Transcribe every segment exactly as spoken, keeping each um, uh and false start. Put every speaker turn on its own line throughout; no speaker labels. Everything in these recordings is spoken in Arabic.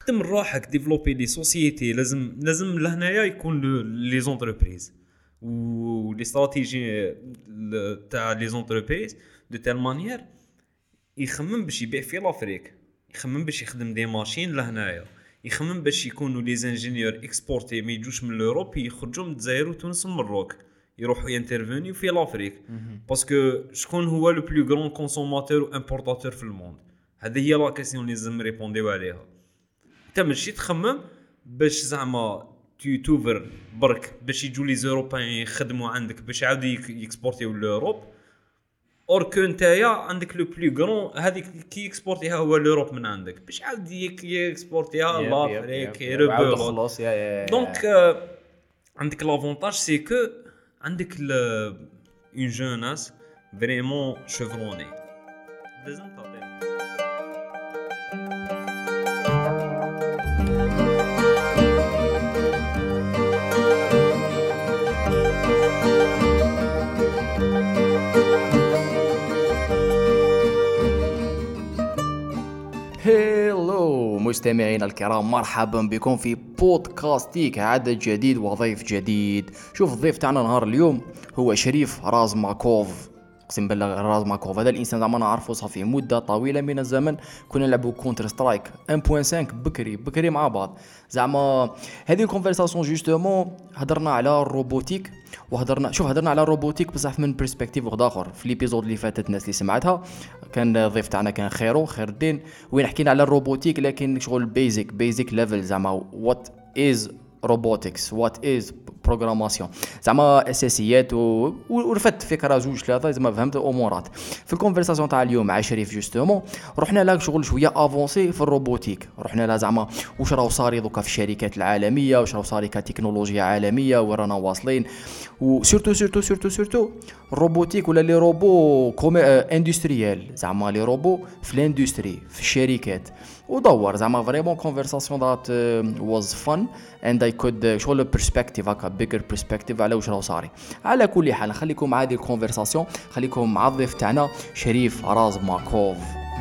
خدم روحك ديفلوبي لي سوسيتي لازم لازم لهنايا يكون لي زونتربريز و لي استراتيجي تاع لي زونتربريز دو تال مانيير يخمم باش يبيع في لافريك يخمم باش يخدم دي ماشين لهنايا يخمم باش يكونوا لي انجينيور اكسبورتي ما يجوش من اوروب يخرجوا من الجزائر وتونس والمروك يروحوا ينترفينيو في لافريك باسكو شكون هو لو بلو غران كونسوماتور و امبورطاتور في الموند هذه هي لا كيسيون اللي لازم ريبونديو عليها انت ماشي تخمم باش زعما تو توفر برك باش يجوا لي زوروبيان يخدموا عندك باش يعاودوا يكسبورتيو لاوروب اور كو نتايا عندك لو بلو غران هذيك كي اكسبورتيها هو لوروب من عندك باش عاود يكسبورتيها لافريك يربو
خلاص يا
دونك عندك لافونتاج سي كو عندك اون جوناس فريمون شيفروني لازم تعطي
هيلو مستمعينا الكرام، مرحبا بكم في بودكاستيك عدد جديد وضيف جديد. شوف الضيف تاعنا نهار اليوم هو شريف رازماكوف. اقسم بالله رازماكوف هذا الانسان زعما نعرفه صافي مده طويله من الزمن، كنا نلعبوا كونتر سترايك واحد فاصلة خمسة بكري بكري مع بعض. زعما هذه الكونفرساسيون جوستومون هضرنا على الروبوتيك وهضرنا شوف هضرنا على الروبوتيك بصح من برسبكتيف واحد اخر. في ليبيزود اللي فاتت الناس اللي سمعتها كان الضيف تاعنا كان خيرو خير الدين، وين حكينا على الروبوتيك لكن شغل بيزك بيزك ليفل زعما وات از روبوتكس وات از بروغراماسيون زعما اساسيات و... ورفدت فكره زوج ثلاثه زعما فهمت امورات. في الكونفرساسيون تاع اليوم مع شريف جوستومون رحنا لها شغل شويه افونسي في الروبوتيك، رحنا لها زعما واش راهو صاري دوكا في الشركات العالميه، واش راهو صاري كتكنولوجيا عالميه ورانا واصلين، وسورتو سورتو سورتو سورتو الروبوتيك ولا لي روبو كومي اندستريال زعما لي روبو في الاندستري في الشركات. ودور زعما فريمون كونفرساسيون ذات واز فن اند اي كود شغل برسبكتيف هكا بيجر برسبكتيف على واش راهو صاري. على كل حال خليكم مع هذه الكونفرساسيون، خليكم مع الضيف تاعنا شريف رازماكوف.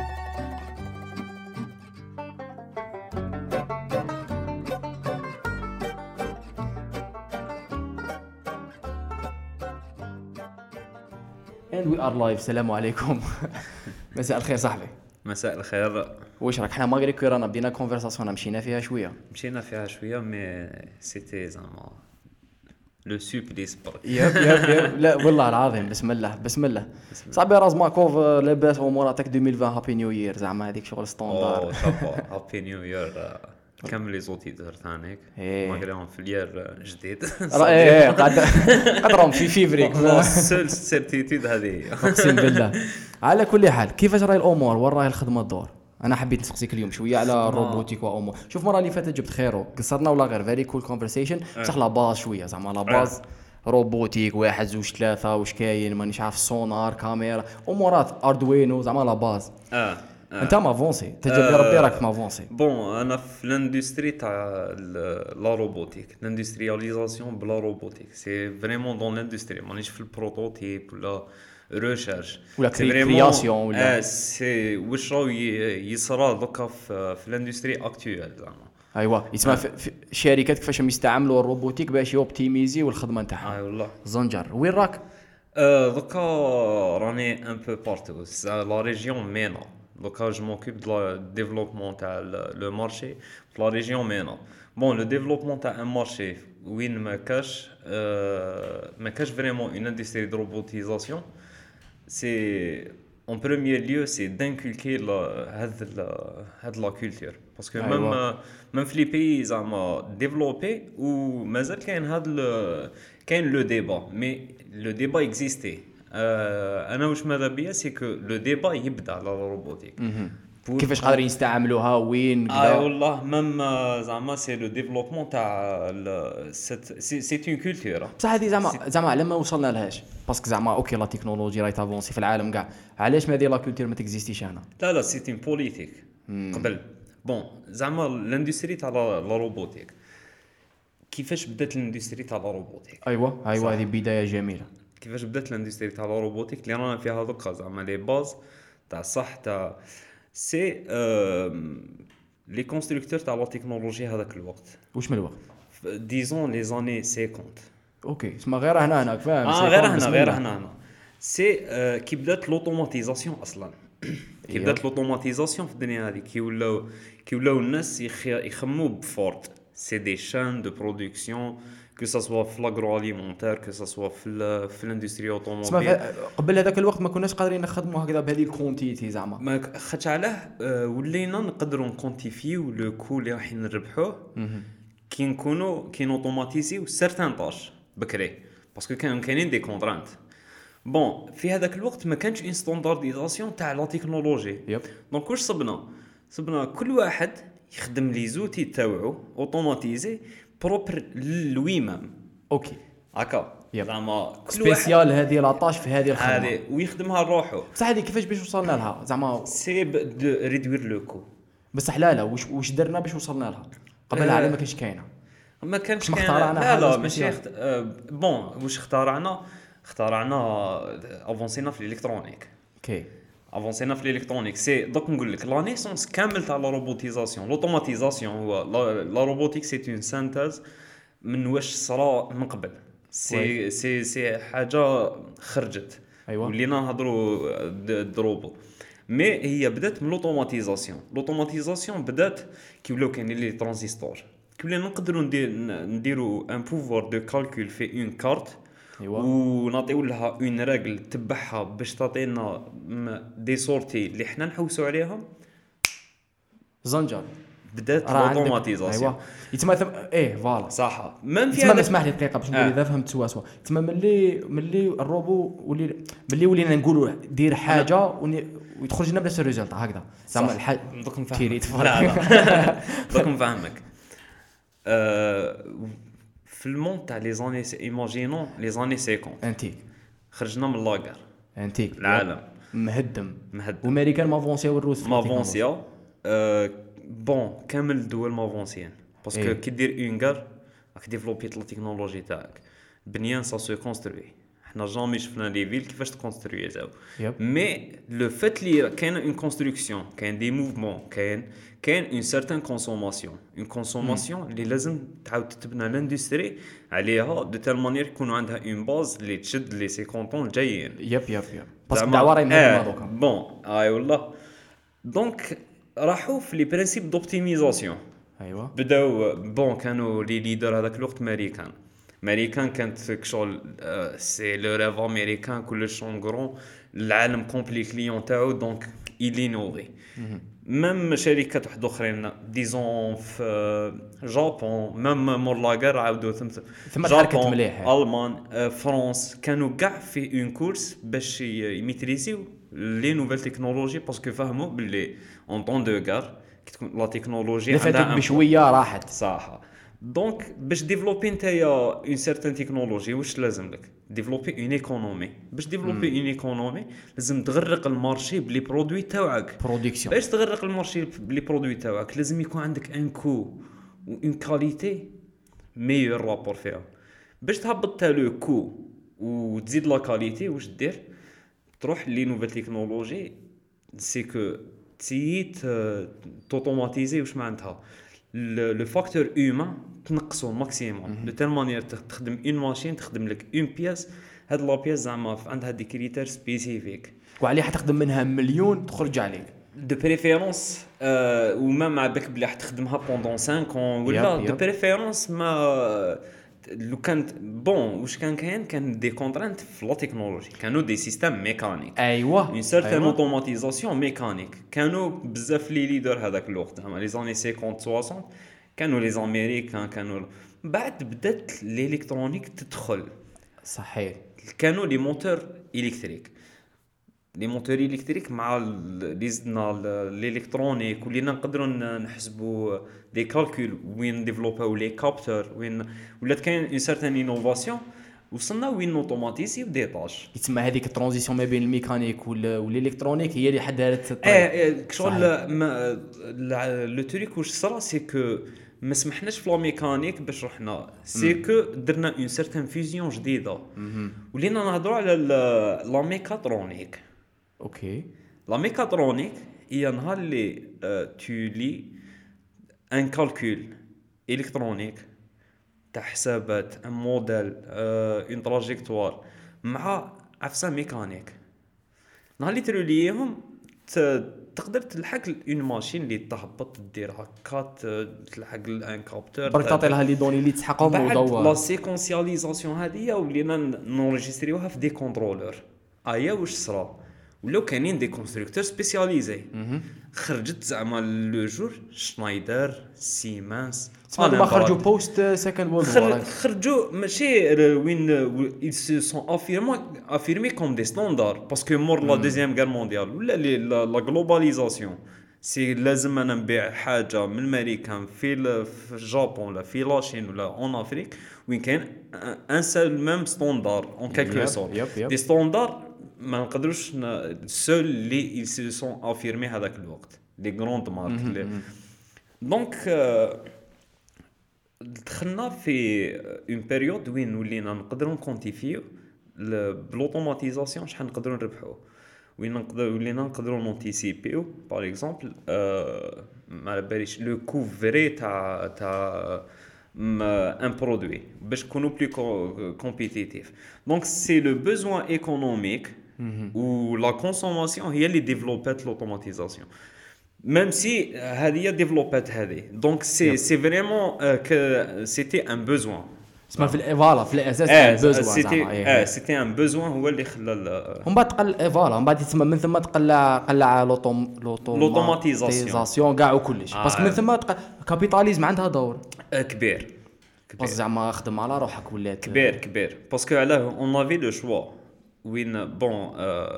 and we are live. السلام عليكم. مساء الخير صاحبي.
مساء الخير.
واش راك؟ حنا ماغري كو رانا بدينا كونفرساسيون مشينا فيها شويه
مشينا فيها شويه مي سيتي زعما لو سوبليس برك.
ياب ياب ياب لا والله العظيم بسم الله بسم الله صاحبي رازماكوف لاباس اموراتك ألفين وعشرين هابي نيو يير زعما هذيك شغل ستاندار.
او صافا هابي نيو يير كامل لي زوتيدر تاعك ماغريهم في الير جديد
ايه قاعد قدرهم في فيفريك
سول سيرتيتود هذه
اقسم بالله. على كل حال كيفاش راهي الامور وين راهي الخدمه الدور؟ انا حبيت نسقسيك اليوم شويه على الروبوتيك وامور. شوف المره اللي فاتت جبت خيرو قصرنا ولا غير فيري كول كونفرسيشن بصح لا باز شويه زعما لا باز روبوتيك واحد زوج ثلاثه واش كاين مانيش عارف سونار كاميرا امورات اردوينو زعما لا باز.
اه
انت ما فونسي تجرب ربي راك ما فونسي.
بون انا في الاندستري تاع لا روبوتيك الاندسترياليزاسيون بلا روبوتيك سي فريمون دون الاندستري مانيش في البروتوتيب ولا ريشيرش
ولا كرياسيون ولا
اه سي واش راه يصرا دوكا في في الاندستري اكطويل زعما.
ايوا يسمى في الشركات كيفاش يستعملوا الروبوتيك باش يوبتيميزي والخدمه نتاعهم.
اي والله
زنجر. وين راك؟
اه دوكا راني ان بو بارتو لا ريجيون مينا. دوكا جو موكوب دو ديفلوبمون تاع لو مارشي في لا ريجيون مينا. بون لو ديفلوبمون تاع ان مارشي وين ما كاش ما كاش فريمون اون اندستري دو روبوتيزاسيون c'est en premier lieu c'est d'inculquer la هذا هذا la culture parce que même même في les pays زعما développés ou مازال كاين هذا كاين le débat mais le débat existait. انا واش ماذا بيا c'est que le débat يبدا على الروبوتيك
كيفاش قادرين يستعملوها وين كذا.
اه والله ميم زعما سي لو ديفلوبمون تاع سي اون كولتور
بصح هذه زعما زعما على ما وصلنا لهاش باسكو زعما اوكي لا تكنولوجيا راهي تافونسي في العالم كاع، علاش ما هذه لا كولتور ما تكزيستيش هنا؟
لا لا سي اون بوليتيك قبل. بون زعما الاندستري تاع لا روبوتيك كيفاش بدات الاندستري تاع لا روبوتيك؟
ايوا ايوا هذه بدايه جميله.
كيفاش بدات الاندستري تاع لا روبوتيك اللي رانا فيها دوكا زعما لي باز تاع صح تاع سي لي كونستركتور تاع لا تكنولوجي هذاك الوقت
واش من الوقت؟
ديزون لي زاني خمسين.
اوكي اسمع غير هنا هناك فاهم.
اه غير هنا غير هنا هنا سي آه كي بدات لوطوماتيزاسيون اصلا. كي بدات لوطوماتيزاسيون في الدنيا هذه كي ولاو كي ولاو الناس يخمموا بفورد سي دي شان دو برودكسيون que ça soit في l'agroalimentaire que ça soit في في الاندستري اوتوموبيل.
قبل هذاك الوقت ما كناش قادرين نخدموا هكذا بهذه الكونتيتي زعما
ما خاطش علاه ولينا نقدروا نكونتيفيو لو كو اللي راح نربحوه كي نكونوا كي نوتوماتيزيو سيرتان طاش بكري باسكو كانوا كاينين دي كونترانت. بون في هذاك الوقت ما كانش ان ستاندارديزاسيون تاع لا تكنولوجي.
يب.
دونك واش صبنا صبنا كل واحد يخدم لي زوتي تاوعو اوتوماتيزي بروبر لوي مام.
اوكي
هكا زعما
سبيسيال هذه لاطاش في هذه الخدمه
هذه ويخدمها لروحو.
بصح هذه كيفاش باش وصلنا لها زعما
سي دو ريدوير لو كو.
بصح لا لا واش واش درنا باش وصلنا لها قبل على ما كانش كاينه
ما كانش
كاينه
لا لا ماشي اخت... بون واش اخترعنا اخترعنا افونسينا في الالكترونيك.
اوكي
افونسينا في الالكترونيك سي دوك نقول لك لا نيسونس كامل تاع لا روبوتيزاسيون لوتوماتيزاسيون هو لا روبوتيك سي اون سانتاز من واش صرا من قبل سي سي سي حاجه خرجت.
ايوه
ولينا نهضروا دروبو مي هي بدات من لوتوماتيزاسيون. لوتوماتيزاسيون بدات كي ولاو كاينين لي ترانزستور كي ولا نقدروا ندير نديروا ان بوفوار دو كالكول في اون كارت.
ايوه
ونعطيو لها اون ريغل تبعها باش تعطينا دي سورتي اللي حنا نحوسوا عليهم.
زنجر
بدات اوتوماتيزاسيون.
ايوا يتما ثم... ايه فوالا
صح. من في
هذا اسمح لي دقيقه باش نقول اذا فهمت سوا سوا تما ملي ملي الروبو ولي ملي ولينا نقولوا دير حاجه وني... ويدخل لنا بنفس الريزلت هكذا زعما الحاجه
دوك نفهمك. لا لا دوك نفهمك. أه... في المون تاع لي زاني ايماجينون لي زاني خمسين
انتيك
خرجنا من لاغر
انتيك
العالم
مهدم
مهدم
وامريكان مافونسيا والروس
مافونسيا. أه بون كامل الدول مافونسيان باسكو
إيه.
كي دير اون غار راك ديفلوبيت لا تكنولوجي تاعك بنيان سا سو كونستروي. حنا جامي شفنا لي فيل كيفاش تكونستروي زاو مي لو فات لي كاين اون كونستركسيون كاين دي موفمون كاين كاين اون سيرتان كونسوماسيون اون كونسوماسيون اللي لازم تعاود تبنى لاندستري عليها دو تال مانيير يكونوا عندها اون باز اللي تشد لي خمسين طون جايين.
يب يب يب باسكو دعوه راهي مهمه دوكا.
بون اي والله دونك راحوا في لي برينسيپ دوبتيميزاسيون.
ايوا
بداو بون كانوا لي ليدر هذاك الوقت ماريكان. ماريكان كانت كشغل سي لو ريف امريكان كلش اون غرون العالم كومبلي كليون تاعو دونك il innovait. ميم شركات واحد اخرين ديزون في جابون ميم مور لاغار عاودوا ثم
ثم حركت مليح
المان فرنسا كانوا كاع في اون كورس باش يميتريزيو لي نوفيل تكنولوجي باسكو فهموا باللي اون طون دو غار كي تكون لا تكنولوجي
عندها بشويه راحت
صح. دونك باش ديفلوبي نتايا اون سيرتان تكنولوجي واش لازم لك ديفلوبي اون ايكونومي. باش ديفلوبي اون ايكونومي لازم تغرق المارشي بلي برودوي تاعك
برودكسيون.
باش تغرق المارشي بلي برودوي تاعك لازم يكون عندك ان كو و اون كاليتي ميور رابور فيها. باش تهبط تا لو كو وتزيد لا كاليتي واش دير تروح لي نوفيل تكنولوجي سي كو تسيت توتوماتيزي واش معناتها لو فاكتور هيومان تنقصو ماكسيموم دو تال مانيير تخدم اون ماشين تخدم لك اون بياس هاد لا بياس زعما عندها دي كريتير سبيسيفيك
وعليه حتخدم منها مليون تخرج عليك
دو بريفيرونس أه وما مع بالك بلي حتخدمها بوندون خمسة اون ولا دو بريفيرونس ما لو كانت بون واش كان كاين كان دي كونترانت في لا تكنولوجي كانوا دي سيستيم ميكانيك.
ايوا
اون سيرتان اوتوماتيزاسيون ميكانيك كانوا بزاف لي ليدر هذاك الوقت زعما لي زاني خمسين سوسون كانوا لي امريكان كانوا بعد بدات الالكترونيك تدخل
صحيح
كانوا لي موتور الكتريك لي موتور الكتريك مع لي زدنا الالكترونيك ولينا نقدروا نحسبوا دي كالكول وين ديفلوباو لي كابتور وين ولات كاين اون سيرتان انوفاسيون وصلنا وين اوتوماتيزي ودي طاش.
يتسمى هذيك الترانزيسيون ما بين الميكانيك والالكترونيك هي اللي حدارت
الطريق. ايه كشغل لو تريك واش صرا سي كو ما سمحناش في لا ميكانيك باش رحنا سي كو درنا اون سيرتان فيزيون جديده ولينا نهضروا على لا ميكاترونيك.
اوكي
لا ميكاترونيك هي نهار اللي تو لي ان كالكول الكترونيك تاع حسابات ان موديل اون تراجيكتوار مع عفسه ميكانيك، نهار اللي تروليهم تقدر تلحق اون ماشين اللي تهبط دير هكا تلحق ان كابتور
برك تعطي لها لي دوني اللي تسحقهم
بعد
ودور.
لا سيكونسياليزاسيون هذه ولينا نورجستريوها في دي كونترولور. ايا واش صرا ولاو كاينين دي كونستركتور سبيسياليزي خرجت زعما لو جور شنايدر سيمنز
ما خرجوا بوست سكند وورلد وور
خرجوا ماشي وين ils se sont affirmés affirmés comme des standards parce que mort la deuxième guerre mondiale ولا la globalisation سي لازم انا نبيع حاجه من امريكا في في الجابون ولا في لاشين ولا اون افريك وين كاين ان سول ميم ستاندار اون كالكو سورت دي ستاندار ما نقدروش سول اللي ils se sont affirmés هذاك الوقت لي غروند مارك. دونك دخلنا في اون بيريود وين ولينا نقدروا نكونتيفيو بلوتوماتيزاسيون شحال نقدروا نربحوا، وين نقدر ولينا نقدروا نونتيسيبيو باغ اكزومبل ما باليش لو كو فري تاع تاع ان برودوي باش نكونوا بلي كومبيتيتيف. دونك سي لو بوزوان ايكونوميك و لا كونسوماسيون هي اللي ديفلوبات لوتوماتيزاسيون même si هذه ديفلوبات هذه. دونك سي سي فريمون que c'était un besoin
اسمها في فوالا في الاساس ان بوزوان
سيتي اه سيتي ان بوزوان هو اللي خلى
ومن بعد تقل فوالا من بعد تسمى من ثم تقلع قلع لوطوم لوطوماتيزاسيون كاع وكل شيء باسكو من ثم كابيتاليزم عندها دور
كبير
بس زعما خدم على روحك ولات
كبير كبير باسكو علاه اون افي لو شوا وين بون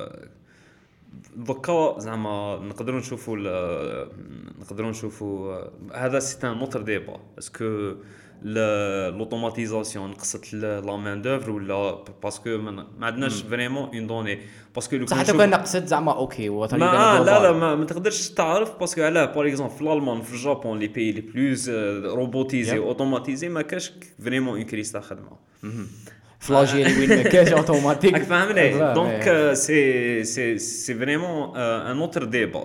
دوكا زعما نقدروا نشوفوا نقدروا نشوفوا هذا سي ان اوتر ديبا باسكو لوتوماتيزاسيون نقصت لا مان دوفر ولا باسكو ما عندناش فريمون اون دوني باسكو لو
حتى كان نقصت زعما اوكي
لا لا لا ما, ما تقدرش تعرف باسكو علاه باغ اكزومبل في الالمان في الجابون لي بيي لي بلوز روبوتيزي اوتوماتيزي ما كاش فريمون اون كريس تاع خدمه
فلاجيل وين ما كاش اوتوماتيك
راك فاهمني. دونك سي سي سي فريمون ان اوتر ديبا.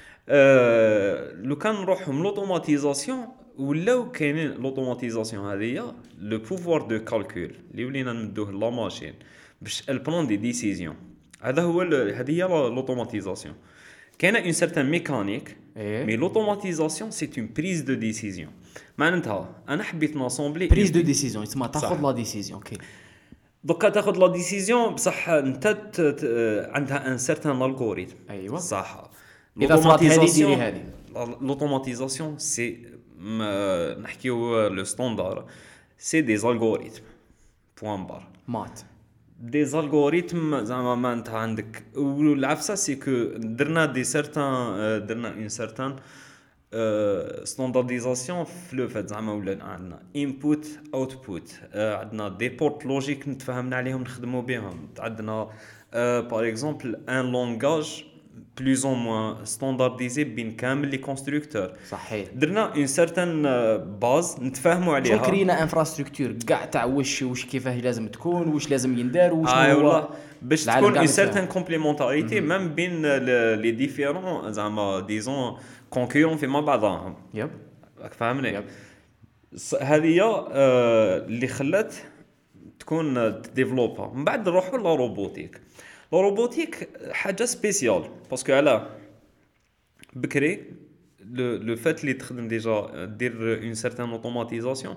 لو كان نروحوا من لوتوماتيزاسيون ولاو كاينين لوتوماتيزاسيون هذه لو بوفوار دو كالكول اللي ولينا نمدوه لا ماشين باش البرون دي ديسيزيون. هذا هو هذه هي لوتوماتيزاسيون. كاينه اون سيرتان ميكانيك مي لوتوماتيزاسيون سي اون بريز دو ديسيزيون. معناتها انا حبيت ناسومبلي
بريز دو ديسيزيون تسمى تاخذ لا ديسيزيون اوكي
دوكا تاخذ لا ديسيزيون بصح انت عندها ان سيرتان الغوريثم.
ايوا
صح.
لوتوماتيزاسيون هذه
لوتوماتيزاسيون سي نحكيو لو ستاندار سي دي الغوريثم بوين بار
مات
دي الغوريثم زعما ما انت عندك والعفسه سي كو درنا دي سيرتان درنا اون سيرتان ستاندارديزاسيون في لو فات زعما ولا عندنا انبوت اوتبوت عندنا دي بورت لوجيك نتفاهمنا عليهم نخدموا بهم عندنا باغ اكزومبل ان لونغاج plus ou moins standardisé بين كامل لي كونستركتور.
صحيح
درنا اون سيرتان باز نتفاهموا عليها
شو كرينا انفراستركتور كاع تاع واش واش كيفاه لازم تكون واش لازم يندار واش
آه هو باش تكون اون سيرتان كومبليمونتاريتي ميم بين لي ديفيرون زعما ديزون كونكورون فيما بعضهم.
يب
راك فاهمني. هذه اللي خلات تكون ديفلوبا. من بعد نروحوا لا روبوتيك. لا روبوتيك حاجه سبيسيال باسكو علاه بكري لو لو فات اللي تخدم ديجا دير اون سيرتان اوتوماتيزاسيون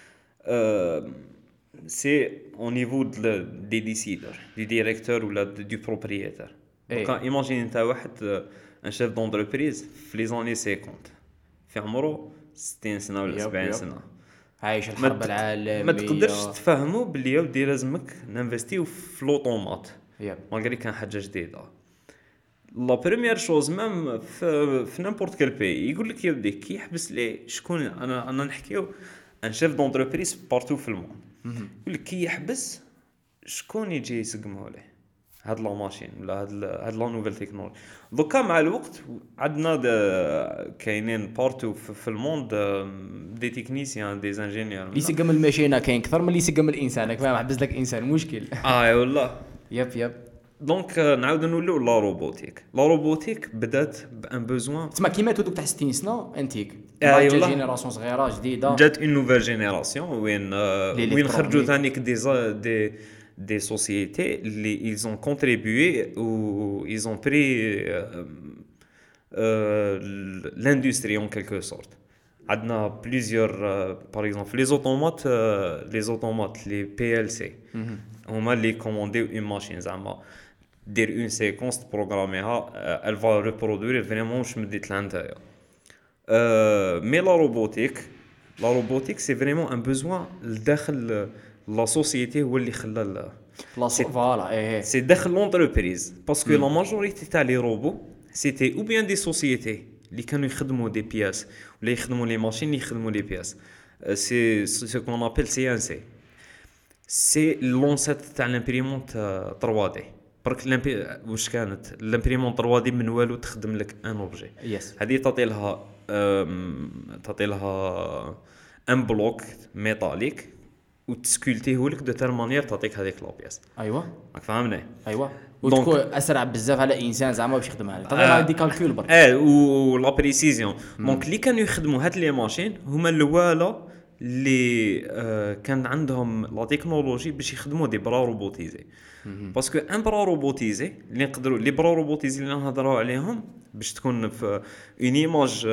سي او نيفو دي ديسيدور دي ديريكتور ولا دو بروبريتير. دونك ايماجين انت واحد ان شيف دونتربريز في لي زاني خمسين في عمره ستين سنه ولا سبعين سنه
عايش الحرب العالميه
ما تقدرش تفهموا بلي يا ودي لازمك نانفستيو في لوطومات مالغري كان حاجه جديده. لا بريمير شوز ميم في في نيمبورت كال بي يقول لك يا ودي كي يحبس لي شكون انا انا نحكيو ان شيف دونتربريز بارتو في الموند يقول لك كي يحبس شكون يجي يسقمه له هاد لا ماشين ولا هاد هاد لا نوفيل تكنولوجي. دوكا مع الوقت عندنا كاينين بارتو في الموند دي تكنيسيان دي انجينيور
اللي يسقم الماشينه كاين اكثر من اللي يسقم الانسان. فاهم حبس لك انسان مشكل
اه والله
يب يب.
دونك نعاود نوليو لا روبوتيك. لا روبوتيك بدات بان بوزوان
تسمى كيما تودوك تاع ستين سنه انتيك
أي
جا
والله.
جينيراسيون صغيره جديده
جات اون نوفيل جينيراسيون وين آه،
لي
وين خرجوا
إلكترونيك.
ثاني دي زا- دي دي سوسيتي اللي ils ont contribué ou ils ont pris euh, euh, l'industrie en quelque sorte. عندنا plusieurs euh, par exemple les automates euh, les automates les P L C هما اللي كومونديو اون ماشين زعما دير اون سيكونس تبروغراميها euh, elle va reproduire vraiment واش مديت لها نتايا. Euh, mais la robotique, la robotique c'est vraiment un besoin داخل la société هو اللي خلى ال-
لا فوالا ايه
c'est داخل l'entreprise parce que la majorité تاع les robots c'était ou bien des sociétés اللي كانوا يخدموا des pièces ولا يخدموا les machines اللي يخدموا les pièces. Euh, c'est ce qu'on appelle C N C. c'est l'ancêtre تاع l'imprimante euh, trois D. برك الامبي واش كانت الامبريمون ثري دي من والو تخدم لك ان اوبجي
يس
هذه تعطي لها أم، تعطي لها ان بلوك ميتاليك وتسكولتيه لك دو تال مانيير تعطيك هذيك لابياس.
ايوا
راك فاهمني؟
ايوا
دونك-
وتكون اسرع بزاف على انسان زعما باش يخدم عليه طبعا
آه.
هذه كالكول برك
اه و لا بريسيزيون دونك اللي كانوا يخدموا هاد لي ماشين هما الوالا اللي آه كان عندهم لا تكنولوجي باش يخدموا دي برا روبوتيزي باسكو ان برا روبوتيزي اللي نقدروا لي برا روبوتيزي اللي نهضروا عليهم باش تكون في اون ايماج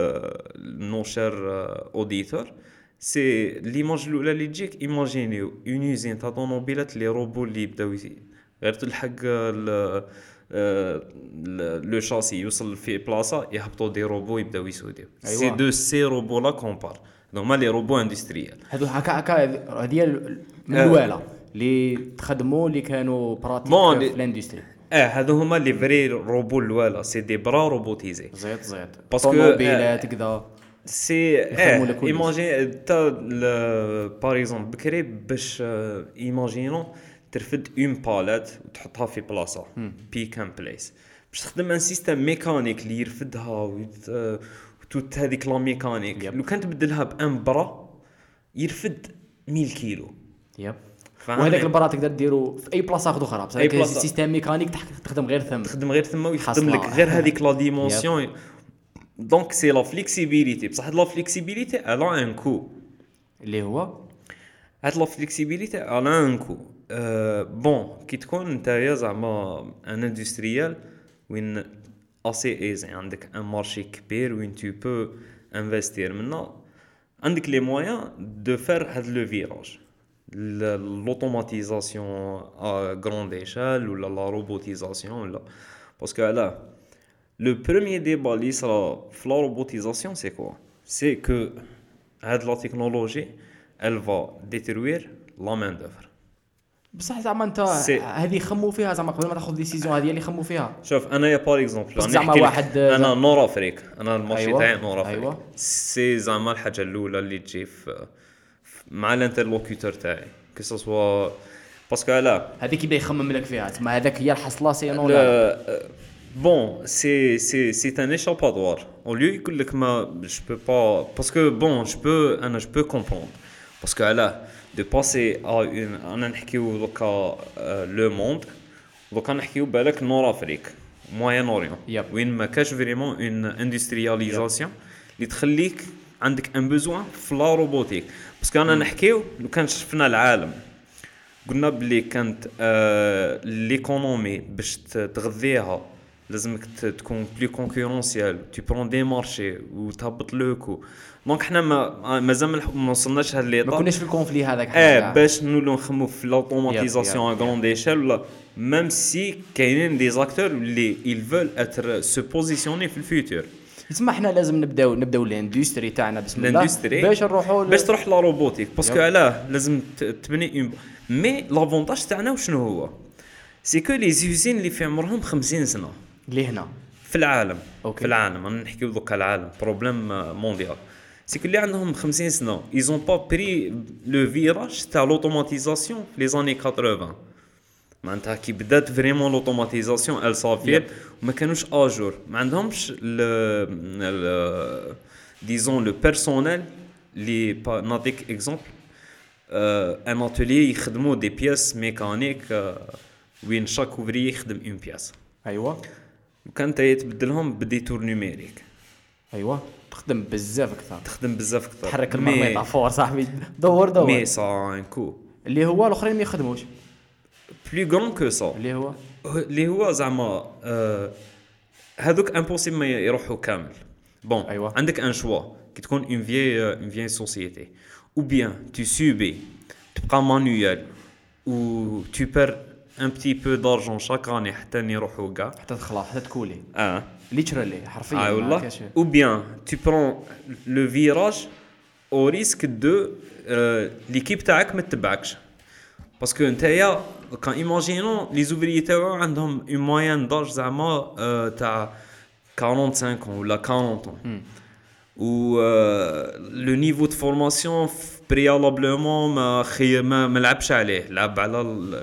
نو شير اوديتور سي ليماج الاولى اللي تجيك ايماجينيو اون يوزين تاع طوموبيلات لي روبو اللي يبداو يسي- غير تلحق ال- آه، لو شاسي يوصل في بلاصه يهبطوا دي روبو يبداو يسوديو.
أيوة.
سي دو سي روبو لا كومبار هما لي روبو اندستريال.
هذو هكا هكا هذه ال- من
آه.
الوالا اللي تخدموا اللي كانوا براتيك
بون،
في
لي-
الاندستري
اه هادو هما لي فري روبو الوالا سي دي برا روبوتيزي.
زيت زيت
باسكو،
طوموبيلات كذا
سي
يخدموا
اه
لك كل
ايماجين تا باغ اكزومبل بكري باش ايماجينو ترفد اون باليت وتحطها في بلاصه بيك ان بليس باش تخدم ان سيستم ميكانيك اللي يرفدها ويت- آه، وتوت هذيك لا ميكانيك
يب.
لو كان تبدلها بان برا يرفد مية كيلو.
يب
فهمتني؟
وهذاك البرا تقدر ديرو في اي بلاصه اخرى بصح
أي
هذاك
بلاصة.
السيستم ميكانيك تح- تخدم غير ثم
تخدم غير ثم ويخدم
حصلة.
لك غير هذيك لا ديمونسيون. دونك سي لا فليكسيبيليتي بصح لا فليكسيبيليتي الا ان كو
اللي هو
هاد لا فليكسيبيليتي على ان كو أه بون كي تكون نتايا زعما ان اندستريال وين اسي ايزي عندك ان مارشي كبير وين تو بو انفستير منا عندك لي مويان دو فير هاد لو فيراج لوتوماتيزاسيون ا غروند ايشال ولا لا روبوتيزاسيون ولا باسكو علاه لو بروميير ديبا اللي صرا في لا روبوتيزاسيون سي كوا سي كو هاد لا تكنولوجي elle va détruire la main d'œuvre.
بصح زعما انت
سي-
هذه خموا فيها زعما قبل ما تاخذ ديسيزيون هذه اللي خموا فيها
شوف انا يا بار اكزومبل
بس زعما واحد-
انا نور افريك انا المارشي
أيوة.
تاعي نور افريك
أيوة.
سي زعما الحاجه الاولى اللي تجي في في- مع الانترلوكيتور تاعي كو سوا باسكو علاه
هذيك يبدا يخمم لك فيها تما هذاك هي الحصله سينو لا
بون سي سي سي ان échappatoire au lieu يقول لك ما je peux pas parce que bon je peux انا je peux comprendre parce que علاه de passer à une انا نحكيو دوكا لو موند دوكا نحكيو بالك نور افريك موين اوريون
Yep.
وين ما كاش فريمون اون اندسترياليزاسيون اللي تخليك عندك ان بوزوان في لا روبوتيك باسكو انا نحكيو لو كان شفنا العالم قلنا بلي كانت آه ليكونومي باش ت- تغذيها لازمك ت- تكون بلي كونكورونسيال تي برون دي مارشي وتهبط لو كو دونك حنا ما مازال ما الح- ما وصلناش هاد
ما
ليطاب
كناش في الكونفلي هذاك
اه
حنا
باش نولو نخمو في لوتوماتيزاسيون ا
Yep, yep,
غروند ايشيل ولا ميم سي كاينين دي زاكتور اللي ils veulent être se positionner في الفيوتور
تسمى حنا لازم نبداو نبداو الاندستري تاعنا بسم الله
الاندستري
باش نروحوا ل-
باش تروح لا روبوتيك باسكو
Yep.
علاه لازم ت- تبني اون مي لافونتاج تاعنا وشنو هو سي كو لي زيوزين اللي في عمرهم خمسين سنه
اللي هنا
في العالم
أوكي.
في العالم انا نحكيو دوكا العالم بروبليم مونديال سي كو اللي عندهم خمسين سنه ايزون با بري لو فيراج تاع لوتوماتيزاسيون في لي زاني ثمانين معناتها كي بدات فريمون لوتوماتيزاسيون ال صافير وما كانوش اجور ما عندهمش ل ديزون لو بيرسونيل اللي با- نعطيك اكزومبل ان اتولي يخدموا دي بياس ميكانيك وين شاك اوفري يخدم اون بياس
ايوا
وكان تا يتبدلهم بديتور نيميريك
ايوا تخدم بزاف اكثر،
تخدم بزاف اكثر
تحرك الميتافور صاحبي. دور دور
مي سا ان كو
اللي هو الاخرين ما يخدموش،
بلو غران كو سا
اللي هو
اللي هو زعما آه هذوك امبوسيبل ما يروحوا كامل. بون
أيوة.
عندك ان شوا كي تكون اون فيي اون فيي سوسيتي ou bien tu subis تبقى مانويال و tu perds un petit peu d'argent chaque année حتى يروحوا كاع
حتى تخلص حتى تكولي
اه
ليترالي حرفيا.
اه
ما
والله
كاش-
ou bien tu prends le virage au risque de euh, l'équipe تاعك ما تتبعكش باسكو نتايا كان ايماجينون لي زوفريي تاعو عندهم اون موين داج زعما آه، تاع خمسة وأربعين ولا أربعين ans و لو نيفو دو فورماسيون بريالابلومون ما خي ما ما لعبش عليه، لعب على ال-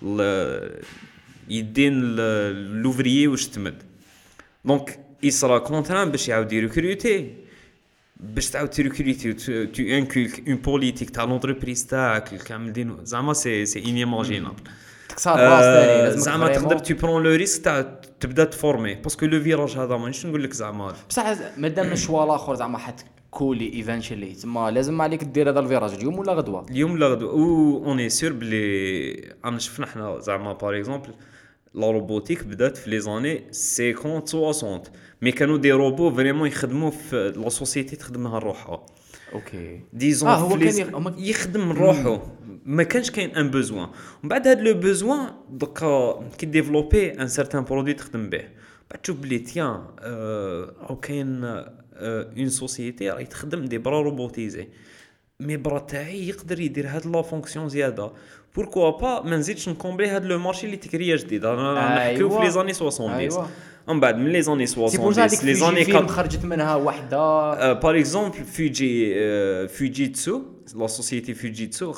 ال- يدين ال- لوفريي واش تمد. دونك يصرا كونتران باش يعاود يريكروتي باش تعاود تريكروتي تو انكولك اون بوليتيك تاع لونتربريز تاعك كامل دين زعما سي سي انيماجينابل.
تكسر راس ثاني لازم
زعما تقدر تو برون لو ريسك تاع تبدا تفورمي باسكو لو فيراج هذا مانيش نقول لك زعما
بصح مادام الشوا الاخر زعما حت كولي ايفينشلي تما لازم عليك دير هذا الفيراج اليوم ولا غدوه.
اليوم لا غدوه و اوني سور بلي انا شفنا حنا زعما باغ اكزومبل لا روبوتيك بدات في لي زاني خمسين ستين مي كانوا دي روبو فريمون يخدموا في لا سوسيتي تخدمها روحها.
اوكي
ديزون
آه، هو
فليز-
كان يخ- هما-
يخدم من روحه ما كانش كاين ان بوزوان ومن بعد هاد لو بوزوان دوكا كي ديفلوبي ان سارتان برودوي تخدم به بعد تشوف بلي تيان او كاين اون سوسيتي راهي تخدم دي برا روبوتيزي مي برا تاعي يقدر يدير هاد لا فونكسيون زياده بوركوا با ما نزيدش نكومبلي هاد لو مارشي اللي تكريا جديد انا نحكيو في
أيوة.
لي زاني سبعين
أيوة.
ومن بعد من لي زاني
سي بور
سبعين
سا هذيك
لي زاني
فيلم
كات
خرجت منها وحده
باغ اكزومبل فوجي فوجيتسو لا سوسيتي فوجيتسو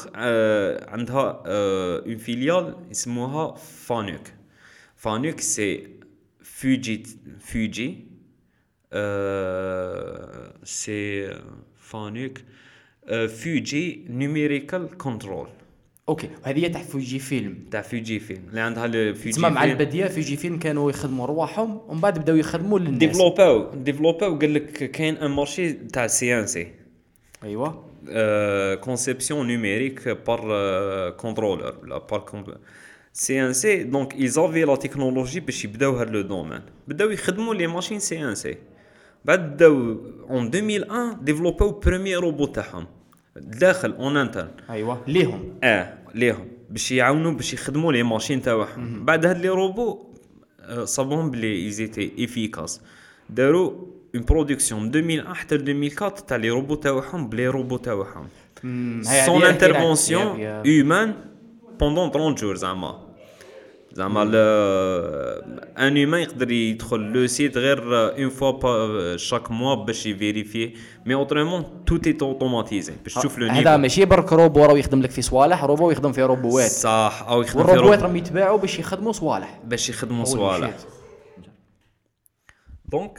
عندها اون فيليال يسموها فانوك. فانوك سي فوجي فوجي سي فانوك فوجي نيميريكال كنترول
اوكي هذه تاع فوجي فيلم.
تاع فوجي فيلم اللي عندها لو فوجي
تسمى مع البديه فوجي فيلم كانوا يخدموا رواحهم ومن بعد بداو يخدموا للناس.
ديفلوباو ديفلوباو قال لك كاين ان مارشي تاع سي ان سي
ايوا
كونسيبسيون نيميريك بار كونترولر ولا بار سي ان سي. دونك ايزافي لا تكنولوجي باش يبداو هاد لو دومين بداو يخدموا لي ماشين سي ان سي. بعد بداو اون ألفين وواحد ديفلوباو بروميير روبو تاعهم داخل اون انترن
ايوا ليهم
اه ليهم باش يعاونوا باش يخدموا لي ماشين تاعهم. بعد هاد لي روبو آه، صابهم بلي ايزيتي افيكاس داروا اون برودكسيون من ألفين وواحد حتى ألفين وأربعة تاع لي روبو تاعهم بلي روبو تاعهم سون انترفونسيون هيومان بوندون ثلاثين جور زعما زعما ان هيومان يقدر يدخل لو سيت غير اون فوا شاك موا باش يفيريفي مي اوترومون تو اي اوتوماتيزي باش تشوف لو
هذا
نيفو
ماشي برك روبو راه يخدم لك في صوالح، روبو يخدم في روبوات
صح او يخدم في
والروبوات
روبو
راهم يتباعوا باش يخدموا صوالح.
باش يخدموا
Holy
صوالح.
shit.
دونك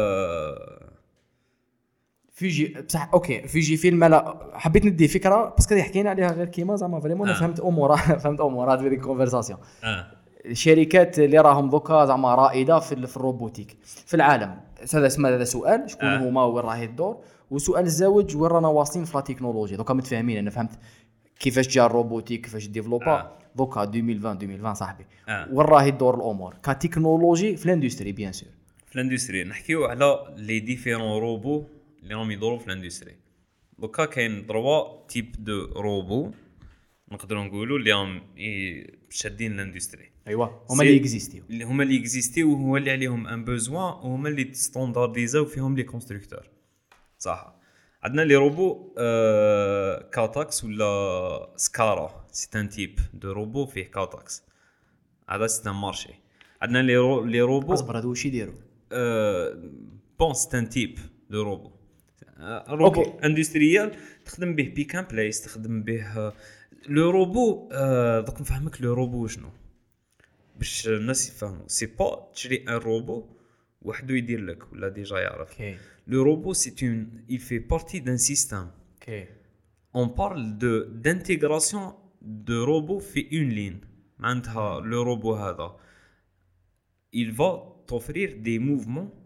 فيجي بصح اوكي فيجي فيلم انا حبيت ندي فكره باسكو حكينا عليها غير كيما زعما فريمون انا
آه.
فهمت امور فهمت امورات في ديك الكونفرساسيون.
اه
الشركات اللي راهم دوكا زعما رائده في في الروبوتيك في العالم. هذا اسمه هذا سؤال شكون
آه.
هما وين راهي الدور، وسؤال الزواج وين رانا واصلين في لا تكنولوجيا. دوكا متفاهمين انا فهمت كيفاش جا الروبوتيك كيفاش ديفلوبا
آه.
دوكا ألفين وعشرين ألفين وعشرين صاحبي
آه.
وين راهي الدور الامور كتكنولوجي في الاندستري بيان سور.
في الاندستري نحكيو على لي ديفيرون روبو اللي راهم يدوروا في الاندستري. دوكا كاين تروا تيب دو روبو نقدروا نقولوا اللي راهم ي- شادين الاندستري
ايوا هما
سي-
اللي اكزيستيو.
اللي هما اللي اكزيستيو وهما اللي عليهم ان بوزوان وهما اللي ستاندارديزاو فيهم لي كونستركتور. صح عندنا لي روبو آه كاتاكس ولا سكارا سي ان تيب دو روبو فيه كاتاكس هذا سي ان مارشي. عندنا لي رو لي روبو
اصبر هذو واش يديروا
بون سي ان تيب دو روبو آه، روبو
أوكي.
اندستريال تخدم به بيك ان بلايس تخدم به لو روبو آه، دوك نفهمك لو روبو شنو باش الناس يفهموا سي با تشري ان روبو وحده يدير لك ولا ديجا يعرف.
اوكي
Le robot, c'est une, il fait partie d'un système.
اوكي
On parle de d'intégration de robots في une ligne. معناتها le robot هذا, il va t'offrir des mouvements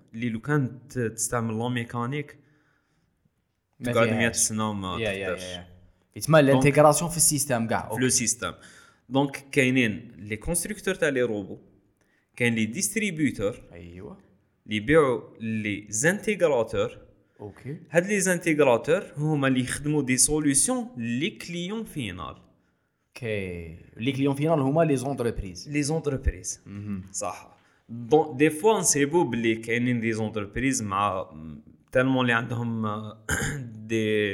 اللي لو كان ت- تستعمل لا ميكانيك
ما
تقعد
فيهاش.
مئة سنه ما
يا يا
تقدرش
يا يتسمى الانتيغراسيون في السيستم كاع
في لو سيستم. دونك كاينين لي كونستركتور تاع لي روبو، كاين لي ديستريبيوتور
ايوا
اللي يبيعوا لي زانتيغراتور.
اوكي
هاد لي زانتيغراتور هما اللي يخدموا دي سوليوشن لي كليون فينال،
اوكي لي كليون فينال هما لي زونتربريز.
لي زونتربريز. صح. دون دي فوا نسيبو بلي كاينين دي زونتربريز مع تالمون اللي عندهم دي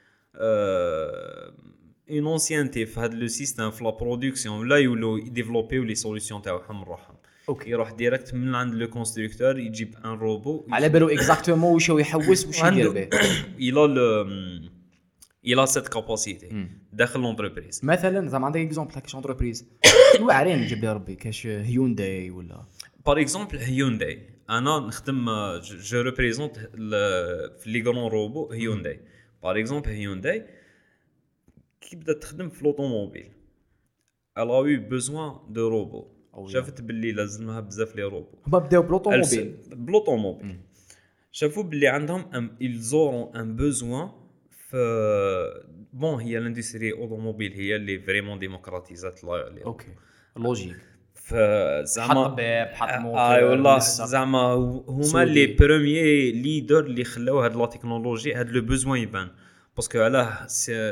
اون انسيانتي في هاد لو سيستم في لا برودكسيون، ولا يولو يديفلوبيو لي سوليوشن تاعهم روحهم.
اوكي
يروح ديريكت من عند لو كونستركتور يجيب ان روبو
على بالو اكزاكتومون واش هو يحوس واش يدير به.
الى لو الى سيت كاباسيتي داخل لونتربريز.
مثلا زعما عندك اكزومبل تاع كاش انتربريز واعرين نجيب لي ربي كاش هيونداي ولا
بار اكزومبل هيونداي. انا نخدم جو ريبريزونت في لي غران روبو هيونداي. بار اكزومبل هيونداي كي بدات تخدم في لوطوموبيل الا يو بوزوان دو روبو. شافت باللي لازمها بزاف لي روبو.
هما بداو بلوطوموبيل
بلوطوموبيل شافوا باللي عندهم ils auront un besoin ف بون هي الاندستري اوتوموبيل هي اللي فريمون ديموكراتيزات لي.
اوكي لوجيك
فزعما
حط باب حط موتور
اي والله
نسق.
زعما هما
سودي.
لي بروميي ليدر اللي خلاو هاد لا تكنولوجي هاد لو بوزوان يبان باسكو علاه سي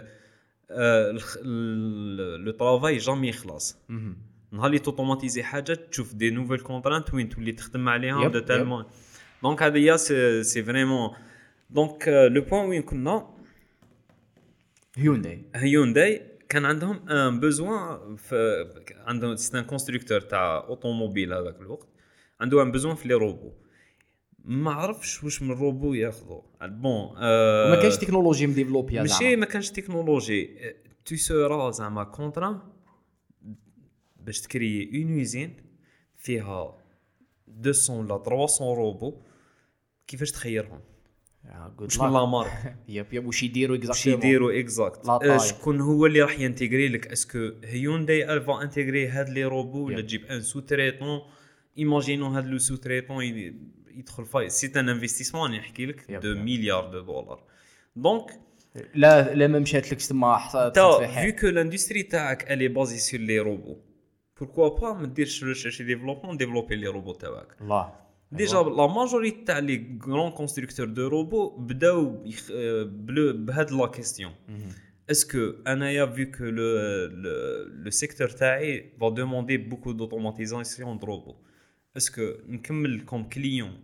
لو طرافاي جامي يخلص. نهار اللي توتوماتيزي حاجه تشوف دي نوفيل كونترانت وين تولي تخدم عليهم دو تالمون. دونك هذا هي سي سي فريمون. دونك لو بوين وين كنا
هيونداي
هيونداي كان عندهم ان بوزوان عندهم سي ان كونستركتور تاع اوتوموبيل هذاك الوقت عنده ان بوزوان في لي روبو. ما عرفش واش من روبو ياخذوا بون
أه وما كانش تكنولوجي مديفلوبيا
زعما ماشي ما كانش تكنولوجي. تو سورا زعما كونترا باش تكري اون يوزين فيها مئتين ولا ثلاثمية روبو كيفاش تخيرهم واش من لا مارك
ياب ياب واش يديروا
واش
اكزاكتومون
يديروا اكزاكت شكون هو اللي راح ينتيغري لك. اسكو هيونداي الفا انتيغري هاد لي روبو ولا تجيب ان سو تريتون. ايماجينو هاد لو سو تريتون يدخل فاي سي ان انفستيسمون نحكي لك دو مليار دو دولار. دونك
لا لا ما مشات لك تما حصلت في
حال فيو كو لاندستري تاعك الي بازي سور لي روبو pourquoi pas ما ديرش ريشيرش ديفلوبمون ديفلوبي لي روبو تاعك.
الله
ديجا لا ماجوريتي تاع لي غران كونستركتور دو روبو بداو بهاد لا كيستيون. اسكو انايا فيو كو لو لو سيكتور تاعي va demander beaucoup d'automatisation de robots. اسكو نكمل كوم كليون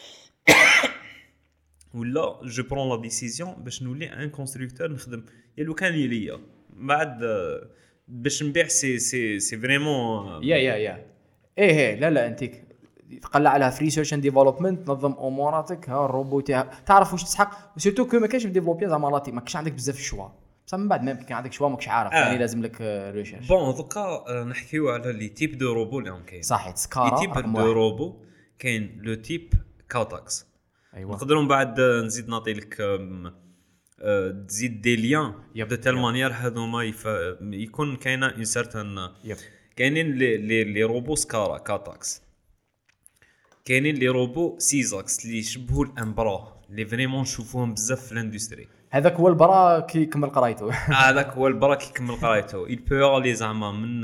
ولا جو برون لا ديسيزيون باش نولي ان كونستركتور نخدم يا لو كان ليا بعد باش نبيع. سي سي سي فريمون
يا يا يا ايه ايه لا لا انت تقلع عليها في ريسيرش اند ديفلوبمنت تنظم اموراتك. ها الروبوت تعرف واش تسحق سيرتو كو ما كاينش ديفلوبيا زعما لاتي ما كاينش عندك بزاف الشوا بصح من بعد ما كان عندك شوا ماكش عارف يعني لازم لك ريسيرش.
بون دوكا نحكيو على لي تيب دو روبو اللي كاين.
صحيح سكارا
لي تيب دو روبو كاين لو تيب كاتاكس.
ايوا
نقدروا من بعد نزيد نعطي لك تزيد دي ليان دو تال مانيير هذوما يكون كاينه اون سيرتان. كاينين لي لي روبو سكارا كاتاكس. كاينين لي روبو سيزاكس اللي يشبهوا الامبرا اللي فريمون نشوفوهم بزاف في الاندستري.
هذاك هو البرا كي يكمل قرايته.
هذاك هو البرا كي يكمل قرايته. il peut aller زعما من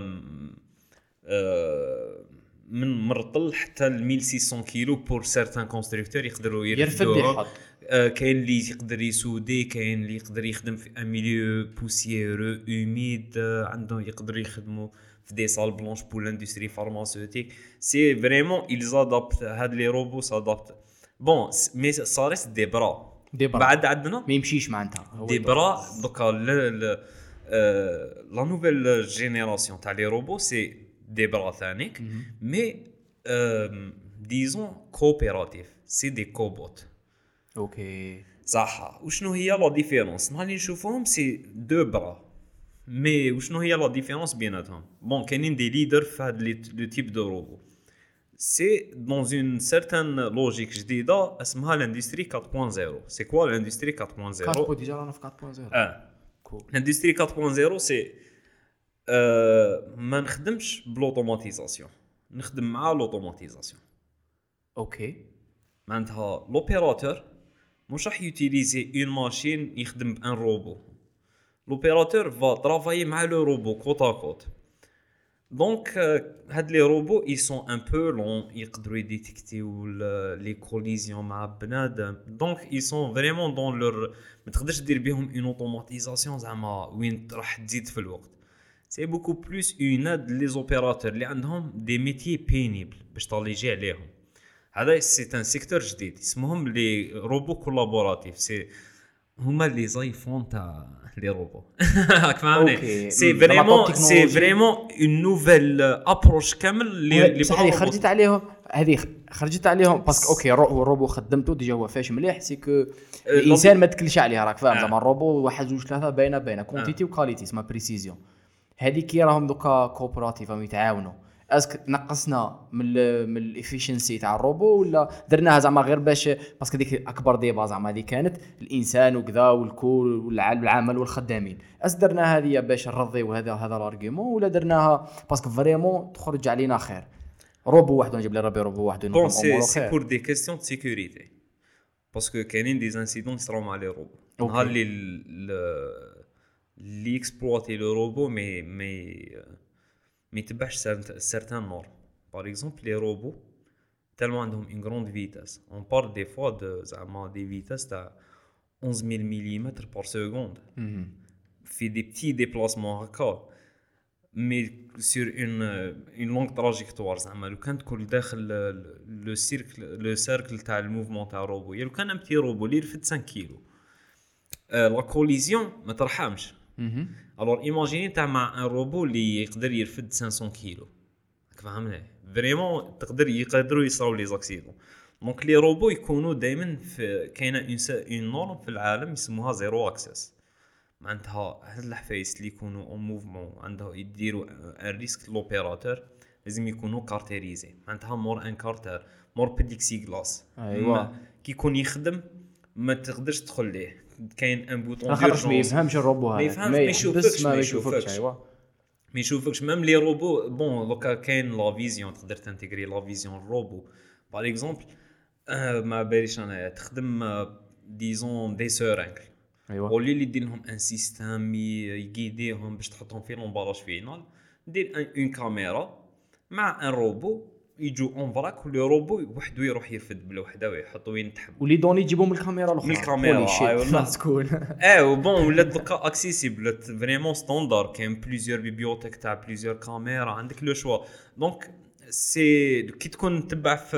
من مرطل حتى ل ألف وستمية كيلو بور سيرتان كونستركتور يقدروا
يرفدوا.
كاين اللي يقدر يسودي كاين اللي يقدر يخدم في ان ميليو بوسييرو اوميد عندهم يقدروا يخدموا في دي سال بلونش بور لاندستري فارماسيوتيك. سي فريمون ils adaptent هاد لي روبو s'adaptent بون مي صارت دي برا
دي برا
بعد عندنا
ما يمشيش معناتها
دي برا. دوكا لا نوفيل جينيراسيون تاع لي روبو سي دي برا ثانيك مي ديزون كوبيراتيف سي دي كوبوت.
اوكي
صح. وشنو هي لا ديفيرونس نهار اللي نشوفوهم سي دو برا مي وشنو هي لا ديفيرونس بيناتهم. بون كاينين دي ليدر في هاد لو تيب دو روبو سي دون اون سيرتان لوجيك جديده اسمها لاندستري أربعة صفر. سي كوا لاندستري أربعة صفر؟
كاربو ديجا رانا في أربعة صفر.
اه كول. لاندستري أربعة صفر سي آه ما نخدمش بلوتوماتيزاسيون نخدم مع لوتوماتيزاسيون.
اوكي
معناتها لوبيراتور مش راح يوتيليزي اون ماشين يخدم بان روبو. لوبيراتور فا ترافايي مع لو روبو كوت ا كوت. دونك هاد لي روبو اي سون ان بو لون يقدروا يديتيكتيو لي كوليزيون مع بنادم. دونك اي سون فريمون دون لور ما تقدرش دير بهم اون اوتوماتيزاسيون زعما وين راح تزيد في الوقت. سي بوكو بلوس اون اد لي زوبيراتور اللي عندهم دي ميتي بينيبل باش طاليجي عليهم. هذا سي ان سيكتور جديد اسمهم لي روبو كولابوراتيف. سي هما لي زايفون تاع لي روبو. راك فاهمني؟ سي فريمون سي فريمون اون نوفيل ابروش كامل اللي اللي
بصح خرجت عليهم هذه خرجت عليهم باسكو اوكي الروبو خدمته ديجا هو فاش مليح سي كو الانسان ما تكلش عليه راك فاهم زعما الروبو واحد جوج ثلاثه باينه باينه كونتيتي وكاليتي اسمها بريسيزيون. هذه كي راهم دوكا كوبراتيف راهم يتعاونوا اسك نقصنا من من الافيشنسي تاع الروبو ولا درناها زعما غير باش باسكو ديك اكبر ديبا زعما هذه كانت الانسان وكذا والكل والعمل والخدامين. اس درنا هذه باش نرضيو هذا هذا الارغيومون ولا درناها باسكو فريمون تخرج علينا خير روبو واحد نجيب لي ربي روبو واحد
نقوم امور سي بور دي كيسيون دو سيكوريتي باسكو كاينين دي انسيدون يصراو مع لي روبو نهار اللي اللي اكسبلواتي لو روبو مي مي مي تبعش سيرتان نور. باغ اكزومبل لي روبو تالمون عندهم اون غروند فيتاس اون بار دي فوا دو زعما دي فيتاس تاع أحد عشر مليمتر بار سكوند في دي بتي ديبلاسمون هكا مي سور اون اون لونغ تراجيكتوار زعما لو كان تكون داخل لو سيركل لو سيركل تاع الموفمون تاع الروبو يا لو كان امتي روبو اللي يرفد خمسة كيلو لا كوليزيون ما ترحمش. alors imaginez تاع مع ان روبو اللي يقدر يرفد خمسمية كيلو فهمنا فريمون تقدر يقدروا يصراو لي زاكسيدون. دونك لي روبو يكونوا دائما في كاينه اون نورم في العالم يسموها زيرو اكسس. معناتها هاد الحفايس اللي يكونوا اون موفمون عنده يديروا ان ريسك لوبيراتور لازم يكونوا كارتيريزي. معناتها مور ان كارتر مور بيديكسي غلاس
ايوا
كي يكون يخدم ما تقدرش تدخل ليه كاين ان بوطون
ديرجونس ما يفهمش الروبو هذا
ما يشوفكش ما يشوفكش ايوا ما يشوفكش ميم لي روبو بون دوكا كاين لا فيزيون تقدر تانتيغري لا فيزيون الروبو باغ اكزومبل ما باليش انا تخدم ديزون دي سورانكل
ايوا
ولي اللي دير لهم ان سيستيم يغيديهم باش تحطهم في لومباراج فينال دير اون كاميرا مع ان روبو يجوا اون فراك ولي روبو وحده يروح يرفد بالوحده ويحط وين تحب
ولي دوني يجيبوا من الكاميرا الاخرى
من الكاميرا
اي والله تكون
اه وبون ولا دوكا اكسيسيبل فريمون ستاندار كاين بليزيور بيبيوتيك تاع بليزيور كاميرا عندك لو شوا. دونك سي كي تكون تبع في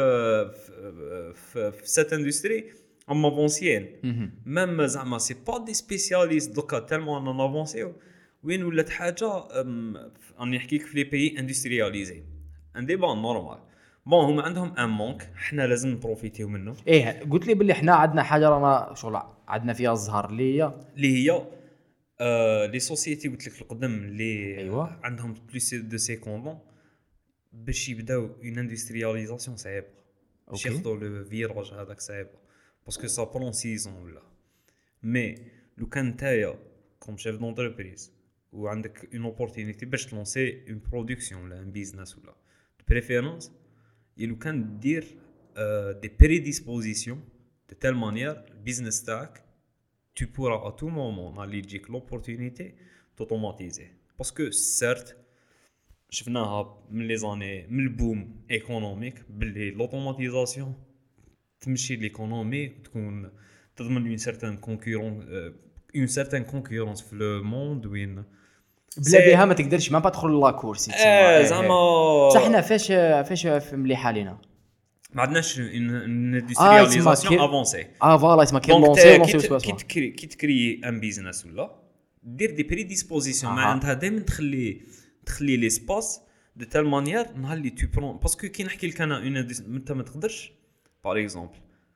في في سيت اندستري اما افونسيين ميم زعما سي با دي سبيسياليست دوكا تالمون ان افونسيو وين ولات حاجه راني نحكيك في لي بيي اندسترياليزي ان ديبا نورمال. بون هما عندهم ان مونك حنا لازم نبروفيتيو منه.
ايه قلت لي باللي حنا عندنا حاجه رانا شغل عندنا فيها الزهر اللي هي
اللي هي آه لي سوسيتي قلت لك القدم اللي
أيوة.
عندهم بلوس دو سيكوندون باش يبداو اون اندسترياليزاسيون صعيبه باش ياخذوا لو فيراج هذاك صعيبه باسكو سا برون سيزون ولا مي لو كان نتايا كوم شيف دونتربريز وعندك اون اوبورتونيتي باش تلونسي اون برودكسيون ولا ان بيزنس ولا بريفيرونس يلو كان دير دي بريديسبوزيسيون دو تيل مانيير البيزنس تاعك tu pourras à tout moment نالي تجيك لوبورتونيتي توتوماتيزي باسكو سيرت شفناها من لي زاني من البوم ايكونوميك باللي لوتوماتيزاسيون تمشي ليكونومي تكون تضمن اون سيرتان كونكورون اون سيرتان كونكورونس في لو موند وين
بلا بها ما تقدرش ما تدخل لا كورسي
اه زعما
بصح حنا فاش فاش مليحه لينا
ما عندناش ان اندسترياليزاسيون افونسي
اه فوالا اسمها كي لونسي لونسي
كي تكري كي تكري ان بيزنس ولا دير دي بريديسبوزيسيون معناتها دائما تخلي تخلي لي سباس دو تال مانيير نهار اللي تو برون باسكو كي نحكي لك انا اون انت ما تقدرش باغ اكزومبل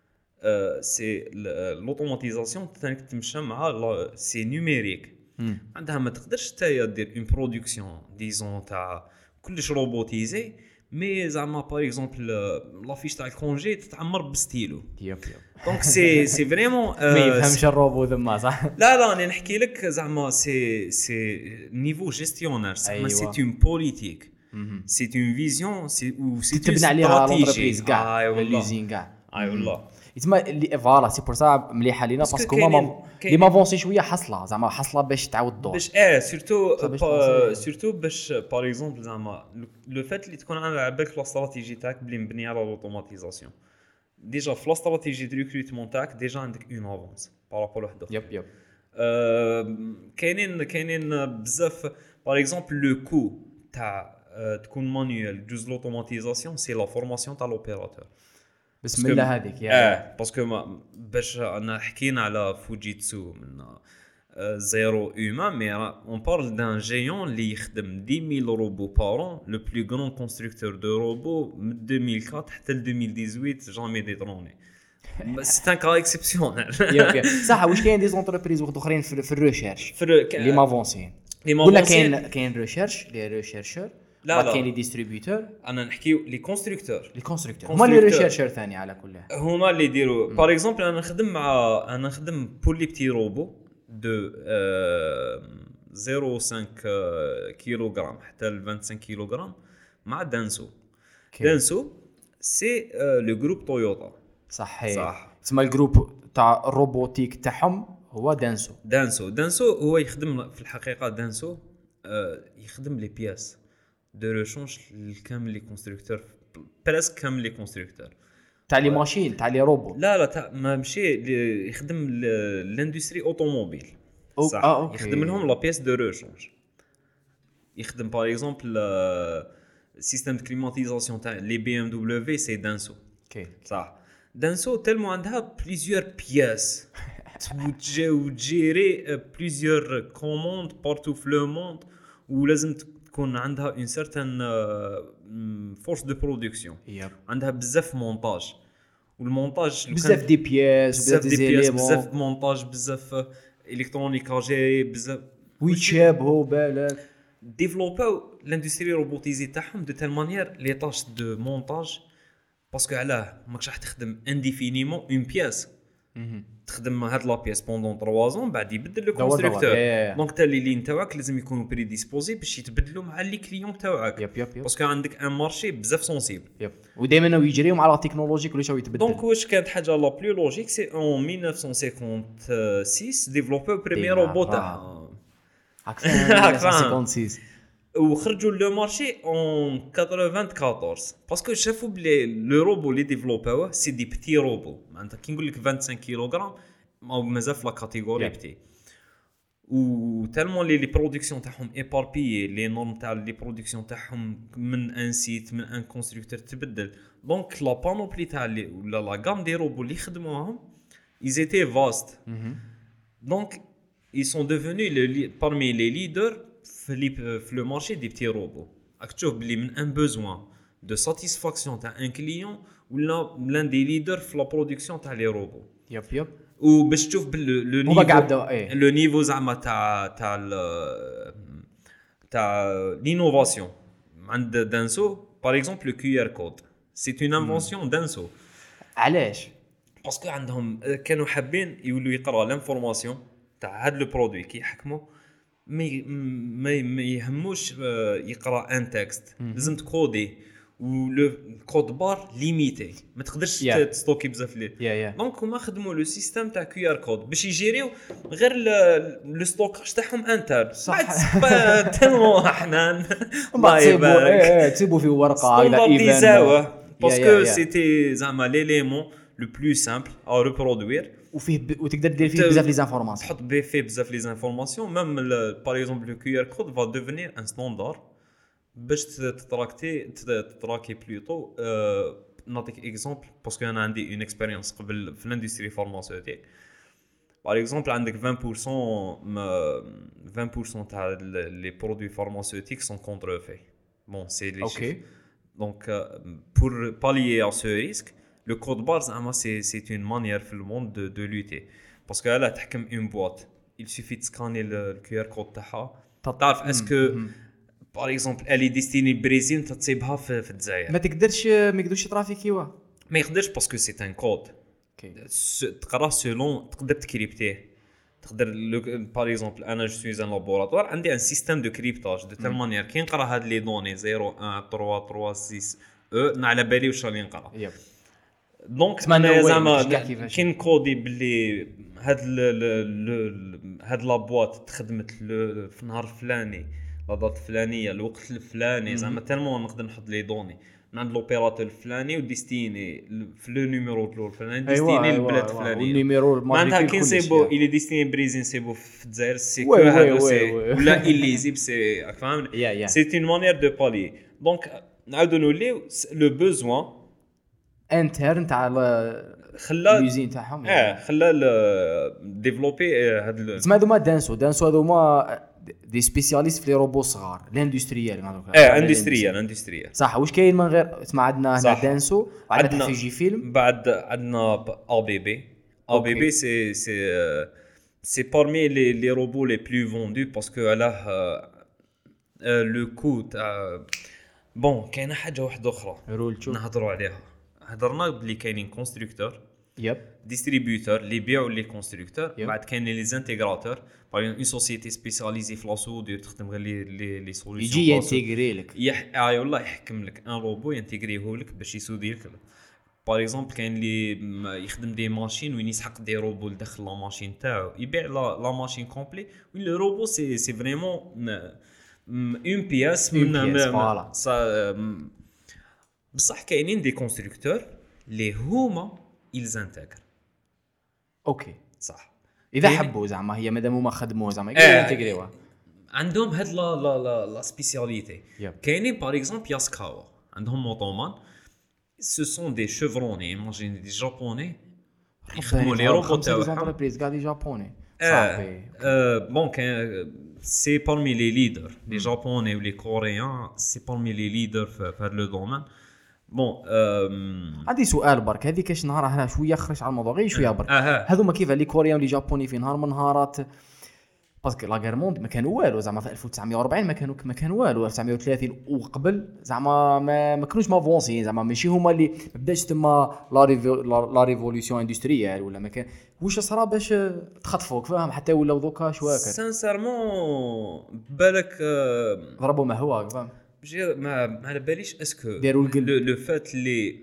سي لوتوماتيزاسيون تانيك تمشى مع سي نيميريك عندها ما تقدرش تايا دير اون برودكسيون ديزون تاع كلش روبوتيزي مي زعما باغ اكزومبل لافيش تاع الكونجي تتعمر بستيلو
يب يب
دونك سي سي فريمون
ما يفهمش الروبو ذما صح
لا لا انا نحكي لك زعما سي سي نيفو جيستيونير زعما سي اون بوليتيك سي اون فيزيون سي او سي
تبني عليها لونتربريز كاع ليزين كاع
اي والله
يتما اللي فوالا سي بور سا مليحه لينا
باسكو
باسكو هما
كاينين-
لي مافونسي شويه حصله زعما حصله باش تعاود الدور.
باش اه سورتو
باش
با-
تبونسي.
سورتو باش باغ اكزومبل زعما لو فات اللي تكون على بالك لا استراتيجي تاعك بلي مبنيه على الاوتوماتيزاسيون ديجا في لا استراتيجي دو ريكروتمون تاعك ديجا عندك اون افونس بارابور لواحد اخر.
يب يب
آه، كاينين كاينين بزاف باغ اكزومبل لو كو تاع آه، تكون مانيوال جوز لوتوماتيزاسيون سي لا فورماسيون تاع لوبيراتور.
بسم الله هذيك يا
اه باسكو ما باش انا حكينا على فوجيتسو من آه، زيرو هيومان مي اون بارل دان جيون اللي يخدم دix mille روبو بارون لو بلو غران كونستركتور دو روبو من ألفين وأربعة حتى ل ألفين وثمانية عشر جامي ديتروني. سي ان كا اكسبسيونيل.
يب صح. واش كاين دي زونتربريز وقت اخرين في في الريشيرش اللي مافونسيين
لي
ولا
مافونسيين
كاين كاين ريشيرش لي ريشيرشور
لا لا.
كاين لي ديستريبيوتور
انا نحكيو لي كونستركتور
لي كونستركتور هما لي ريشيرشور ثاني على كل حال.
هما اللي يديروا باغ اكزومبل انا نخدم مع انا نخدم بور لي بتي روبو دو صفر فاصلة خمسة كيلوغرام حتى ل خمسة وعشرين كيلوغرام مع دانسو. دانسو سي لو جروب تويوتا.
صحيح
صح.
تسمى الجروب تاع الروبوتيك تاعهم هو دانسو.
دانسو دانسو هو يخدم في الحقيقه دانسو آه، يخدم لي بياس دو ريشونج لكامل لي كونستركتور بريسك كامل لي كونستركتور
تاع لي ماشين تاع لي روبو.
لا لا تاع ما مشي لي- يخدم لاندستري اوتوموبيل.
أو-
صح.
آه، أوكي.
يخدم لهم لا بيس دو ريشونج. يخدم باغ اكزومبل سيستم دو كليماتيزاسيون تاع لي بي ام دبليو سي دانسو.
اوكي
صح. دانسو تلمو عندها بليزيور بياس وتجي وتجيري بليزيور كوموند بارتو في لو موند ولازم تكون عندها اون سيرتان فورس دو برودكسيون.
يب
عندها بزاف مونتاج والمونتاج
بزاف دي بياس
بزاف
بزاف
دي
دي
بياس بزاف
زيليمون
مونتاج بزاف الكترونيك اجي بزاف
ويتشابهوا بالك.
ديفلوباو لاندستري روبوتيزي تاعهم دو تال مانيير لي طاش دو مونتاج باسكو علاه ماكش راح تخدم انديفينيمون اون بياس تخدم هاد لا بياس بوندون ثلاثة زون بعد يبدل لو
دور دور.
كونستركتور.
يا- يا.
دونك تا لي لين تاعك لازم يكونوا بري ديسبوزي باش يتبدلوا مع لي كليون تاعك
يب يب يب
باسكو عندك ان مارشي بزاف سونسيبل.
يب ودائما يجريهم على تكنولوجي كل شيء يتبدل.
دونك واش كانت حاجه لا بلو لوجيك سي اون ألف وتسعمية وستة ديفلوبو بريمير روبو تاعها
هاك
هاك فاهم.
فاهم خمسة وستين.
وخرجوا لو مارشي اون أربعطاش باسكو شافوا بلي لو روبو لي ديفلوباوه سي دي بتي روبو معناتها كي نقول لك خمسة وعشرين كيلوغرام او مازال في لا كاتيجوري
Yeah.
بتي و تالمون لي لي برودكسيون تاعهم ايباربي لي نورم تاع لي برودكسيون تاعهم من ان سيت من ان كونستركتور تبدل. دونك لا بانوبلي تاع لي ولا لا غام دي روبو اللي خدموهم ils étaient vastes. Donc ils sont devenus le, li- parmi les leaders في لي- في le marché des petits robots. راك تشوف بلي من ان besoin de satisfaction تاع ان كليون ولا l'un des leaders في لا برودكسيون تاع لي روبو.
يب يب
وباش تشوف بال لو
هما قاع بداو ايه
لو نيفو زعما تاع تاع ال- تاع لينوفاسيون عند دانسو باغ اكزومبل لو كيو ار كود سي اون انفونسيون دانسو
علاش
باسكو عندهم كانوا حابين يولوا يقراو لانفورماسيون تاع هاد لو برودوي كي يحكموا ما ي- ما ما يهموش آه، يقرا ان تكست لازم تكودي ولو كود بار ليميتي ما تقدرش
Yeah.
yeah. تستوكي بزاف لي
يا يا
دونك هما خدموا لو سيستيم تاع كيو ار كود باش يجيريو غير لو ستوكاج تاعهم انتر
صح.
بعد تلمو حنان
ما تسيبوا ايه ايه تسيبوا في ورقه هكذا
ستاندارديزاوه باسكو
يا- يا.
سيتي زعما ليليمون لو بلو سامبل ا ريبرودوير
وفيه ب... وتقدر دير فيه
ت-
بزاف لي زانفورماسيون.
تحط بيه فيه بزاف لي زانفورماسيون ميم باغ اكزومبل لو كيو ار كود فا ديفينير ان ستاندار باش تتراكتي تتراكي بلوتو آه، نعطيك اكزومبل باسكو انا عندي اون اكسبيريونس قبل في الاندستري فارماسيوتيك باغ اكزومبل عندك عشرين بالمية ما- عشرين بالمية تاع لي برودوي فارماسيوتيك سون كونترفي بون سي لي
اوكي
دونك pour pallier à ce risque le code barre زعما c'est c'est une manière في le monde de de lutter parce que là تحكم une boîte il suffit de scanner le Q R code تاعها تعرف est-ce que par exemple elle est destinée au Brésil تصيبها في في الجزائر
ما تقدرش ما يقدرش ترافيكيوا.
ما يقدرش parce que c'est un code
اوكي
تقرا سولون تقدر تكريبتيه تقدر باغ اكزومبل انا جو سوي ان لابوراتوار عندي ان سيستيم دو كريبتاج دو تال مانيير كي نقرا هاد لي دوني صفر واحد ثلاثة ثلاثة ستة او على بالي واش راني نقرا
يب
دونك
تسمى
انا
no way،
زعما
مش كاع كيفاش.
كاين كودي باللي هاد ال- ال- ال- هاد لابواط تخدمت ل- في النهار الفلاني لا دات الفلانيه الوقت الفلاني زعما تالمون نقدر نحط لي دوني من عند لوبيراتور الفلاني وديستيني في لو نيميرو دو الفلاني ديستيني للبلاد الفلانيه
والنيميرو
معناتها كاين سيبو الي ديستيني بريزين سيبو في الجزائر سي كو هادو سي ولا إليزيب سي فاهم سي اون مانيير دو بالي دونك نعاودو نوليو لو بوزوان
انترن تاع
خلا
اليوزين تاعهم
اه خلا ديفلوبي هاد
تسمى هذوما دانسو دانسو هذوما دي سبيسياليست في لي روبو صغار الاندستريال
اه اندستريال اندستريال
صح. واش كاين من غير تسمى عندنا هنا دانسو عندنا في جي فيلم
بعد عندنا ا بي بي ا بي بي سي سي سي parmi les les robots les plus vendus parce que علاه لو كو تاع بون كاينه حاجه واحده اخرى نهضروا عليها هضرنا بلي كاينين كونستركتور
يب
ديستريبيوتور اللي يبيعوا لي كونستركتور بعد كاينين لي زانتيغراتور باغ اون سوسيتي سبيسياليزي في لاسودير تخدم غير لي لي لي سوليوشن
يجي ينتيغري لك
يح اي والله يحكم لك ان روبو ينتيغريه لك باش يسودي لك باغ اكزومبل كاين اللي يخدم دي ماشين وين يسحق دي روبو لداخل لا ماشين تاعو يبيع لا لا ماشين كومبلي وين لو روبو سي سي فريمون اون بياس من
فوالا
بصح كاينين دي كونستركتور اللي هما ils intègrent
اوكي
صح
اذا حبوا زعما هي مادام هما خدموه زعما يقدروا ينتيغريوها
عندهم هاد لا لا لا لا سبيسياليتي كاينين باغ اكزومبل ياسكاوا عندهم موطومان ce sont des chevronnés imagine des japonais يخدموا لي روبو تاعهم
انتربريز قاعد جابوني
صافي بون كان سي parmi les leaders les japonais ou les coréens c'est parmi les leaders في هذا لو دومين بون
عندي سؤال برك هذيك اش نهار هنا شويه خرج على الموضوع غير شويه برك هذوما كيف لي كوريان لي جابوني في نهار من نهارات باسكو لا غير موند ما كانوا والو زعما في ألف وتسعمية وأربعين ما كانوا ما كانوا والو ألف وتسعمية وثلاثين وقبل زعما ما, ما كانوش مافونسين زعما ماشي هما اللي ما بداش تما لا لا ريفولوسيون اندستريال ولا ما كان واش صرا باش تخطفوك فاهم حتى ولاو دوكا شواكر
سانسيرمون بالك
ضربوا ما هو فاهم
ما ما على باليش اسكو
داروا
لو فات لي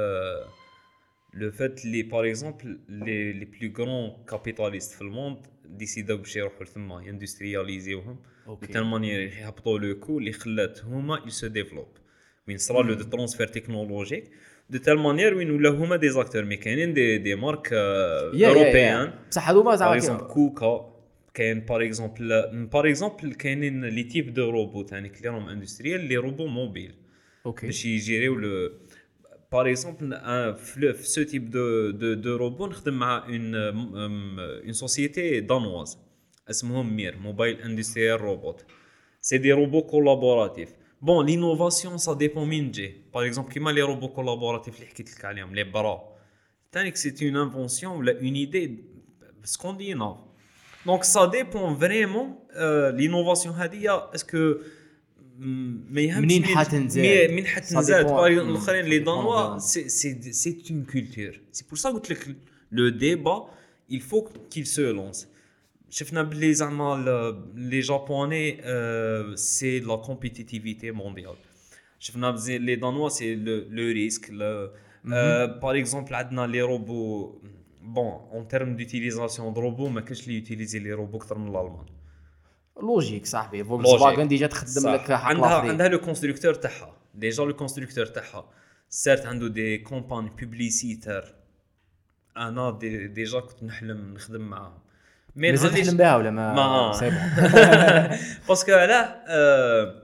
لو فات لي باغ اكزومبل لي لي بلو غران كابيتاليست في الموند ديسيداو باش يروحوا لثما يندسترياليزيوهم بتال مانيير يهبطوا لو كو اللي خلات هما يل سو ديفلوب وين صرا لو دو ترانسفير تكنولوجيك دو تال مانيير وين ولا هما دي زاكتور مي كاينين دي دي مارك اوروبيان
بصح هذوما زعما
كوكا كاين باغ اكزومبل باغ اكزومبل كاينين لي تيب دو روبو ثاني كليرهم اندستريال لي روبو موبيل
اوكي
باش يجيريو لو باغ اكزومبل في سو تيب دو دو دو روبو نخدم مع اون اون سوسيتي دانواز اسمهم مير موبايل اندستريال روبوت سي دي روبو كولابوراتيف بون لينوفاسيون سا ديبون من جي باغ اكزومبل كيما لي روبو كولابوراتيف اللي حكيت لك عليهم لي برا ثاني سي اون انفونسيون ولا اون ايدي سكونديناف دونك سا ديبون فريمون لينوفاسيون هذه اسكو ما يهمش
منين حتنزاد
منين حتنزاد الاخرين لي دانوا سي سي سي اون كولتور سي بور سا قلت لك لو ديبا il faut qu'il se lance شفنا بلي زعما لي جابوني سي لا كومبيتيتيفيتي مونديال شفنا لي دانوا سي لو ريسك باغ اكزومبل عندنا لي روبو بون اون تيرم ديوتيليزاسيون دو روبو ما كاينش لي يوتيليزي لي روبو اكثر من الالمان
لوجيك صاحبي فولكس فاغن ديجا تخدم لك
عندها عندها لو كونستركتور تاعها ديجا لو كونستركتور تاعها سيرت عنده دي كومباني بوبليسيتير انا دي ديجا كنت نحلم نخدم معاهم
مي نحلم بها ولا ما,
ما.
سي بون
باسكو علاه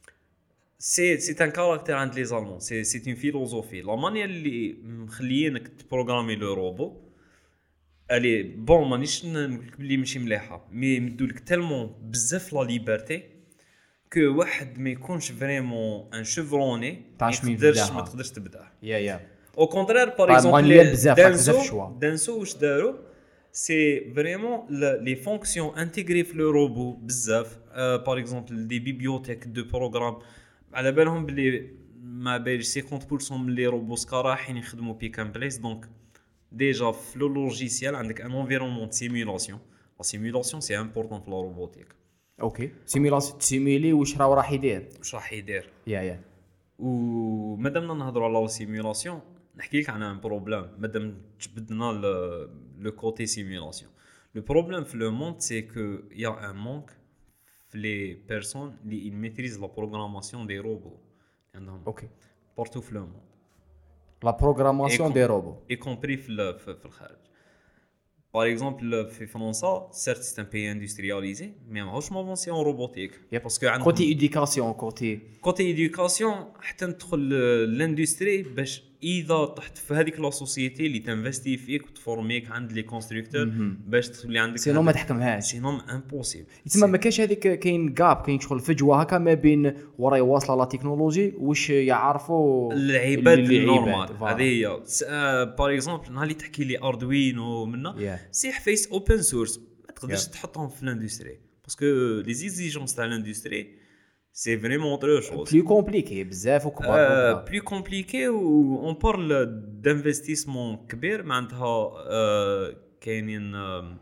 سي سي ان كاركتير عند لي زالمون سي سي اون فيلوزوفي لا مانيير اللي مخليينك تبروغرامي لو روبو الي بون مانيش نقول لك بلي ماشي مليحه مي مدولك تالمون بزاف لا ليبرتي كو واحد ما يكونش فريمون ان شيفروني ما تقدرش ما تقدرش تبدا
يا يا
او كونترير باغ اكزومبل دانسو دانسو واش داروا سي فريمون لي فونكسيون انتيغري في لو روبو بزاف باغ اكزومبل دي بيبيوتيك دو بروغرام على بالهم بلي ما باليش خمسين بالمية من لي روبوسكا رايحين يخدموا بيك ان بليس دونك déjà في le logiciel عندك un environnement de simulation la simulation c'est important في la robotique
اوكي سيميلاسيون تسيميلي واش راه راح يدير
واش راح يدير
يا يا
ومادامنا نهضروا على la simulation نحكي لك عن ان بروبليم مادام جبدنا لو كوتي سيمولاسيون. لو بروبليم في لو موند سي كو يا ان مونك في لي بيرسون اللي ميتريز لا بروغراماسيون دي روبو عندهم
اوكي
بارتو في لو موند
لا بروغراماسيون دي روبو
اي كومبري في في الخارج. Par exemple, في فرنسا certes c'est un pays industrialisé mais ماهوش مافونسي en robotique
parce
que عندهم
كوتي éducation كوتي
كوتي éducation حتى ندخل لاندستري باش اذا طحت في هذيك لا سوسيتي اللي تنفستي فيك وتفورميك عند لي كونستركتور باش تولي عندك
سينو ما تحكمهاش
سينو امبوسيبل.
تسمى ما كاش هذيك كاين غاب كاين شغل فجوه هكا ما بين وراي واصله لا تكنولوجي واش يعرفوا
العباد النورمال. هذه هي باغ اكزومبل نهار اللي تحكي لي اردوينو منا سي فيس اوبن سورس ما تقدرش تحطهم في الاندستري باسكو لي زيزيجونس تاع الاندستري c'est vraiment autre chose.
Plus compliqué, بزاف وكبار.
Plus compliqué ou on parle d'investissement كبير معناتها كاينين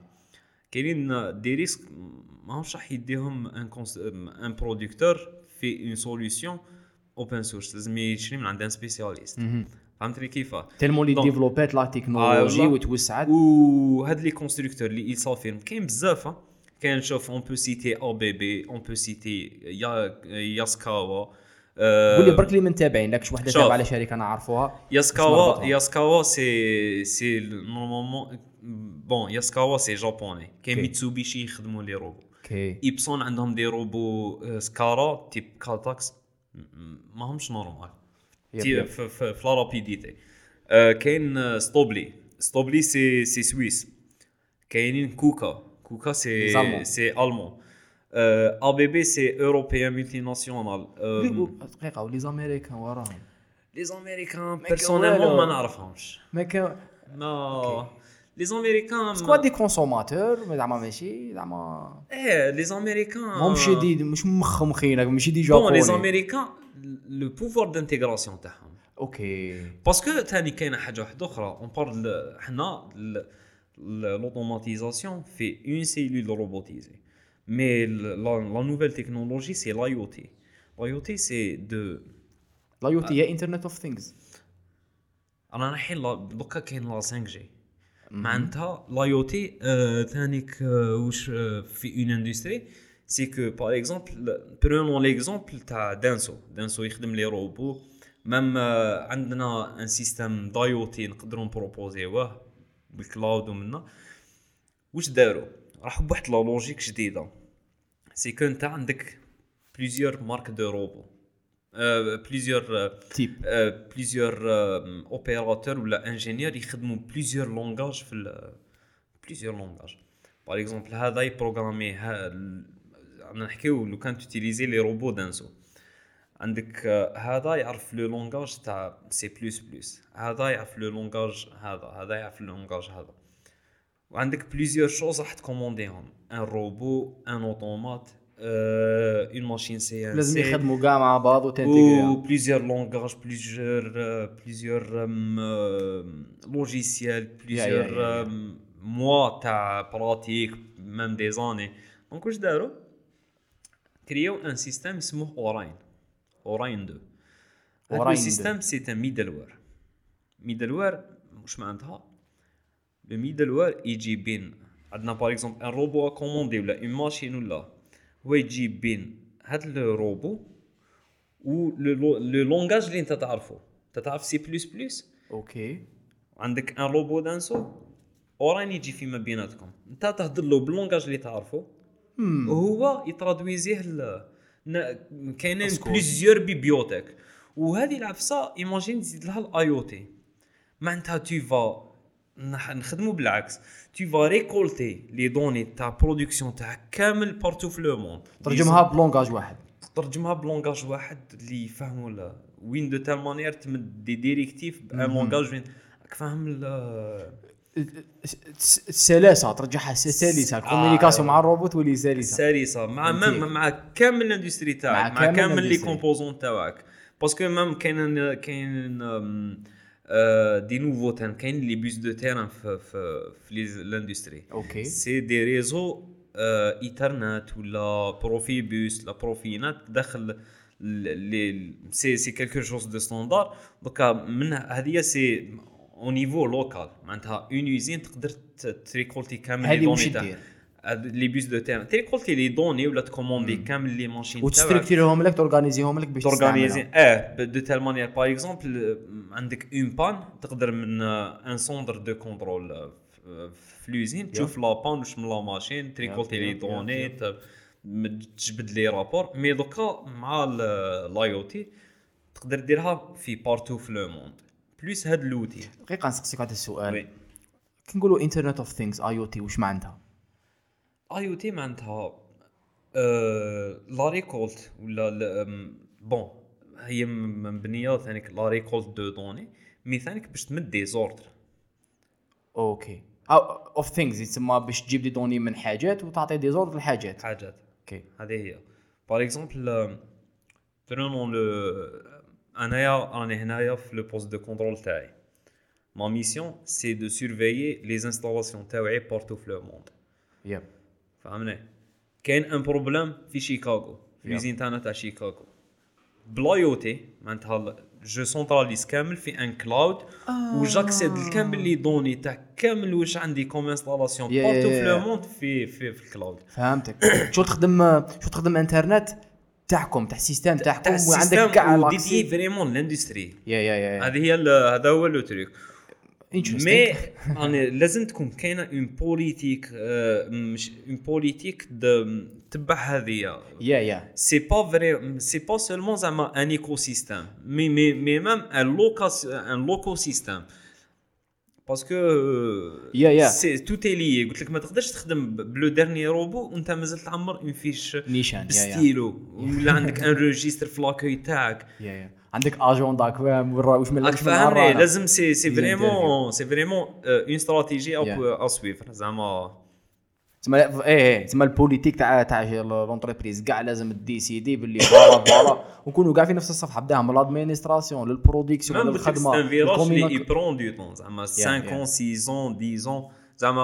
كاينين دي ريسك ماهوش راح يديهم ان ان برودكتور في une solution open source لازم يشري من عند ان سبيسياليست. فهمتني كيفاه
تالمون لي ديفلوبات لا تكنولوجي وتوسعت
وهاد لي كونستركتور اللي يصافين كاين بزاف. كان نشوف on peut citer A B B on peut citer ياسكاوا.
قولي برك لي من تابعين لكش وحده تابعه على شركه انا عارفوها.
ياسكاوا ياسكاوا سي سي نورمالمون بون ياسكاوا سي جابوني. كاين ميتسوبيشي يخدموا لي روبو. ايبسون عندهم دي روبو سكارا تيب كالتاكس ماهمش نورمال في في لا رابيديتي. كاين ستوبلي ستوبلي سي سي سويس. كاينين كوكا كوكا سي سي ألمان. A B B سي أوروبيان ملتيناسيونال.
دقيقة ولي زاميريكان وراهم.
لي زاميريكان بيرسونيلمون ما نعرفهمش.
ما كان
نو لي زاميريكان
سكوا دي كونسوماتور زعما ماشي زعما
ايه لي زاميريكان
ماهمش دي مش مخمخين ماشي دي جابوني.
بون لي زاميريكان لو بوفوار دانتيغراسيون تاعهم
اوكي
باسكو ثاني كاينه حاجه واحده اخرى اون بارل حنا l'automatisation fait une cellule robotisée. Mais la, la nouvelle technologie, c'est l'IoT. L'IoT, c'est de...
l'IoT, il y a Internet of Things.
أنا الحين دوكا كاين لا فايف جي. معناتها l'IoT ثانيك واش في une industrie. C'est que, par exemple, prenons l'exemple تاع دانسو. دانسو يخدم لي روبو. même عندنا un système d'IoT نقدروا نبروبوزيوه بالكلاود ومنا. واش داروا راحوا بواحد لا لوجيك جديده. سي كو انت عندك بليزيور مارك دو روبو بليزيور
تيب
بليزيور اوبيراتور ولا انجينيور يخدموا بليزيور لونغاج في بليزيور لونغاج. باغ اكزومبل هذا يبروغرامي انا نحكيو لو كان تيليزي لي روبو دانسو عندك هذا يعرف لو لونغاج تاع سي بلس بلس هذا يعرف لو لونغاج هذا هذا يعرف لو لونغاج هذا وعندك بليزيور شوز راح تكومونديهم ان روبو ان اوتومات اون ماشين سي ان
لازم يخدموا كاع مع بعض وتنتيغريهم
بليزيور لونغاج بليزيور بليزيور لوجيسيال بليزيور موا تاع براتيك ميم دي زاني. دونك واش داروا كرياو ان سيستيم اسمه اوراين اوراين دو. هذا السيستم سي ان ميدلوير. ميدلوير واش معناتها لو ميدلوير يجي بين عندنا باغ اكزومبل ان روبو كوموندي ولا اون ماشين ولا هو يجي بين هذا الروبو و لو لونغاج اللي انت تعرفه. انت تعرف سي بلس بلس
اوكي
عندك ان روبو دانسو اوراين يجي فيما بيناتكم. انت تهضر له باللونغاج اللي تعرفه وهو يترادويزيه كاينين بليزيور بيبيوتيك. وهذه العفسه ايماجين تزيد لها الاي او تي معناتها تو فا نخدموا بالعكس تو فا ريكولتي لي دوني تاع برودكسيون تاع كامل بارتو في لو موند
ترجمها بلونغاج واحد
ترجمها بلونغاج واحد اللي يفهموا لا وين دو تال مانيير تمد دي ديريكتيف بان لونغاج وين راك فاهم
السلاسه ترجعها سلسه الكومونيكاسيون مع الروبوت ولي سلسه
سلسه مع مع, مع كامل الاندستري تاعك مع, مع كامل لي كومبوزون تاعك باسكو ميم كاين كاين دي نوفو تان كاين لي بوس دو تيران في في في لاندستري
اوكي
سي دي ريزو ايثرنت ولا بروفي بوس لا بروفينات داخل لي سي سي كالكو شوز دو ستاندار. دوكا من هذه سي او نيفو لوكال معناتها اون يوزين تقدر تريكولتي كامل لي دوني تاع لي بيس دو تيرن تريكولتي لي دوني ولا تكوموندي كامل لي ماشين
وتستركتيرهم لك تورغانيزيهم لك باش
تورغانيزي اه دو تال مانيير. باغ اكزومبل عندك اون بان تقدر من ان سوندر دو كونترول في لوزين تشوف لا بان واش من لا ماشين تريكولتي لي دوني تجبد لي رابور. مي دوكا مع الاي او تي تقدر ديرها في بارتو في لو موند بلوس هاد لوتي.
دقيقه نسقسيك هذا السؤال كي نقولوا انترنت اوف ثينجز اي او تي واش معناتها؟
اي او تي معناتها لا ريكولت ولا بون هي مبنيه ثانيك لا ريكولت دو دوني مي ثانيك باش تمد دي زوردر.
اوكي اوف ثينجز يسمى باش تجيب دي دوني من حاجات وتعطي دي زوردر لحاجات
حاجات.
اوكي
هذه هي باغ اكزومبل برونون لو انايا راني هنايا في لو بوست دو كونترول تاعي. ما ميسيون سي دو سورفيي لي انستالاسيون تاعي بارتو في لو موند.
يب
فهمني كاين ان بروبليم في شيكاغو في ليزين تاعنا تاع شيكاغو بلايوتي معناتها جو سونتراليز كامل في ان كلاود آه. وجاكسيد الكامل لي دوني تاع كامل واش عندي كوم انستالاسيون بارتو في لو موند في في في الكلاود.
فهمتك. شو تخدم شو تخدم انترنت تاعكم تاع السيستم تاعكم وعندك كاع
لاكسي فريمون لاندستري.
يا يا يا
هذه هي هذا هو لو تريك. مي انا لازم تكون كاينه اون بوليتيك مش اون بوليتيك تبع هذه
يا يا
سي با فري سي با سولمون زعما ان ايكو سيستيم مي مي مي ميم ان لوكا ان لوكو سيستيم باسكو
يا يا
سي تو تيلي قلت لك ما تقدرش تخدم بلو ديرني روبو وانت مازال تعمر اون فيش
نيشان
بستيلو ولا عندك ان ريجستر في لاكوي تاعك.
يا يا عندك اجونداك واش من
فهمني لازم سي سي فريمون سي فريمون اون استراتيجي او سويفر زعما
تسمى ايه تسمى البوليتيك تاع تاع لونتربريز كاع لازم ديسيدي باللي فوالا فوالا ونكونوا كاع في نفس الصفحه بداها من لادمينستراسيون للبرودكسيون للخدمه
الكوميونيكاسيون لي يبرون دو طون زعما خمسة ستة عشرة زعما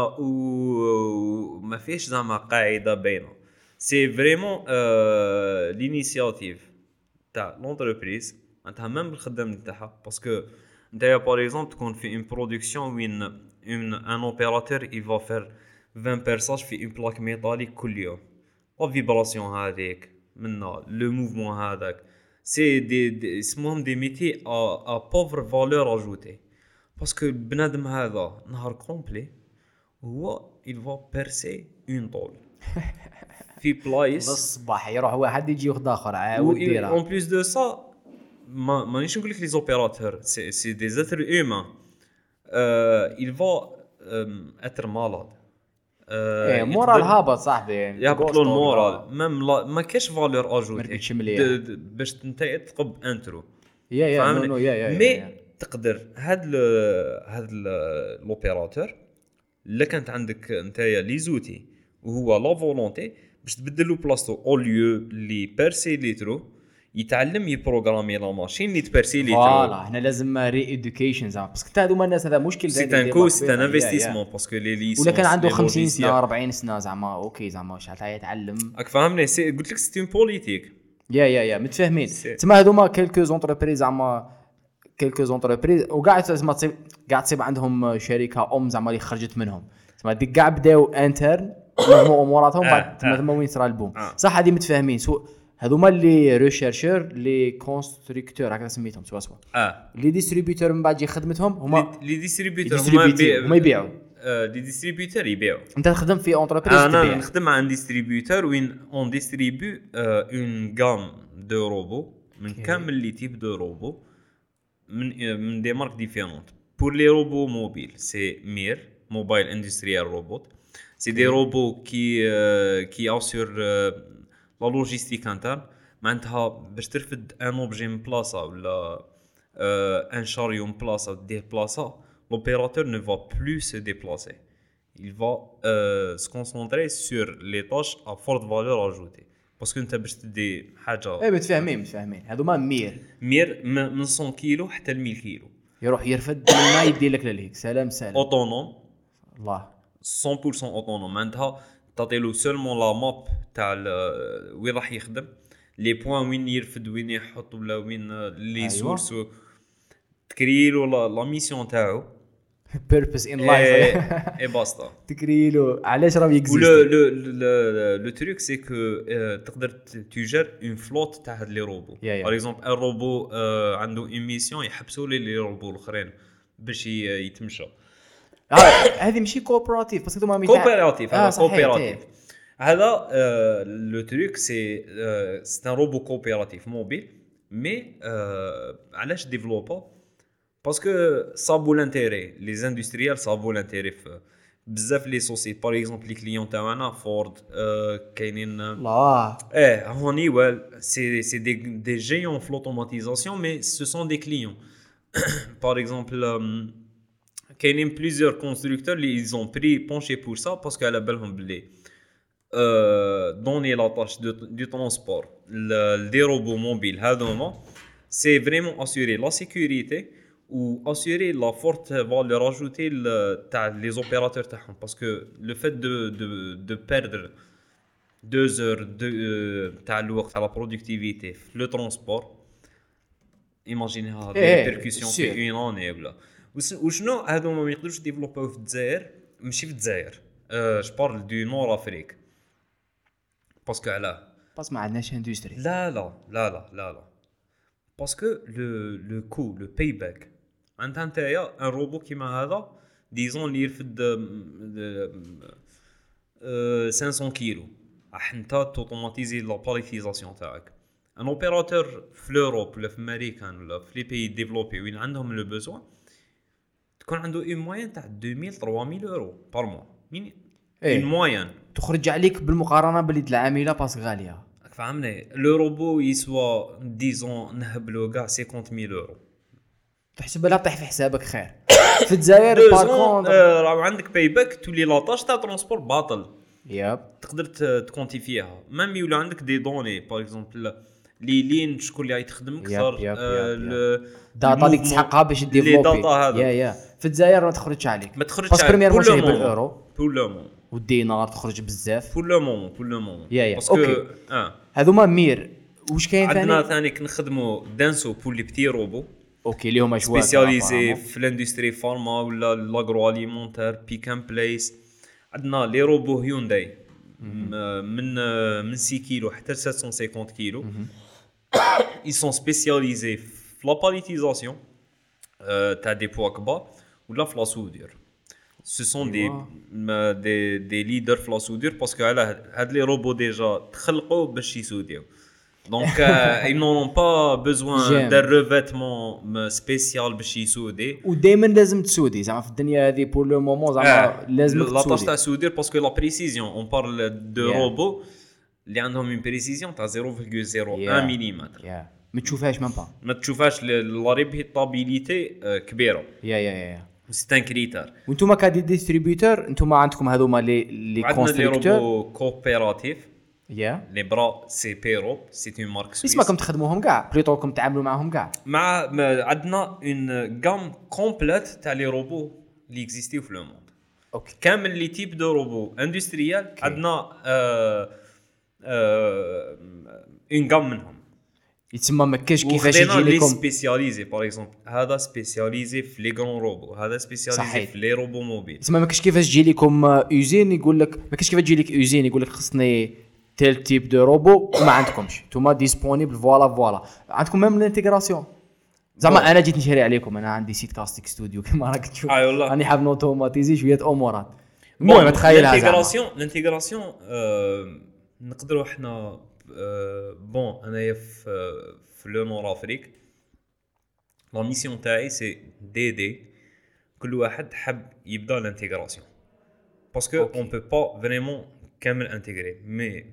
و ما فيش زعما قاعده باينه. سي فريمون لينيسياتيف تاع لونتربريز معناتها ميم بالخدام نتاعها باسكو نتايا باغ اكزومبل تكون في اون برودكسيون وين اون ان اوبيراتور اي فا فير عشرين بيرساج في اون بلاك ميتاليك كل يوم. لا فيبراسيون هذيك منا لو موفمون هذاك سي دي اسمهم دي ميتي ا ا بوفر فالور اجوتي باسكو البنادم هذا نهار كومبلي هو il va percer une طول في بلايص
الصباح يروح واحد يجي ياخذ اخر عاود ديرها
اون بليس دو سا ما مانيش نقول لك لي زوبيراتور سي سي دي زاتر هيومان il va être malade.
ايه مورال هابط صاحبي
يهبط له المورال ميم ما كاش فالور اجوتي باش انت تقب انترو.
يا يا نو يا يا
مي تقدر هاد هاد لوبيراتور اللي كانت عندك نتايا لي زوتي وهو لا فولونتي باش تبدل له بلاصتو او ليو لي بيرسي لي ترو يتعلم يبروغرامي لا ماشين اللي تبيرسي لي ترو.
فوالا هنا لازم ري ايدوكيشن زعما باسكو حتى هذوما الناس هذا مشكل
سي تان كو سي تان انفستيسمون باسكو لي ليسونس
ولا كان عنده خمسين سنه أربعين سنه زعما اوكي زعما واش حتى يتعلم
راك فاهمني. سي قلت لك سي اون بوليتيك
يا يا يا متفاهمين. تما هذوما كلكو زونتربريز زعما كلكو زونتربريز وكاع زعما تصيب كاع تصيب عندهم شركه ام زعما اللي خرجت منهم تما ديك كاع بداو انترن مجموع اموراتهم بعد تما ثم وين صرا البوم صح. هذه متفاهمين. سو هذوما اللي ريشيرشور لي كونستركتور هكذا سميتهم سوا سوا
اه
لي ديستريبيوتور من بعد يخدمتهم هما
لي ديستريبيوتور
هما يبيعوا
لي ديستريبيوتور يبيعوا.
انت تخدم في اونتربريز
تبيع. انا نخدم مع ان ديستريبيوتور وين اون ديستريبيو اون غام دو روبو من كامل لي تيب دو روبو من من دي مارك ديفيرونت. بور لي روبو موبيل سي مير موبايل اندستريال روبوت سي دي روبو كي كي اسور لا لوجيستيك انترن معناتها باش ترفد ان اوبجي من بلاصه ولا ان شاريو من بلاصه ديه بلاصه l'opérateur ne va plus se déplacer. Il va euh, se concentrer sur les tâches à forte valeur ajoutée. Parce que انت باش تدي حاجه
اي متفاهمين متفاهمين هذوما مير
مير من مية كيلو حتى ل مية كيلو
يروح يرفد ما يدي لك للهيك سلام سلام
اوتونوم
الله
مية بالمية اوتونوم معناتها تعطي له سولمون لا ماب تاع وين راح يخدم لي بوين وين يرفد وين يحط ولا وين لي
أيوة.
سورس تكريلو لا لا ميسيون تاعو
بيربس ان لايف
اي باستا.
تكريلو علاش راه
ولو
يكزيست.
لو لو لو تروك سي كو تقدر تجر اون فلوت تاع هاد لي روبو.
Yeah, yeah.
باغ اكزومبل ان روبو عنده اون ميسيون يحبسوا لي لي روبو الاخرين باش ي- يتمشى.
هذه ماشي كوبراتيف باسكو هما
كوبيراتيف
آه،
هذا
صحيح،
كوبيراتيف هذا لو تروك سي سي ان روبو كوبيراتيف موبيل مي علاش ديفلوبا باسكو صابوا لانتيري لي زاندستريال صابوا لانتيري في بزاف لي سوسيتي باغ اكزومبل لي كليون تاعنا فورد كاينين
الله
اه هونيويل سي سي دي دي جيون في لوتوماتيزاسيون مي سو سون دي كليون باغ اكزومبل كاينين بليزيور كونستركتور اللي ايزون بري بونشي بور سا باسكو على بالهم بلي دوني لا طاش دو ترونسبور دي روبو موبيل هذوما سي فريمون اسيوري لا سيكوريتي ou assurer la forte valeur ajoutée تاع les opérateurs تاعهم parce que le fait de de de perdre deux heures de تاع الوقت على productivité في le transport imaginez des répercussions في une année ولا وشنو هادو ما يقدروش ديفلوباو في الجزائر ماشي في الجزائر je parle du nord Afrique parce que علاه
بس ما عندناش اندستري.
لا لا لا لا لا لا باسكو لو لو كو لو باي باك عندها نتايا ان روبو كيما هذا ديزون اللي يرفد خمسمية كيلو راح انت توتوماتيزي لا باليتيزاسيون تاعك. ان اوبيراتور في لوروب ولا في امريكان ولا في لي بي ديفلوبي وين عندهم لو بوزوان تكون عنده اون موين تاع ألفين ثلاثمية يورو بار موا مين اون موين
تخرج عليك بالمقارنه باليد العامله باس غاليه.
فهمني لو روبو يسوى ديزون نهبلو كاع خمسين ألف يورو
تحسب لها طيح في حسابك خير. في الجزائر بار كونتر
راه عندك باي باك تولي لاطاش تاع ترونسبور باطل
ياب
تقدر تكونتي فيها ميم يولي عندك دي دوني باغ اكزومبل لي لين شكون اللي يخدم اكثر
داتا اللي تسحقها باش ديفلوبي يا يا في الجزائر ما تخرجش عليك
ما تخرجش
باسكو بريمير ماشي بالاورو
بور لو مون
والدينار تخرج بزاف
بور لو مون بور لو مون
باسكو اه هذوما مير واش كاين ثاني
عندنا ثاني كنخدموا دانسو بور لي بتي روبو
اوكي اللي هما شويه
سبيسياليزي في الاندستري فارما ولا لاغرو اليمونتير بيك ان بليس. عندنا لي روبو هيونداي من من ستة كيلو حتى سبعمية وخمسين كيلو ils sont spécialisés في la palletisation تاع دي بوا كبار ولا في لا سودير. ce sont des des des leaders في la soudure parce que على هاد لي روبو ديجا تخلقوا باش يسوديو donc euh, ils n'ont pas besoin d'un revêtement spécial باش يسودي.
ودائما لازم تسودي زعما في الدنيا هذه بور لو مومون زعما لازم تسودي.
لا طاش تاع سودير باسكو لا بريسيزيون اون بارل دو روبو اللي عندهم اون بريسيزيون تاع صفر فاصلة صفر واحد مليمتر
ما تشوفهاش ميم با
ما تشوفهاش لا ريبيتابيليتي كبيره
يا يا يا
سي ان كريتير.
وانتم كدي ديستريبيوتور انتم عندكم هذوما لي لي كونستركتور
عندنا روبو كوبيراتيف
يا
لي برا سي بيرو سي اون مارك سويس.
اسمكم تخدموهم كاع بليطوكم تعاملوا معهم كاع
مع عندنا اون غام كومبليت تاع لي روبو اللي اكزيستيو في لو موند.
اوكي
كامل لي تيب دو روبو اندستريال عندنا اون غام منهم
يتسمى ما كاش كيفاش يجي لكم
سبيسياليزي باغ اكزومبل هذا سبيسياليزي في لي غران روبو هذا سبيسياليزي في لي روبو موبيل.
يتسمى ما كاش كيفاش تجي لكم اوزين يقول لك ما كاش كيفاش تجي لك اوزين يقول لك خصني تيل تيب دو روبو وما عندكمش نتوما ديسپونيبل فوالا فوالا عندكم ميم الانتيغراسيون زعما انا جيت نشري عليكم انا عندي سيت كاستيك ستوديو كما راك تشوف راني حاب نوتوماتيزي شويه امورات. المهم تخيلها
الانتيغراسيون الانتيغراسيون نقدروا احنا بون انايا في في لو نور افريك لا ميسيون تاعي سي دي دي كل واحد حب يبدا الانتيغراسيون باسكو اون بو با فريمون كامل انتيغري مي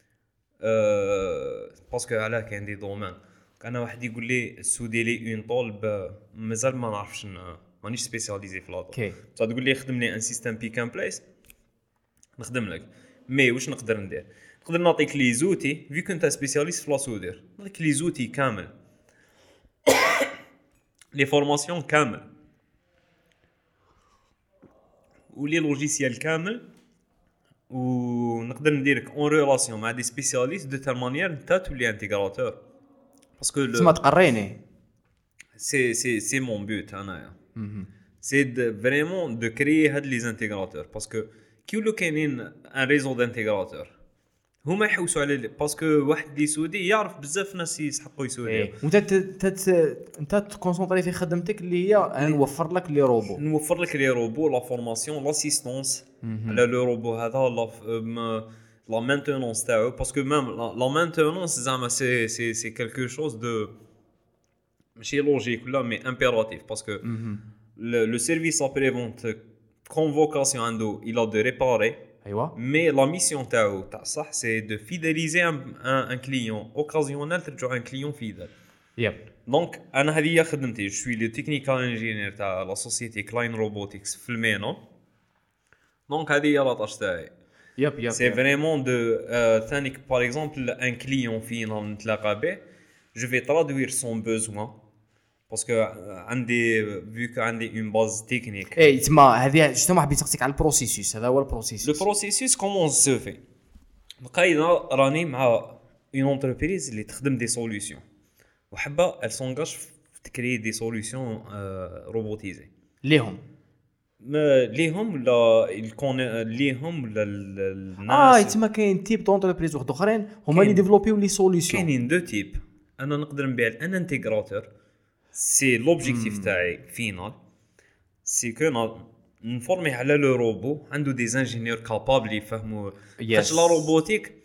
باسكو علاه كاين دي دومين انا واحد يقول لي سودي لي اون طول مازال ما نعرفش مانيش سبيسياليزي في لاطو
اوكي
صاد تقول لي خدم لي ان سيستم بيك ان بليس نخدم لك مي واش نقدر ندير نقدر نعطيك لي زوتي في كنت سبيسياليست في لا سودير نعطيك لي زوتي كامل لي فورماسيون كامل ولي لوجيسيال كامل ونقدر نديرك اون ريلاسيون مع دي سبيسياليست دو تال مانيير نتا تولي انتيغراتور باسكو
تسمى تقريني
سي سي سي مون بوت انايا سي فريمون دو كريي هاد لي زانتيغراتور باسكو كي ولو كاينين ان ريزو دانتيغراتور هما يحوسوا على باسكو واحد اللي سودي يعرف بزاف ناس يسحقوا يسودي
إيه. وانت تت انت تكونسونطري في خدمتك اللي هي نوفر لك لي روبو
نوفر لك لي روبو لا فورماسيون لاسيستونس على لو روبو هذا لا لا مانتينونس تاعو باسكو ميم لا مانتينونس زعما سي سي سي كالكو شوز دو ماشي لوجيك ولا مي امبيراتيف باسكو لو سيرفيس ابري فونت كونفوكاسيون عنده il a de réparer
ايوا
مي لا ميسيون تاعو تاع صح سي دو فيداليزي ان ان كليون اوكازيونيل ترجع ان كليون فيدال
يب
دونك انا هذه هي خدمتي جو سوي لو تكنيكال انجينير تاع لا سوسيتي كلاين روبوتكس في المينو دونك هذه هي لاطاش تاعي
يب يب
سي فريمون دو ثانيك باغ اكزومبل ان كليون فينا نتلاقى به جو في ترادوير سون بوزوان باسكو عندي فيو كو عندي اون باز تكنيك
اي تما هذه جوستومون حبيت نسقسيك على البروسيسوس هذا هو البروسيسوس
لو بروسيسوس كومون سو في بقينا راني مع اون انتربريز اللي تخدم دي سوليوشن وحبه ال سونغاج تكري دي سوليوشن روبوتيزي
ليهم
ما ليهم ولا الكون ليهم ولا الناس
اه تما كاين تيب دونتربريز واحد اخرين هما اللي ديفلوبيو لي سوليوشن
كاينين دو تيب انا نقدر نبيع ان انتيغراتور سي لوبجيكتيف تاعي فينال سي كو نفورمي على لو روبو عنده دي انجينيور كابابل يفهموا حاجه لا روبوتيك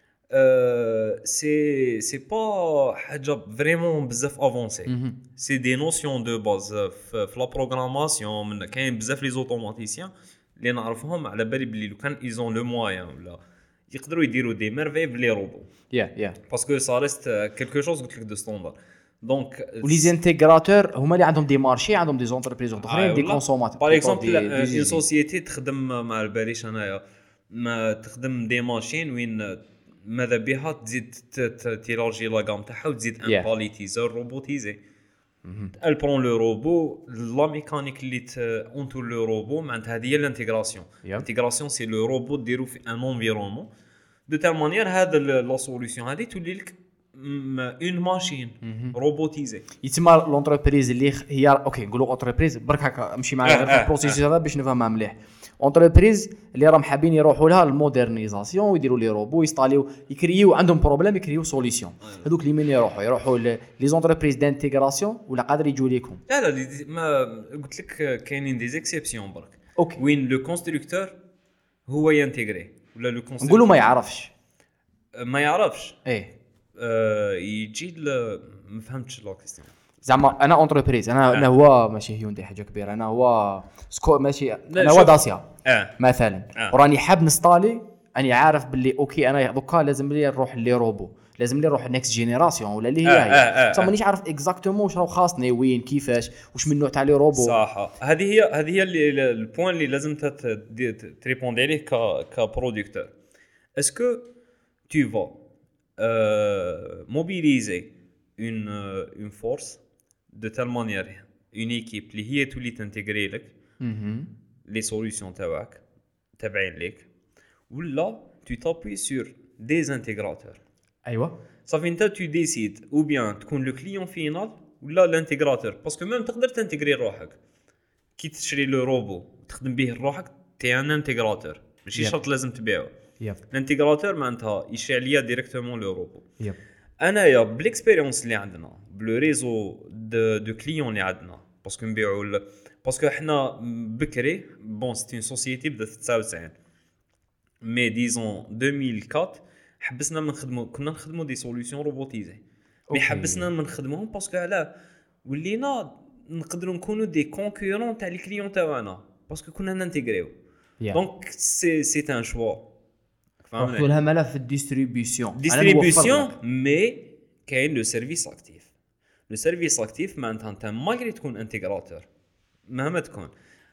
سي سي با حاجه فريمون بزاف افونسي سي دي نوسيون دو باز في لا بروغراماسيون من كاين بزاف لي زوتوماتيسيان اللي نعرفهم على بالي بلي لو كان ايزون لو موين ولا يقدروا يديروا دي ميرفي بلي روبو
يا يا
باسكو سا ريست كلكو شوز قلت لك دو ستاندار دونك
ولي زانتيغراتور هما اللي عندهم دي مارشي عندهم دي زونتربريز اخرين دي كونسوماتور
باغ اكزومبل اون سوسيتي تخدم مع باليش انايا ما تخدم دي ماشين وين ماذا بها تزيد تيلارجي لا غام تاعها وتزيد ان باليتيزور روبوتيزي ال برون لو روبو لا ميكانيك اللي اونتور لو روبو معناتها هذه هي الانتيغراسيون الانتيغراسيون سي لو روبو ديرو في ان انفيرونمون دو تال مانيير هذا لا سوليوشن هذه تولي لك اون ماشين روبوتيزي
يتما لونتربريز اللي هي اوكي نقولوا اونتربريز برك هكا نمشي معايا في البروسيس هذا باش نفهمها مليح اونتربريز اللي راهم حابين يروحوا لها المودرنيزاسيون ويديروا لي روبو يستاليو يكريو عندهم بروبليم يكريو سوليوشن هذوك اللي من يروحوا يروحوا لي زونتربريز دانتيغراسيون ولا قادر يجوا ليكم
لا لا ما قلت لك كاينين دي زيكسيبسيون برك
اوكي
وين لو كونستركتور هو ينتيغري ولا لو كونستركتور
نقولوا ما يعرفش
ما يعرفش
ايه
أه يجي ما فهمتش لا كيستيون
زعما انا اونتربريز انا انا هو ماشي هيوندي حاجه كبيره انا هو سكو ماشي انا هو داسيا
اه
مثلا
آه.
وراني حاب نستالي اني عارف باللي اوكي انا دوكا لازم لي نروح لي روبو لازم لي نروح نيكست جينيراسيون ولا اللي هي
آه
هي
آه
بصح مانيش عارف اكزاكتومون واش راه خاصني وين كيفاش واش من نوع تاع لي روبو
صح هذه هي هذه هي البوين اللي لازم تريبوندي عليه ك كبرودكتور اسكو tu vas euh, mobiliser une euh, une force de telle manière une équipe اللي هي تولي تنتجري لك les solutions تاعك تابعين لك ولا tu t'appuies sur des intégrateurs
ايوا
صافي انت tu décides ou bien تكون le client final ولا الانتجراتور باسكو ميم تقدر تنتجري روحك كي تشري لو روبو تخدم به روحك تي ان انتجراتور ماشي شرط لازم تبيعه
يب
الانتيغراتور معناتها يشري ليا ديريكتومون لو روبو
يب
انايا بالاكسبيريونس اللي عندنا بلو ريزو دو دو كليون اللي عندنا باسكو نبيعوا باسكو حنا بكري بون سيتي اون سوسيتي بدات تسعة وتسعين مي ديزون ألفين وأربعة حبسنا من نخدموا كنا نخدموا دي سوليوشن روبوتيزي مي حبسنا من نخدموهم باسكو علاه ولينا نقدروا نكونوا دي كونكورون تاع الكليون تاعنا باسكو كنا نانتيغريو دونك سي سي ان شوا
نحطوا لها ملف الديستريبيسيون
ديستريبيسيون مي كاين لو سيرفيس اكتيف لو سيرفيس اكتيف معناتها انت مالغري تكون انتيغراتور مهما تكون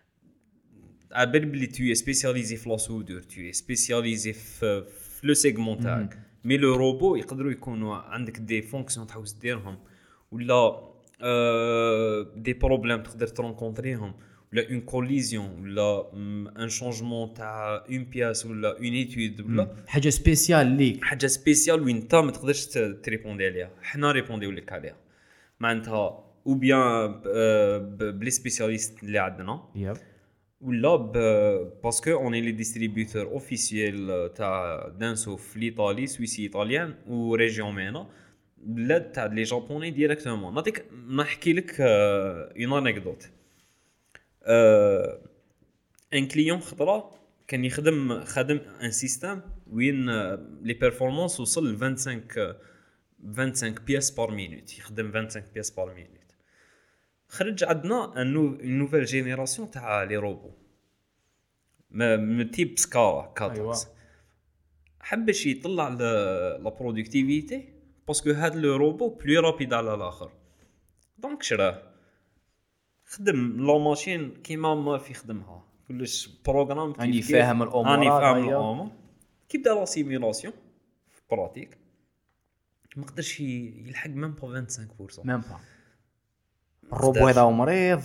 عبال بلي تو سبيسياليزي في لا سودور تو سبيسياليزي في لو سيغمون تاعك مي لو روبو يقدروا يكونوا عندك دي فونكسيون تحوس ديرهم ولا دي بروبليم تقدر ترونكونطريهم ولا اون كوليزيون ولا ان شونجمون تاع اون بياس ولا اون ايتود ولا
حاجه سبيسيال ليك
حاجه سبيسيال وين انت ما تقدرش تريبوندي عليها حنا ريبونديو لك عليها معناتها او بيان بلي سبيسياليست اللي عندنا
ياب
ولا باسكو اوني لي ديستريبيوتور اوفيسيال تاع دانسو في ايطالي سويسي ايطاليان و ريجيون مينا لا تاع لي جابوني ديريكتومون نعطيك نحكي لك اون انيكدوت ان كليون خطره كان يخدم خدم ان سيستم وين لي بيرفورمانس وصل ل خمسة وعشرين بياس بار مينوت يخدم خمسة وعشرين بياس بار مينوت خرج عندنا ان نوفيل جينيراسيون تاع لي روبو من تيب سكارا كاتاكس حبش يطلع لا برودكتيفيتي باسكو هاد لو روبو بلو رابيد على الاخر دونك شراه خدم لا ماشين كيما ما في خدمها كلش بروغرام
اني فاهم الامور
اني فاهم الامور كي بدا لا سيميلاسيون في براتيك ما قدرش يلحق ميم با خمسة وعشرين بالمية
ميم با الروبو هذا مريض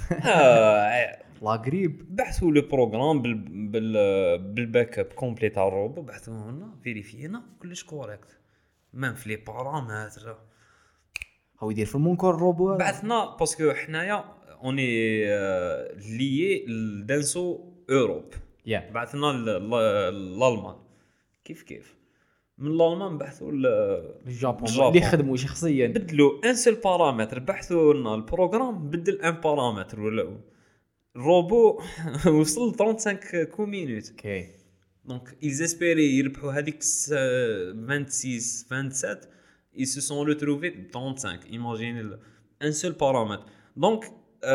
لا غريب
بحثوا لو بروغرام بال بال بالباك اب كومبلي تاع الروبو بحثوا لنا فيريفينا كلش كوريكت ميم في لي بارامتر
هو يدير في المونكور الروبو
بعثنا باسكو حنايا اوني ليي لدانسو اوروب
yeah.
بعثنا للالمان كيف كيف من الالمان بحثوا
للجابون اللي يخدموا شخصيا
بدلوا ان سول بارامتر بحثوا لنا البروغرام بدل ان بارامتر ولا الروبو وصل خمسة وثلاثين كو مينوت
اوكي
دونك ils espéraient يربحوا هذيك vingt-six vingt-sept ils se sont retrouvés trente-cinq imaginez un seul paramètre donc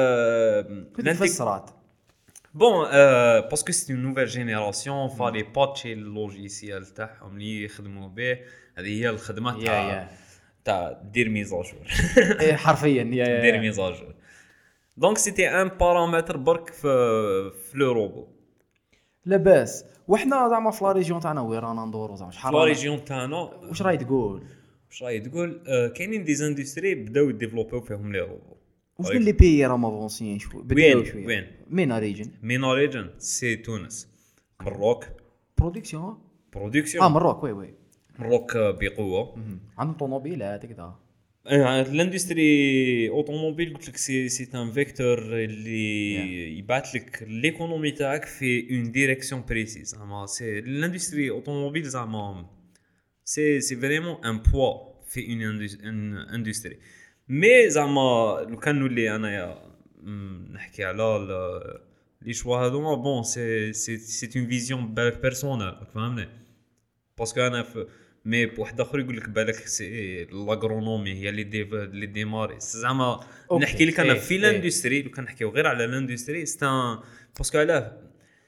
كنت فسرات
bon euh, parce que c'est une nouvelle génération fallait patcher le logiciel تاعهم اللي يخدموا به هذه هي الخدمه تاع تاع دير ميزاجور
حرفيا
دير ميزاجور دونك سيتي ان بارامتر برك في في لو روبو
لاباس وحنا زعما في لا ريجيون تاعنا وين رانا ندورو زعما
شحال لا ريجيون تاعنا
واش راهي تقول
واش راهي تقول آه كاينين دي اندستري بداو يديفلوبيو فيهم لي روبو
واش من لي بيي راه مافونسيين شويه بداو شويه
وين
مينا ريجن
مينا ريجن سي تونس مروك
برودكسيون
برودكسيون
اه مروك وي وي
مروك بقوه
عندهم طوموبيلات كذا
الاندستري اوتوموبيل قلت لك سي سي ان فيكتور اللي يبعث لك ليكونومي تاعك في اون ديريكسيون بريسيز زعما سي الاندستري اوتوموبيل زعما سي سي فريمون ان بوا في اون اندستري مي زعما لو كان نولي انايا نحكي على لي شوا هذوما بون سي سي سي اون فيزيون بالك بيرسونال فهمني باسكو انا مي بواحد اخر يقول لك بالك سي لاغرونومي هي اللي دي اللي ديماري زعما نحكي لك انا في الاندستري لو كان نحكيو غير على الاندستري ستان باسكو علاه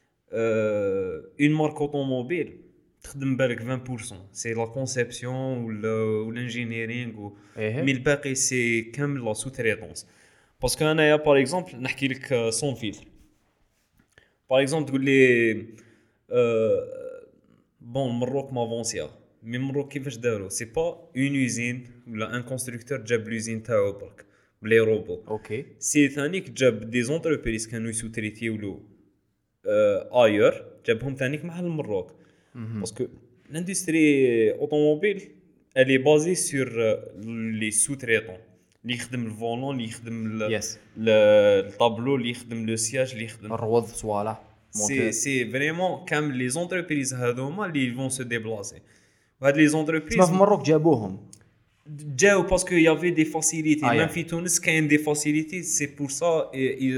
اون مارك اوتوموبيل تخدم بالك عشرين بالمية سي لا كونسيبسيون ولا والانجينيرينغ مي الباقي سي كامل لا سو تريتونس باسكو انا يا باغ اكزومبل نحكي لك سون فيلتر باغ اكزومبل تقول لي بون مروك مافونسيا مي مروك كيفاش داروا سي با اون يوزين ولا ان كونستركتور جاب لوزين تاعو برك بلي روبو
اوكي
سي ثانيك جاب دي زونتربريز كانوا يسوتريتيو له اير جابهم ثانيك مع المروك باسكو لاندستري اوتوموبيل elle est basée sur les sous-traitants اللي يخدم الفولون اللي يخدم الطابلو اللي يخدم لو سياج اللي يخدم
الروض صوالح
سي سي فريمون كامل لي زونتربريز هذوما اللي فون سو ديبلاسي وهاد لي زونتربريز
في مروك جابوهم
جاو باسكو يافي دي فاسيليتي ميم في تونس كاين دي فاسيليتي سي بور سا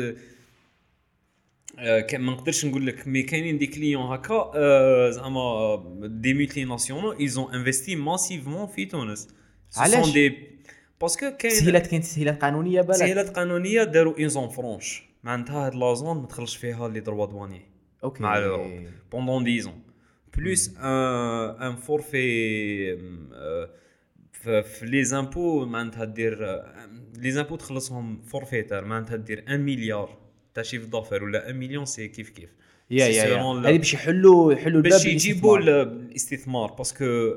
كان ما نقدرش نقول لك مي كاينين دي كليون هكا زعما دي مولتي ناسيونال ايزون انفستي ماسيفمون في تونس
علاش
دي باسكو كاين
تسهيلات كاين تسهيلات قانونيه بالك
تسهيلات قانونيه داروا اون زون فرونش معناتها هاد لا زون ما تخرجش فيها لي دروا دواني
اوكي
مع لوروب بوندون دix ans بلوس ان ان فورفي في لي زامبو معناتها دير لي زامبو تخلصهم فورفيتار معناتها دير واحد مليار تاع شيف ضافر ولا واحد مليون سي كيف كيف
يا يا هذه باش يحلوا يحلوا الباب
باش يجيبوا الاستثمار باسكو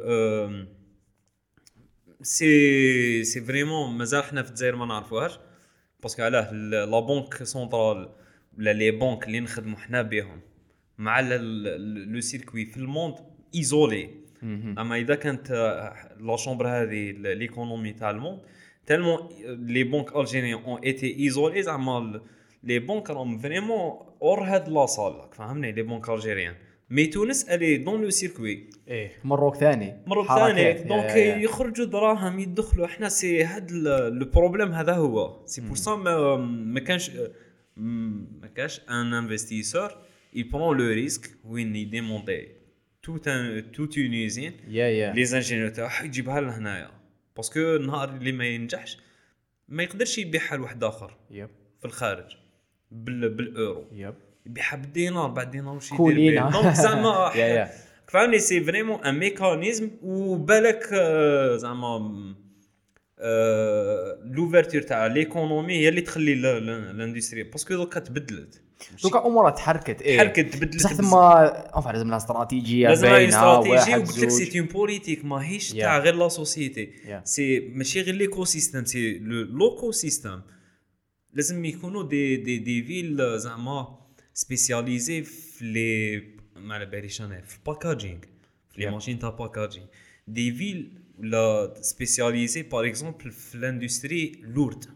سي سي فريمون مازال حنا في الجزائر ما نعرفوهاش باسكو علاه لا بنك سنترال ولا لي بنك اللي نخدموا حنا بهم مع لو سيركوي في الموند ايزولي. اما اذا كانت لا شامبر هذه ليكونومي تاع الموند تالمون لي بنك الجيريان اون ايتي ايزولي زعما لي بنك راهم فريمون اور هاد لا صال فهمني لي بنك الجيريان. مي تونس الي دون لو سيركوي
ايه مروك ثاني
مروك ثاني دونك يخرجوا دراهم يدخلوا احنا سي هاد لو بروبليم هذا هو سي بور سا ما كانش ما كاش ان انفستيسور il prend le risque وين يديمونتي tout un toute une usine
يا يا
لي زانجينيور تاعو يجيبها لهنايا باسكو النهار اللي ما ينجحش ما يقدرش يبيعها لواحد اخر
يب
في الخارج بال بالاورو
يب
يبيعها بالدينار بعد دينار وش
كولينا.
يدير دونك زعما
يا يا
فهمني سي فريمون ان ميكانيزم وبالك آه، زعما لوفرتور تاع ليكونومي هي اللي تخلي لاندستري باسكو دوكا تبدلت
دوكا امورها تحركت ايه
تحركت تبدلت
بصح ثما اونفا لازم لها استراتيجيه
لازم
باينه
استراتيجي
واحد
وقلت لك
زوج
سي اون بوليتيك ماهيش
Yeah.
تاع غير لا سوسيتي
Yeah.
سي ماشي غير ليكو سيستيم سي لوكو سيستيم لازم يكونوا دي دي دي فيل زعما سبيسياليزي في لي ما على باليش انا في الباكاجينغ في لي
Yeah.
ماشين تاع باكاجينغ دي فيل ولا سبيسياليزي باغ اكزومبل في الاندستري لورد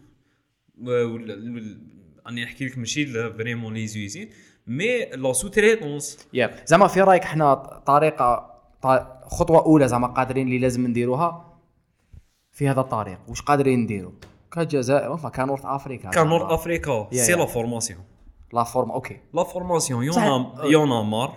اني نحكي لك ماشي فريمون لي زوزين مي لا سوتريتونس
يا زعما في رايك احنا طريقه ط- خطوه اولى زعما قادرين اللي لازم نديروها في هذا الطريق واش قادرين نديروا كجزائر وفا كنورث افريكا
كان نورث افريكا
Yeah,
سي
yeah.
لا فورماسيون
لا فورم اوكي
لا فورماسيون يون
صح.
يون ا مار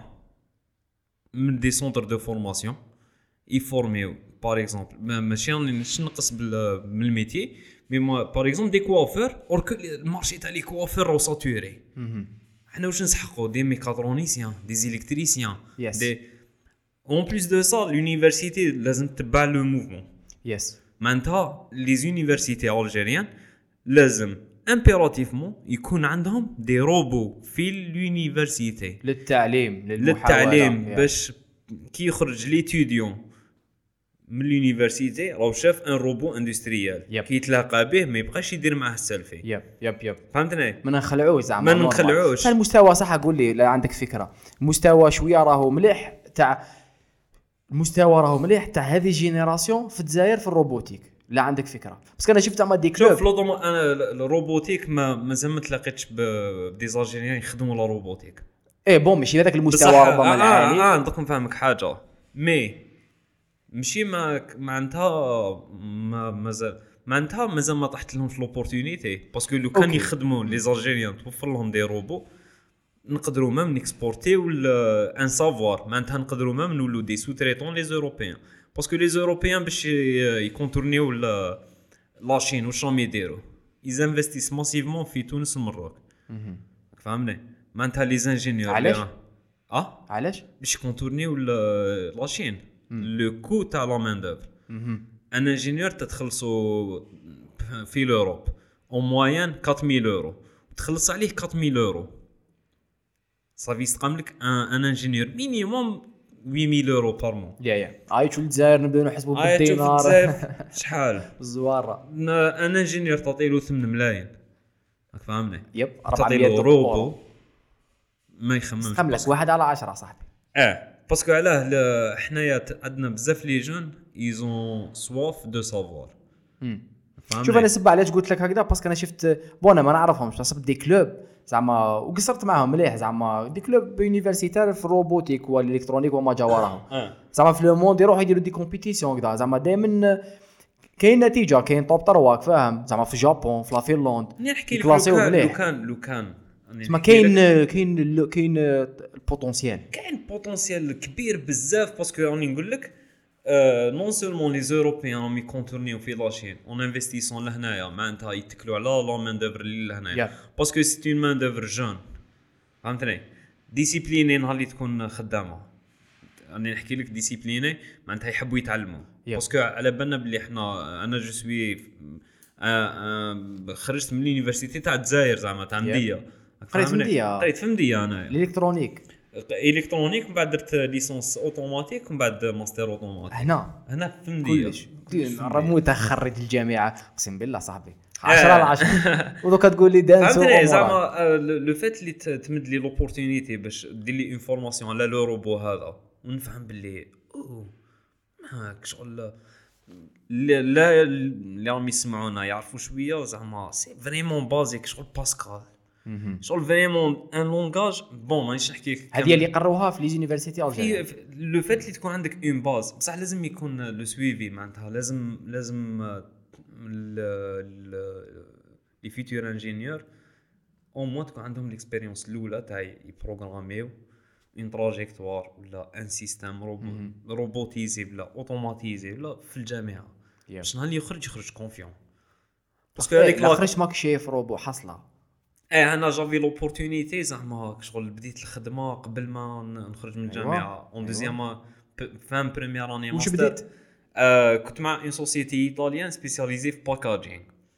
من دي سونتر دو فورماسيون يفورميو باغ اكزومبل ماشي راني نقص بال- من الميتي مي باغ اكزومبل دي كوافور اور المارشي تاع لي كوافور رو ساتوري حنا واش نسحقوا دي ميكاترونيسيان دي زيليكتريسيان
Yes.
دي اون بليس دو سا لونيفرسيتي لازم تتبع لو موفمون
يس
معناتها لي زونيفرسيتي الجيريان لازم امبيراتيفمون يكون عندهم دي روبو في اليونيفرسيتي
للتعليم للمحاولة
للتعليم
يا.
باش كي يخرج ليتوديون من اليونيفرسيتي راهو شاف ان روبو اندستريال
Yep.
كي يتلاقى به ما يبقاش يدير معاه السلفي
يب يب يب
فهمتني
ما نخلعوش زعما
ما
نورمال.
نخلعوش.
المستوى صح قول لي لا عندك فكره المستوى شويه راهو مليح تاع المستوى راهو مليح تاع هذه جينيراسيون في الجزائر في الروبوتيك لا عندك فكره بس انا شفت زعما دي كلوب
شوف لو دوما انا الروبوتيك ما مازال ما تلاقيتش بدي زالجيريان يخدموا لا روبوتيك
ايه بون ماشي هذاك المستوى
بصح
ربما
اه
العالي
اه نقدر نفهمك حاجه مي ماشي ما معناتها ما مازال معناتها مازال ما طحت لهم في لوبورتونيتي باسكو لو كان
أوكي.
يخدموا لي زالجيريان توفر لهم دي روبو نقدروا مام نيكسبورتيو ان سافوار معناتها نقدروا مام نولو دي سوتريتون لي زوروبيان باسكو لي زوروبيان باش يكونتورنيو لاشين واش راهم يديروا يزانفستيس ماسيفمون في تونس والمروك فهمني معناتها لي زانجينيور
علاش؟
اه
علاش
باش يكونتورنيو لاشين لو كو تاع لا مان دوفر ان انجينيور تتخلصوا في لوروب او موين أربعة آلاف يورو تخلص عليه أربعة آلاف يورو صافي يستقام لك ان انجينيور مينيموم ثمانية آلاف يورو بار مون
يا يا هاي شو الجزائر نبداو نحسبوا
هاي تشوف
بالدينار
الجزائر شحال
الزواره
ان انجينيور تعطيله ثمانية ملايين راك فاهمني
يب
تعطيله
أربعمية
روبو ما يخممش
خم لك واحد على عشرة صاحبي
اه باسكو علاه ل- حنايا ت- عندنا بزاف لي جون ايزون سواف دو سافوار
شوف انا سبب علاش قلت لك هكذا باسكو انا شفت بون انا ما نعرفهمش صبت دي كلوب زعما وقصرت معاهم مليح زعما دي كلوب يونيفرسيتير في الروبوتيك والالكترونيك وما جاوراهم
اه
زعما في لو موند يروحوا يديروا دي كومبيتيسيون كذا زعما دائما كاين نتيجه كاين توب ترواك فاهم زعما في جابون في لا فنلند
نحكي لك لو
يكلاسيو
كان لو
مليح
كان لو كان أنا
ما
نحكي لك
كاين كاين ال- كاين البوتنسيال
كاين بوتنسيال كبير بزاف باسكو راني نقول لك نون سولمون لي زوروبيان راهم يكونتورنيو في لاشين اون انفستيسون لهنايا معناتها يتكلوا على لا مان دوفر اللي لهنايا
Yeah.
باسكو سي اون مان دوفر جون فهمتني ديسيبليني نهار اللي تكون خدامه راني نحكي لك ديسيبليني معناتها يحبوا يتعلموا
Yeah.
باسكو على بالنا بلي احنا انا جو سوي خرجت من اليونيفرسيتي تاع الجزائر زعما تاع
Yeah.
مديه
قريت في مدية.
قريت في مديه انا
الالكترونيك
الكترونيك من بعد درت ليسونس اوتوماتيك ومن بعد ماستر اوتوماتيك
هنا
هنا في فنديه
كلش رموت خريج الجامعه اقسم بالله صاحبي عشرة على عشرة ودوكا تقول لي دانس
فهمتني زعما لو فات اللي تمد لي لوبورتونيتي باش دير لي انفورماسيون على لو روبو هذا ونفهم باللي اوه هاك شغل لا لا اللي راهم يسمعونا يعرفوا شويه زعما سي فريمون بازيك شغل باسكال شغل فريمون ان لونغاج بون مانيش نحكي لك
هذه اللي قروها في لي زونيفرسيتي الجزائر
لو فات اللي تكون عندك اون باز بصح لازم يكون لو سويفي معناتها لازم لازم لي فيتور انجينيور او مو تكون عندهم الاكسبيريونس الاولى تاع يبروغراميو اون تراجيكتوار ولا ان سيستم روبوتيزي ولا اوتوماتيزي ولا في الجامعه باش نهار اللي يخرج يخرج كونفيون
باسكو هذيك لا خرج ماك شايف روبو حصله
ايه انا جافي لوبورتونيتي زعما شغل بديت الخدمه قبل ما نخرج من الجامعه اون دوزيام فان بريمير اني
واش بديت
آه كنت مع اون سوسيتي ايطاليان سبيسياليزي في باكاجينغ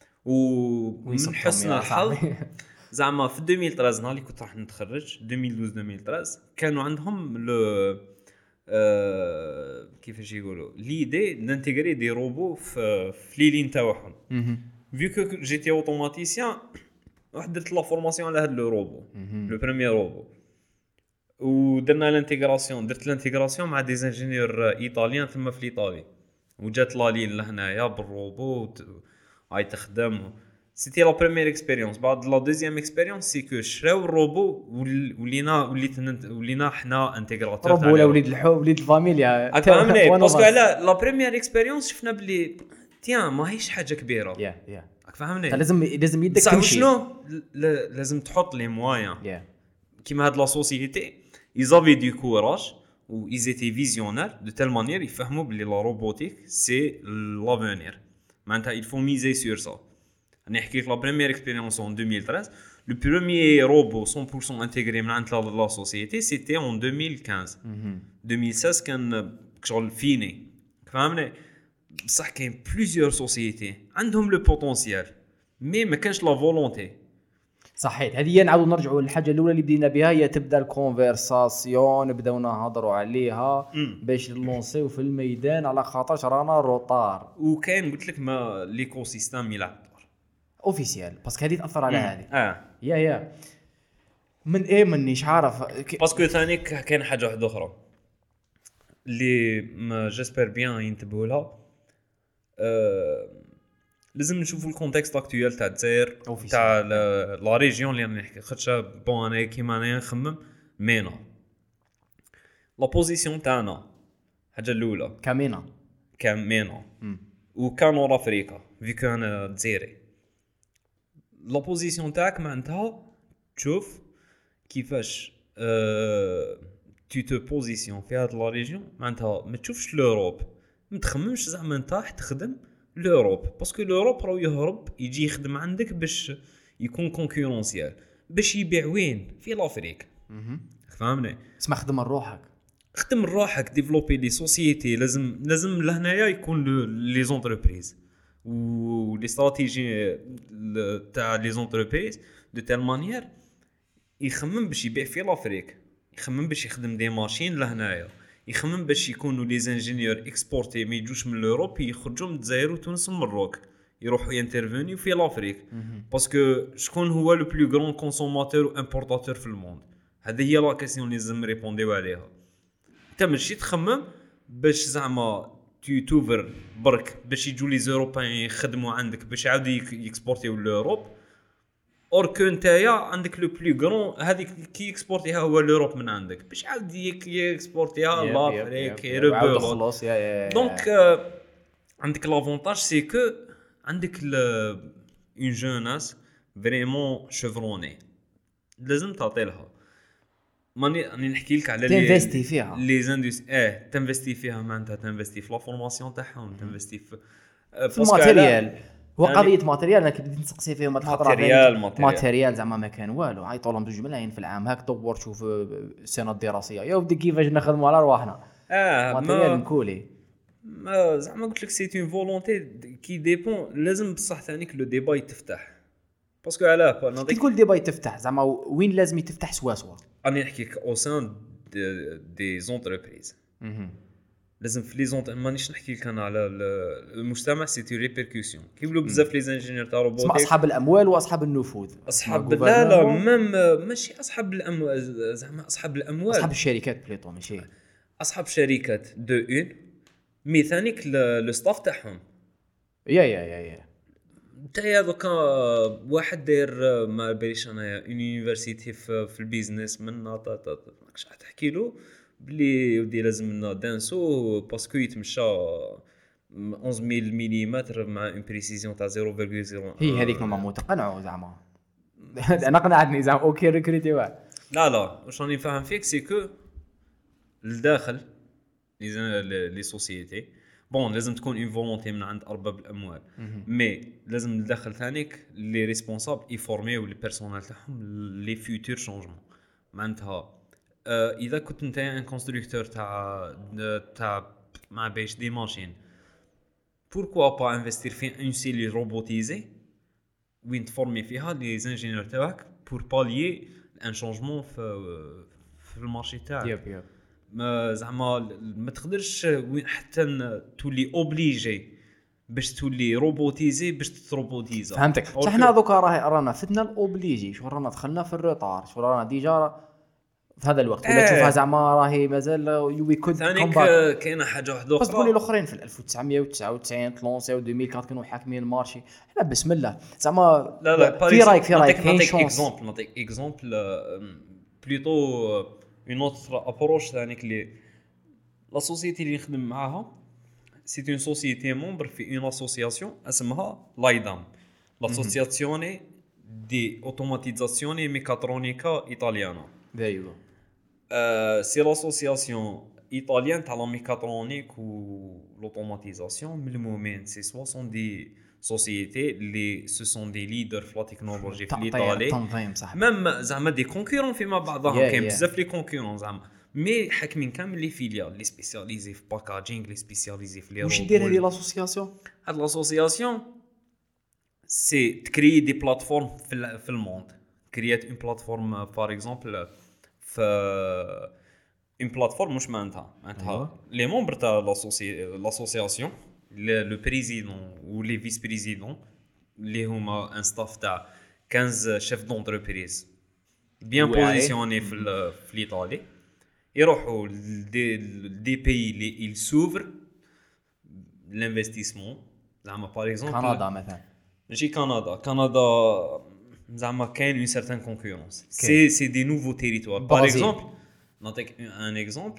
ومن حسن الحظ زعما في ألفين وثلاثة عشر نهار اللي كنت راح نتخرج ألفين واثناعش ألفين وثلاثة عشر كانوا عندهم لو آه كيفاش يقولوا ليدي نانتيغري دي روبو في في لي لين تاعهم فيو كو جيتي اوتوماتيسيان واحد درت لا فورماسيون على هذا لو روبو لو بريمير روبو ودرنا الانتيغراسيون درت الانتيغراسيون مع دي انجينيور ايطاليان ثم في ايطاليا وجات لا لين لهنايا بالروبو هاي تخدم سيتي لا بريمير اكسبيريونس بعد لا دوزيام اكسبيريونس سي كو شراو الروبو ولينا وليت ولينا حنا انتيغراتور
روبو ولا وليد الحو وليد الفاميليا
فهمني باسكو على لا بريمير اكسبيريونس شفنا بلي تيان ماهيش حاجه كبيره
يا يا
فهمني
لازم لازم يدك تمشي
شنو لازم تحط لي موان كيما هاد لا سوسيتي ايزافي دو كوراج و ايزيتي فيزيونير دو تيل مانيير يفهموا بلي لا روبوتيك سي لافونير معناتها il faut miser sur ça نحكي لك لا بريمير اكسبيريونس en ألفين وثلاثة عشر le premier robot cent pour cent intégré من عند لا سوسيتي c'était en ألفين وخمسطاش ألفين وستة كان شغل فيني فهمني بصح كاين بليزيور سوسيتي عندهم لو بوتونسيال مي ما كانش لا فولونتي
صحيت هذه نعاودوا نرجعوا للحاجه الاولى اللي بدينا بها هي تبدا الكونفرساسيون نبداو نهضروا عليها باش نلونسيو في الميدان على خاطرش رانا روطار
وكاين قلت لك ما ليكو سيستيم يلعب دور
اوفيسيال باسكو هذه تاثر على هذه
اه
يا يا من ايه منيش عارف
باسكو ثاني كاين حاجه واحده اخرى اللي ما جيسبر بيان ينتبهوا لها أه لازم نشوفوا الكونتكست اكطوال تاع الجزائر تاع لا ريجيون اللي نحكي خاطر بون انا كيما انا نخمم مينا لا بوزيسيون تاعنا الحاجه الاولى
كامينا
كامينا وكانور افريقيا فيكو انا جزائري لا بوزيسيون تاعك معناتها تشوف كيفاش أه tu te positionnes في هاد لا ريجيون معناتها ما تشوفش لوروب ما تخممش زعما انت راح تخدم لوروب باسكو لوروب راهو يهرب يجي يخدم عندك باش يكون كونكورونسيال باش يبيع وين في لافريك فهمني
اسمع خدم روحك
خدم روحك ديفلوبي لي سوسيتي لازم لازم لهنايا يكون لي زونتربريز و لي استراتيجي تاع لي زونتربريز دو تيل مانيير يخمم باش يبيع في لافريك يخمم باش يخدم دي ماشين لهنايا يخمم باش يكونوا لي انجينيور اكسبورتي ما يجوش من اوروب يخرجوا من الجزائر وتونس والمروك يروحوا ينترفينيو في لافريك باسكو شكون هو لو بلو غران كونسوماتور و امبورطاتور في الموند هذه هي لا كيسيون اللي لازم ريبونديو عليها انت ماشي تخمم باش زعما تي توفر برك باش يجوا لي زوروبيان يخدموا عندك باش يعاودوا يكسبورتيو لاوروب اور كو نتايا عندك لو بلو غران هذيك كي اكسبورتيها هو لوروب من عندك باش عاود يكسبورتيها لافريك يربو
خلاص يا
دونك عندك لافونتاج سي كو عندك اون جوناس فريمون شيفروني لازم تعطي لها ماني راني نحكي لك على
لي تنفستي فيها
لي زاندس اه تنفستي فيها معناتها تنفستي في لا فورماسيون تاعهم تنفستي في
في الماتيريال هو قضيه ماتيريال انا كنت نسقسي فيهم هاد الخطره
ماتيريال
ماتيريال زعما ما كان والو عيطوا لهم بجوج ملايين في العام هاك دور شوف السنه الدراسيه يا ودي كيفاش نخدموا على رواحنا
اه
ماتيريال مكولي
ما زعما قلت لك سي اون فولونتي كي ديبون لازم بصح ثانيك لو ديبا يتفتح باسكو علاه
كي تقول ديبا يتفتح زعما وين لازم يتفتح سوا سوا
اني نحكي او سان دي زونتربريز لازم في لي زونت مانيش نحكي لك انا على المجتمع سي تي ريبيركوسيون كيقولوا بزاف لي انجينيور تاع روبوتيك
اسمع اصحاب الاموال واصحاب النفوذ
اصحاب لا لا ميم ماشي اصحاب الاموال زعما اصحاب الاموال
اصحاب الشركات بليطو ماشي
اصحاب شركات دو اون مي ثانيك لو ستاف تاعهم
يا يا يا يا
تايا دوكا واحد داير ما باليش انايا يونيفرسيتي في, في البيزنس من ناطا ماكش تحكي له بلي ودي لازمنا دانسو باسكو يتمشى أحد عشر ملم مع اون بريسيزيون تاع صفر فاصلة صفر
هي هذيك ما متقنعوا زعما انا قنعتني زعما اوكي ريكريتي واحد
لا لا واش راني نفهم فيك سي كو الداخل لي لي سوسيتي بون لازم تكون اون فولونتي من عند ارباب الاموال مي لازم ندخل ثانيك لي ريسبونسابل يفورميو لي بيرسونيل تاعهم لي فيوتور شونجمون معناتها آه اذا كنت انت ان كونستركتور تاع تاع مع باش دي ماشين بوركوا با انفستير في اون سيلي روبوتيزي وين تفورمي فيها لي انجينيور تاعك بور باليي ان شونجمون في في المارشي تاعك
يب يب
ما زعما ما تقدرش وين حتى تولي اوبليجي باش تولي روبوتيزي باش تروبوتيزا
فهمتك صح. حنا دوكا راه رانا فتنا الاوبليجي شو رانا دخلنا في الروطار شو رانا ديجا في هذا الوقت ولا تشوفها زعما راهي مازال وي كود
ثانيك كاينه حاجه واحده
اخرى بس الاخرين في ألف وتسعمية وتسعة وتسعين تلونسيو ألفين وأربعة كانوا حاكمين المارشي احنا بسم الله زعما
لا لا
في رايك في رايك
كاين شونس اكزامبل نعطيك اكزامبل بليطو اون اوتر ابروش ثانيك لي لا سوسيتي اللي نخدم معاها سي اون سوسيتي مومبر في اون اسوسياسيون اسمها لايدام لاسوسياسيوني دي اوتوماتيزاسيوني ميكاترونيكا ايطاليانا
ايوا
Euh, c'est l'association italienne de la mécatronique ou l'automatisation. Mais le moment, c'est soit sont des sociétés, les, ce sont des leaders de la technologie en Italie. Même زعما des concurrents فيما بعضهم كاين بزاف لي concurrents زعما. مي حاكمين كامل لي فيليال لي سبيسياليزي في باكاجينغ لي سبيسياليزي في لي روبوت.
واش دير هذه لاسوسياسيون؟
هاد لاسوسياسيون سي تكري دي بلاتفورم في في الموند. كريات اون بلاتفورم بار اكزومبل ف اون بلاتفورم مش معناتها معناتها لي ممبر تاع لاسوسياسيون لو بريزيدون و لي فيس بريزيدون اللي هما ان ستاف تاع خمسطاش شيف دونتربريز بيان بوزيسيوني في في ايطالي يروحوا دي دي بي لي il s'ouvre l'investissement زعما باغ اكزومبل
كندا مثلا
ماشي كندا كندا زعما كاين اون سيرتان كونكورونس سي سي دي نوفو تيريتوار باغ اكزومبل نعطيك ان اكزومبل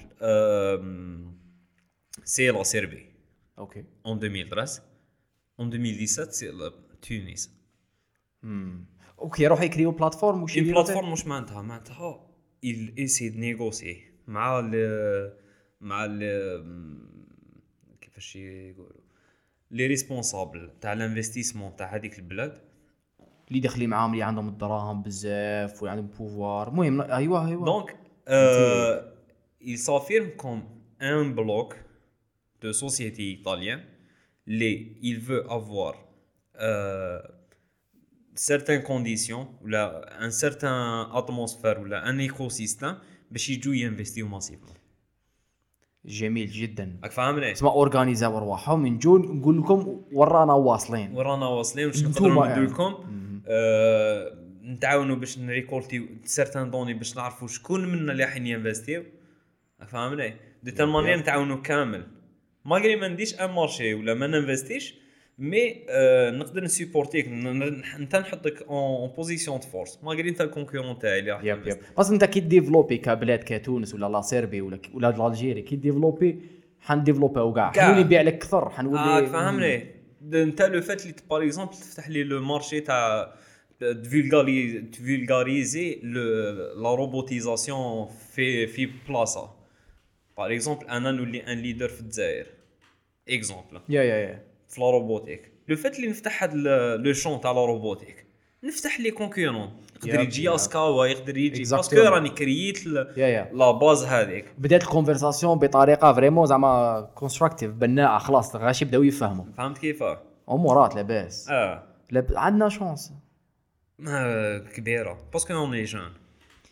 سي لا سيربي
اوكي
en deux mille treize en deux mille dix-sept سي تونس
امم اوكي روح يكريو بلاتفورم وشي
اون بلاتفورم واش معناتها معناتها il essaie de négocier مع ال مع ال كيفاش يقولوا لي ريسبونسابل تاع الانفستيسمون تاع هذيك البلاد
اللي داخلين معاهم اللي عندهم الدراهم بزاف واللي عندهم بوفوار المهم ايوا ايوا
دونك euh, il s'affirme comme un bloc de société italien les il veut avoir euh, certaines conditions ou là un certain atmosphère ou là un écosystème باش يجوا ينفستيو ماسيفمون
جميل جدا
راك فاهمني
اسمع اورغانيزاو ارواحهم نجو نقول لكم ورانا واصلين
ورانا واصلين واش نقدروا ندير لكم آه نتعاونوا باش نريكولتي سيرتان دوني باش نعرفوا شكون منا اللي راح ينفستيو فهمني دي تال مانيير نتعاونوا كامل ماغري ما نديش ان مارشي ولا ما ننفستيش مي آه نقدر نسيبورتيك انت نحطك اون بوزيسيون دو فورس ماغري انت الكونكورون تاعي اللي راح
يب يب بس انت كي ديفلوبي كبلاد كتونس ولا لا سيربي ولا ولا الجيري كي ديفلوبي حنديفلوبيو كاع حنولي نبيع لك اكثر حنولي
اه فهمني انت لو فات اللي باغ اكزومبل تفتح لي لو مارشي تاع فولغاري فولغاريزي لا روبوتيزاسيون في في بلاصه باغ اكزومبل انا نولي ان ليدر في الجزائر اكزومبل
يا يا يا
في لا روبوتيك لو فات اللي نفتح هاد لو شون تاع لا روبوتيك نفتح لي كونكورون يقدر يجي اسكاوا يقدر يجي باسكو راني كرييت لا باز هذيك
بدات الكونفرساسيون بطريقه فريمون زعما كونستراكتيف بناءه خلاص غاشي بداو يفهموا
فهمت كيفاه
امورات لاباس
اه
لاب... عندنا شانس
ما كبيره باسكو اون لي جون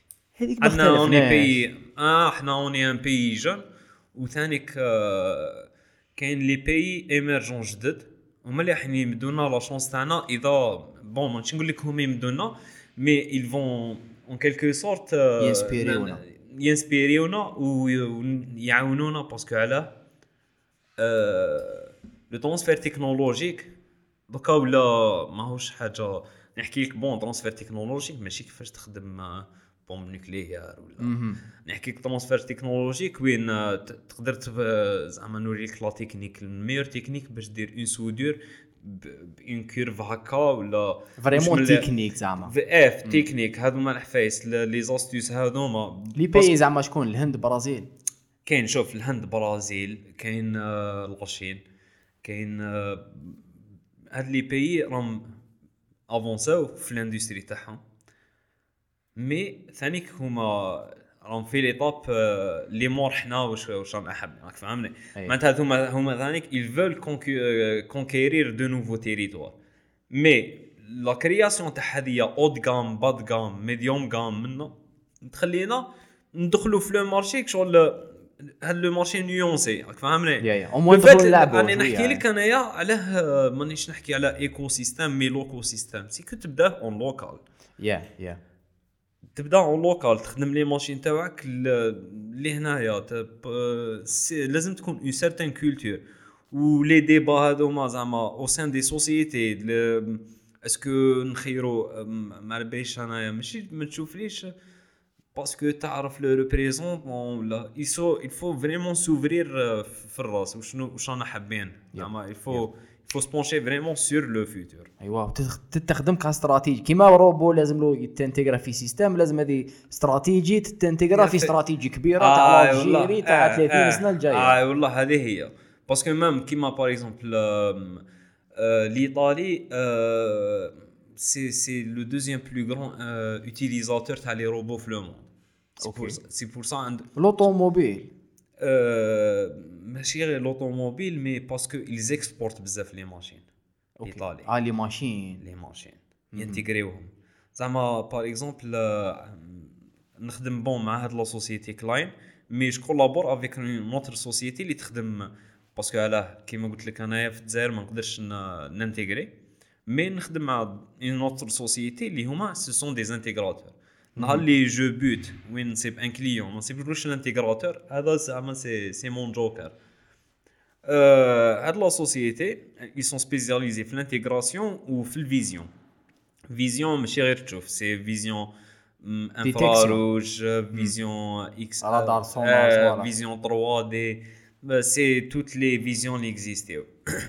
هذيك ما
عندنا اوني
اختلفناش.
بي اه احنا اوني ان بي جون، وثانيك آه كاين لي بي ايمرجون جدد هما اللي راح يمدونا لا شونس تاعنا. اذا بون ماشي نقول لك هما يمدونا مي ils vont en quelque sorte
ينسبيريونا.
ينسبيريونا ويعاونونا باسكو علاه لو ترانسفير تكنولوجيك دوكا ولا ماهوش حاجه نحكي لك بون ترانسفير تكنولوجيك ماشي كيفاش تخدم بوم نوكليير ولا نحكي لك ترانسفير تكنولوجيك وين تقدر زعما نوريك لا تكنيك الميور تكنيك باش دير اون سودور بان كيرف هكا ولا
فريمون تكنيك زعما
اف تكنيك. هذوما الحفايس لي زاستيوس هذوما
لي بي زعما شكون الهند برازيل
كاين. شوف الهند برازيل كاين الغشين كاين هاد لي بي راهم افونساو في الاندستري تاعهم مي ثانيك هما راهم في ليطاب لي مور حنا واش واش رانا حابين راك فهمني. معناتها هما هما ثانيك ils veulent conquérir de nouveaux territoires مي لا كرياسيون تاع هذيا اود غام باد غام ميديوم غام منا تخلينا ندخلوا في لو مارشي شغل هاد لو مارشي نيونسي راك فهمني.
يا يا او ندخلوا نلعبوا.
انا نحكي لك انايا علاه مانيش نحكي على ايكو سيستيم مي لوكو سيستيم سي كنت تبدا اون لوكال.
يا يا
تبدا اون لوكال تخدم لي ماشين تاعك اللي هنايا لازم تكون اون سيرتين كولتور ولي ديبا هذوما زعما او سان دي سوسيتي اسكو نخيروا ما ربيش انايا ماشي ما تشوفليش باسكو تعرف لو ريبريزونطون ولا يسو الفو فريمون سوفرير في الراس وشنو واش رانا حابين زعما الفو faut se pencher vraiment sur le futur.
ايوا تستخدم كاستراتيجي كيما روبو لازم له يتانتيغرا في سيستم لازم هذه استراتيجي تتانتيغرا في استراتيجي كبيره تاع
آه
الجيري تاع ثلاثين آه سنه الجايه.
اه والله هذه هي باسكو ميم كيما باغ اكزومبل ليطالي سي سي لو دوزيام بلو غران اوتيليزاتور تاع لي روبو في لو موند. سي بور سا عند
لوطوموبيل
ماشي غير لوطوموبيل مي باسكو ils exportent بزاف لي ماشين ايطالي.
اه لي ماشين
لي ماشين ينتيغريوهم زعما باغ اكزومبل نخدم بون مع هاد لا سوسيتي كلاين مي جو كولابور افيك نوتر سوسيتي اللي تخدم باسكو علاه كيما قلت لك انايا في الجزائر ما نقدرش نانتيغري مي نخدم مع نوتر سوسيتي اللي هما سو سون دي انتيغراتور. نهار لي جو بوت وين نصيب ان كليون ما نصيبلوش الانتيغراتور هذا زعما سي سي مون جوكر. هاد لا سوسيتي ils sont spécialisés في الانتيغراسيون وفي الفيزيون. فيزيون ماشي غير تشوف سي فيزيون انفراروج فيزيون اكس
رادار سونار
فيزيون ثري دي سي توت لي فيزيون اللي اكزيستيو.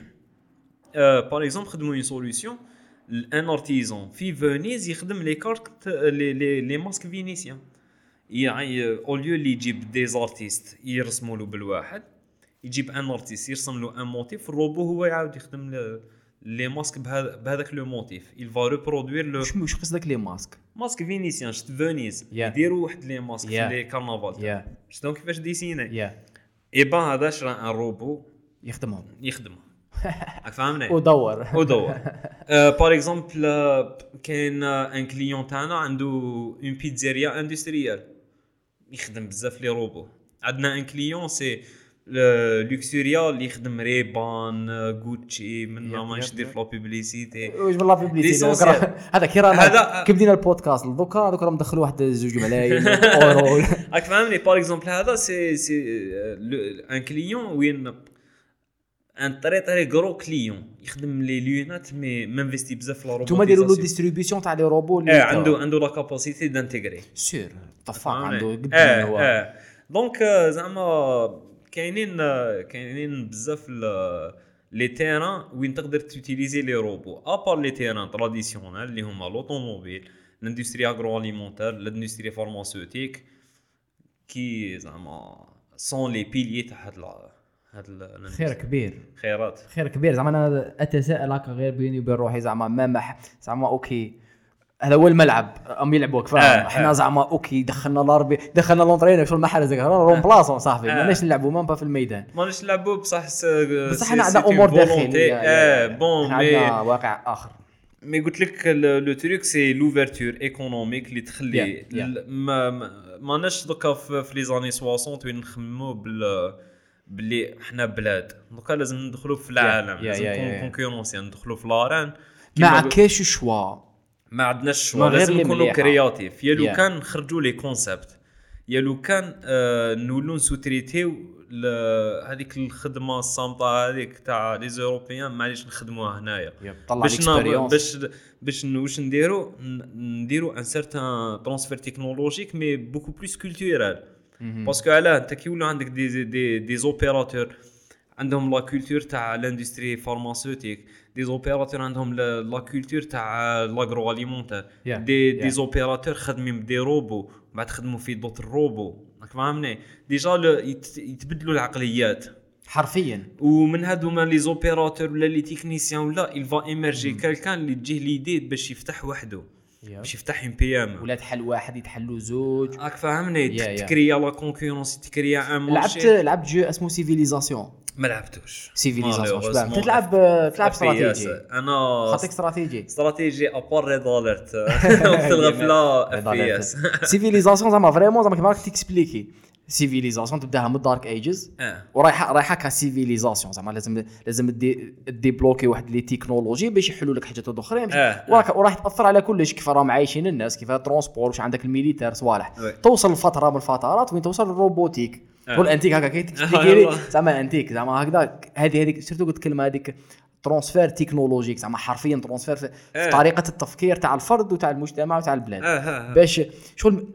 باغ اكزومبل خدموا اون سوليوشن ان ارتيزون في فينيز يخدم لي كارت لي لي لي ماسك فينيسيان يعني او ليو اللي يجيب دي زارتيست يرسموا له بالواحد يجيب ان ارتيست يرسم له ان موتيف الروبو هو يعاود يخدم لي ماسك بهذا بهذاك لو موتيف il va reproduire le
واش واش قصدك لي ماسك
ماسك فينيسيان شت فينيز يديروا واحد لي ماسك في لي كارنفال شنو كيفاش ديسيني اي بان هذا شرا ان روبو
يخدمهم
يخدمهم راك فاهمني
ودور
ودور باغ اكزومبل كاين ان كليون تاعنا عنده اون بيتزيريا اندستريال يخدم بزاف لي روبو. عندنا ان كليون سي لوكسوريا اللي يخدم ريبان غوتشي من ما ندير في لا بوبليسيتي
واش بالله بوبليسيتي هذا كي رانا كي بدينا البودكاست دوكا دوكا راهم دخلوا واحد زوج ملايين اورو
راك فاهمني. باغ اكزومبل هذا سي سي ان كليون وين ان طري طري غرو كليون يخدم لي ليونات مي مانفيستي بزاف في لا روبوتيزاسيون.
نتوما ديروا له ديستريبيسيون تاع لي روبو
اللي عنده عنده لا كاباسيتي دانتيغري
سير طفاق عنده قد
هو دونك زعما كاينين كاينين بزاف لي تيران وين تقدر تيوتيليزي لي روبو ابار لي تيران تراديسيونيل اللي هما لوطوموبيل الاندستري اغرو اليمونتير الاندستري فارماسيوتيك كي زعما سون لي بيليي تاع هاد هاد
خير كبير
خيرات
خير كبير. زعما انا اتساءل هكا غير بيني وبين روحي زعما ما مح زعما اوكي هذا هو الملعب ام يلعبوا كفايه آه احنا زعما اوكي دخلنا لاربي دخلنا لونطرينر شو المحل زي رون بلاصون صاحبي آه ماناش نلعبوا ما في الميدان
ماناش نلعبوا بصح
بصح احنا عندنا امور داخليه
اه بون مي
عندنا واقع اخر
مي قلت لك لو تريك سي لوفرتور ايكونوميك اللي تخلي
yeah, yeah.
ما ماناش دوكا في لي زاني ستين وين نخمموا بال باللي احنا بلاد دوكا لازم ندخلوا في العالم
yeah,
لازم
yeah,
نكون
yeah.
كونكورونسي ندخلوا في لاران
ما كاينش شوا
ما عندناش
ما
شوا
غير
لازم
اللي
نكونوا
مليحة.
كرياتيف يا لو
Yeah.
كان نخرجوا لي كونسيبت يا لو كان آه نولوا نسوتريتيو هذيك الخدمه الصامته هذيك تاع لي زوروبيان معليش نخدموها هنايا
طلع
باش ن-
الاكسبيريونس.
باش باش ن- واش نديرو ن- نديرو ان سيرتان ترانسفير تكنولوجيك مي بوكو بلوس كولتورال باسكو علاه انت كي يولوا عندك دي دي دي زوبيراتور عندهم لا كولتور تاع لاندستري فارماسيوتيك دي زوبيراتور عندهم لا كولتور تاع لاغرو اليمونتير
Yeah,
دي دي
yeah.
زوبيراتور خدمين بدي روبو بعد خدموا في دوت روبو راك فاهمني ديجا ل- يت- يتبدلوا العقليات
حرفيا
ومن هادو ما لي زوبيراتور ولا لي تكنيسيان ولا il va émerger quelqu'un اللي تجيه ليدي باش يفتح وحده باش يفتح ام بي ام
ولا تحل واحد يتحلوا زوج.
راك فاهمني
Yeah, yeah.
تكريا لا كونكورونس تكريا ان
لعبت
مارشي
لعبت جو اسمه سيفيليزاسيون.
ما لعبتوش
سيفيليزاسيون
Malheureusement.
شباب تلعب تلعب
F P S.
استراتيجي
انا
خاطيك استراتيجي
استراتيجي ابار ريد اليرت وقت الغفله اف بي اس
سيفيليزاسيون زعما فريمون زعما كيما راك تيكسبليكي سيفيليزاسيون تبداها من دارك ايجز ورايحه رايحه كسيفيليزاسيون زعما لازم لازم دي ديبلوكي واحد لي تكنولوجي باش يحلوا لك حاجات اخرين
آه.
وراك وراح تاثر على كلش كيف راهم عايشين الناس كيف ترونسبور واش عندك الميليتير صوالح
وي.
توصل لفتره من الفترات وين توصل للروبوتيك
آه.
قول انتيك هكا كي تكسبليكي لي زعما انتيك زعما هكذا هذه هذيك سيرتو قلت كلمه هذيك ترانسفير تكنولوجيك زعما حرفيا ترانسفير في,
آه.
في طريقه التفكير تاع الفرد وتاع المجتمع وتاع البلاد
آه، آه، آه.
باش شغل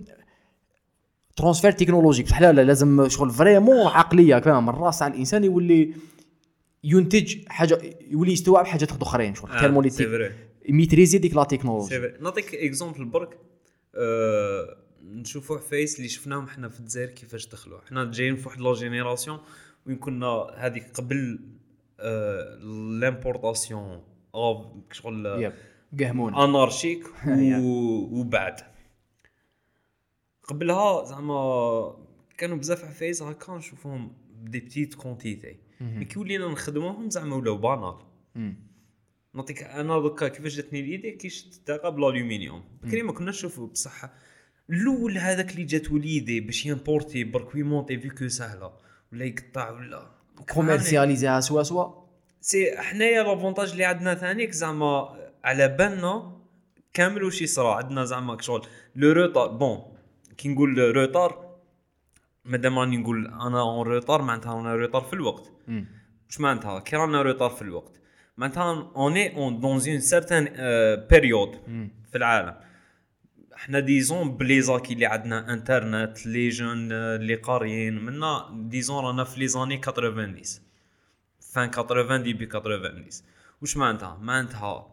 ترانسفير تكنولوجيك بصح لا لا لازم شغل فريمون عقليه كمان من الراس تاع الانسان يولي ينتج حاجه يولي يستوعب حاجات اخرين شغل
آه،
تيرمولي
سي فري.
ميتريزي ديك لا تكنولوجي.
سي فري. نعطيك اكزومبل برك أه نشوفوا فايس اللي شفناهم احنا في الجزائر كيفاش دخلوا احنا جايين في واحد لا جينيراسيون وين كنا هذيك قبل أه لامبورطاسيون او شغل
يب قهمون
انارشيك وبعد قبلها زعما كانوا بزاف عفايس هكا نشوفهم دي بتيت كونتيتي مي كي ولينا نخدموهم زعما ولاو بانال. نعطيك انا دوكا كيفاش جاتني ليدي كيش تتلاقى بالالومنيوم بكري ما كناش نشوفوا بصح الاول هذاك اللي جات وليدي باش يمبورتي برك ويمونتي فيكو سهله ولا يقطع ولا
كوميرسياليزيها سوا سوا
سي حنايا لافونتاج اللي عندنا ثانيك زعما على بالنا كامل وشي صرا عندنا زعما شغل لو روتار بون كي نقول روتار مادام راني نقول انا اون روتار معناتها انا روتار في الوقت واش معناتها كي رانا روتار في الوقت معناتها اوني اون دون اون سيرتان بيريود في العالم احنا ديزون بليزاكي اللي عندنا انترنت لي جون اللي قاريين منا ديزون رانا في لي زاني ثمانين فان ثمانين ديبي ثمانين واش معناتها معناتها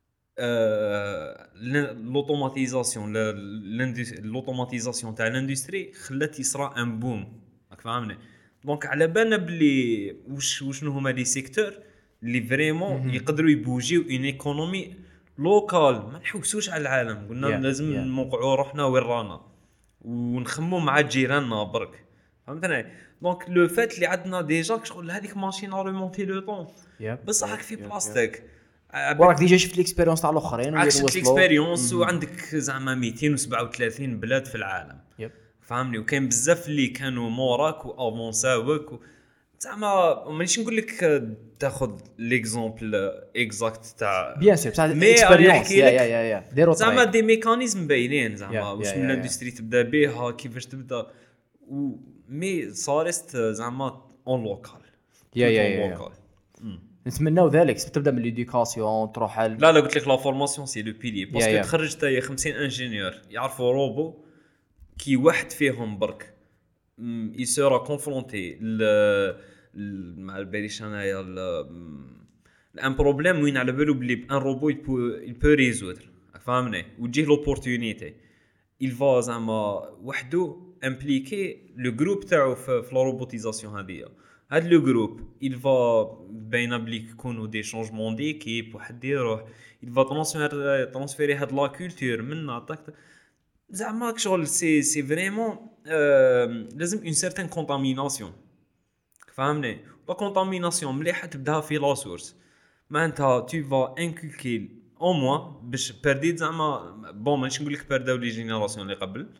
لوتوماتيزاسيون لوتوماتيزاسيون تاع الاندستري خلات يصرا ان بوم راك فاهمني دونك على بالنا بلي واش وشنو هما لي سيكتور اللي فريمون يقدروا يبوجيو اون ايكونومي لوكال ما نحوسوش على العالم قلنا yeah, لازم yeah. نوقعوا روحنا وين رانا ونخمو مع جيراننا برك فهمتني دونك لو فات اللي عندنا ديجا شغل هذيك ماشين ريمونتي لو طون بصح راك في بلاستيك
وراك ديجا شفت الاكسبيريونس تاع الاخرين
وين وصلوا الاكسبيريونس وعندك زعما مئتين وسبعة وثلاثين بلاد في العالم
yep.
فهمني وكاين بزاف اللي كانوا موراك وافونساوك و... زعما مانيش نقول لك تاخذ ليكزامبل اكزاكت تاع
بيان سور بصح
مي
اكسبيريونس يا يا يا يا ديروا
زعما دي ميكانيزم باينين زعما
yeah,
واش
yeah,
من
yeah,
الاندستري تبدا بها كيفاش تبدا و مي صارت زعما اون لوكال
يا يا يا نتمناو ذلك تبدا من ليديوكاسيون تروح على
لا لا قلت لك لا فورماسيون سي لو بيلي باسكو
yeah, yeah.
تخرج تاي خمسين انجينيور يعرفوا روبو كي واحد فيهم برك يسورا كونفرونتي ل مع باليش انايا الان بروبليم وين على بالو بلي ان روبو يبو ريزودر فهمني وتجيه لوبورتونيتي il va زعما وحده امبليكي لو جروب تاعو في لا روبوتيزاسيون هذه هاد لو جروب il va بين بليك يكونوا دي شونجمون ديكيب واحد يروح il va ترانسفير ترانسفيري هاد لا كولتور منا طاك زعما شغل سي سي فريمون لازم اون سيرتين كونتاميناسيون فهمني لا كونتاميناسيون مليحه تبداها في لا سورس معناتها تو فا انكولكي او موان باش برديت زعما بون ماشي نقول لك برداو لي جينيراسيون اللي قبل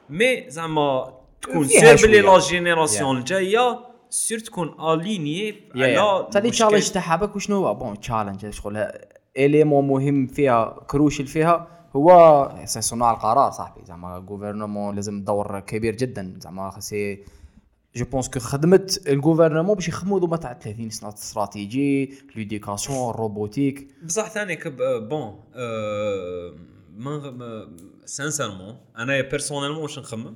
مي زعما تكون
فيها
سير بلي
شوية.
لا جينيراسيون الجايه سير تكون اليني على
تالي
المشكل.
تشالنج تاعها باك وشنو هو بون تشالنج شغل اليمون مهم فيها كروشل فيها هو سي صناع القرار صاحبي زعما غوفرنمون لازم دور كبير جدا زعما سي جو بونس كو خدمت الغوفرنمون باش يخدموا دوما تاع ثلاثين سنه استراتيجي ليديكاسيون الروبوتيك
بصح ثاني كب بون أه ما سانسيرمون انا بيرسونيلمون واش نخمم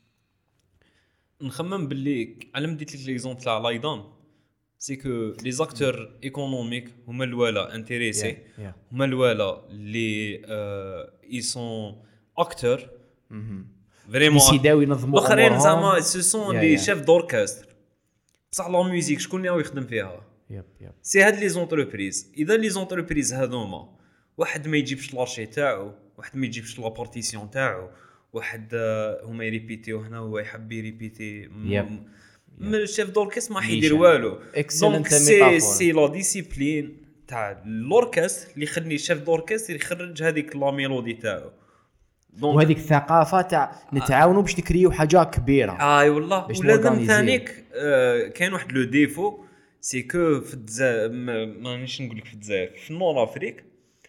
نخمم باللي على ديت لك ليزومبل تاع لايدان سي كو لي زاكتور ايكونوميك هما الوالا انتريسي
Yeah, yeah.
هما الوالا لي اي سون اكتور فريمون
يسيداو ينظموا
الاخرين
أمورهم.
زعما سو سون
Yeah,
لي
yeah.
شيف دوركستر بصح لا ميوزيك شكون اللي يخدم فيها
يب يب
سي هاد لي زونتربريز اذا لي زونتربريز هذوما واحد ما يجيبش لارشي تاعو واحد ما يجيبش لا بارتيسيون تاعو واحد آه، هما يريبيتيو هنا هو يحب يريبيتي
Yep.
من الشيف دوركست ما
ليشان.
حيدير والو
Excellent
دونك سي
ميتافور.
سي لا ديسيبلين تاع لوركست اللي يخلي الشيف دوركست يخرج هذيك لا ميلودي تاعو دونك
وهذيك الثقافه تاع نتعاونوا باش نكريو حاجه كبيره
اي والله
باش
ولازم
نورغانيزيو.
ثانيك آه كاين واحد لو ديفو سي كو في الجزائر مانيش نقول لك في الجزائر في نور افريك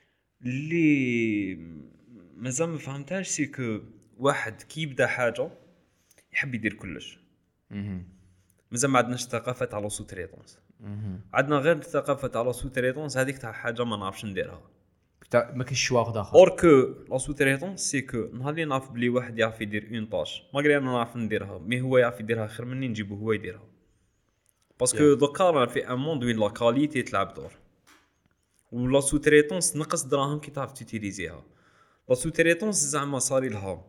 اللي مازال ما فهمتهاش سي كو واحد كي يبدا حاجه يحب يدير كلش
مهم.
مازال ما عندناش ثقافه تاع لو سوتريتونس
مهم.
عندنا غير ثقافه تاع لو سوتريتونس هذيك تاع حاجه ما نعرفش نديرها
تا- ما كاينش شوا واحد اخر
اور كو لا سوتريتونس سي كو نهار اللي نعرف بلي واحد يعرف يدير اون طاش ماغري انا نعرف نديرها مي هو يعرف يديرها خير مني نجيبه هو يديرها باسكو دوكا رانا في ان موند وين لا كاليتي تلعب دور ولا سوتريتونس نقص دراهم كي تعرف تيتيليزيها لا سوتريتونس زعما صاري لها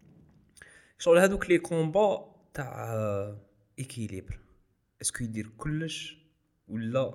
شغل هذوك لي كومبا تاع ايكيليبر اسكو يدير كلش ولا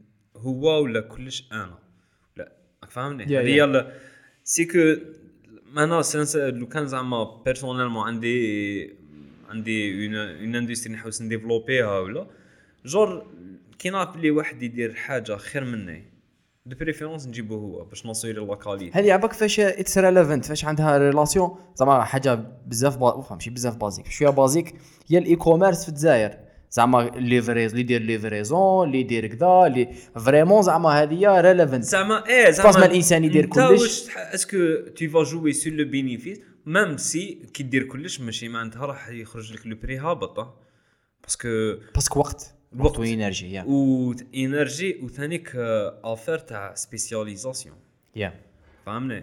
هو ولا كلش انا لا راك فاهمني
Yeah,
هذه هي سي كو انا سنس لو كان زعما بيرسونيلمون عندي عندي اون اون اندستري نحوس نديفلوبيها ولا جور كي نعرف بلي واحد يدير حاجه خير مني دو بريفيرونس نجيبو هو باش نصير لا كاليتي
هذه عباك فاش اتس ريليفنت فاش عندها ريلاسيون زعما حاجه بزاف با... فهم ماشي بزاف بازيك شويه بازيك هي الاي كوميرس في الجزائر زعما ليفريز اللي يدير ليفريزون اللي يدير كذا اللي فريمون زعما هذه ريليفنت
زعما ايه
فاس ما
زعما
الانسان يدير
انت
كلش
واش اسكو tu vas jouer sur le bénéfice même si كي دير كلش ماشي معناتها راح يخرج لك لو بري هابط باسكو
باسكو وقت وقت وانرجي يا
و انرجي وثانيك افير تاع سبيسياليزاسيون
يا
فهمني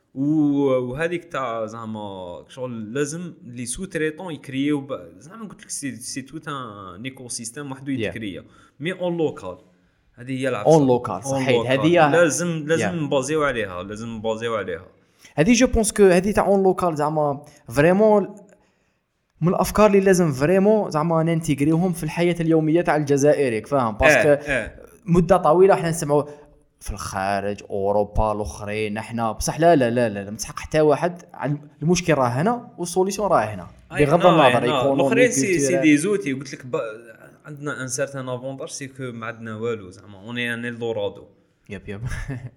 وهذيك تاع زعما شغل لازم لي سو تريتون يكريو ب- زعما قلت لك سي سي تو ان ايكو سيستيم وحده يتكريا مي اون لوكال هذه هي العفسه
اون لوكال صحيح هذه
لازم لازم
Yeah.
نبازيو عليها لازم نبازيو عليها
هذه جو بونس كو هذه تاع اون لوكال زعما فريمون من الافكار اللي لازم فريمون زعما ننتجريهم في الحياه اليوميه تاع الجزائري فاهم باسكو
اه اه
مده طويله احنا نسمعوا في الخارج اوروبا الاخرين احنا بصح لا لا لا لا, لا متحق حتى واحد عن- المشكل راه هنا والسوليسيون راه هنا بغض النظر
الاخرين
ايكونومي
سي سي دي زوتي قلت لك ب- عندنا ان سارتان افونتاج سي كو ما عندنا والو زعما اوني ان الدورادو
يب يب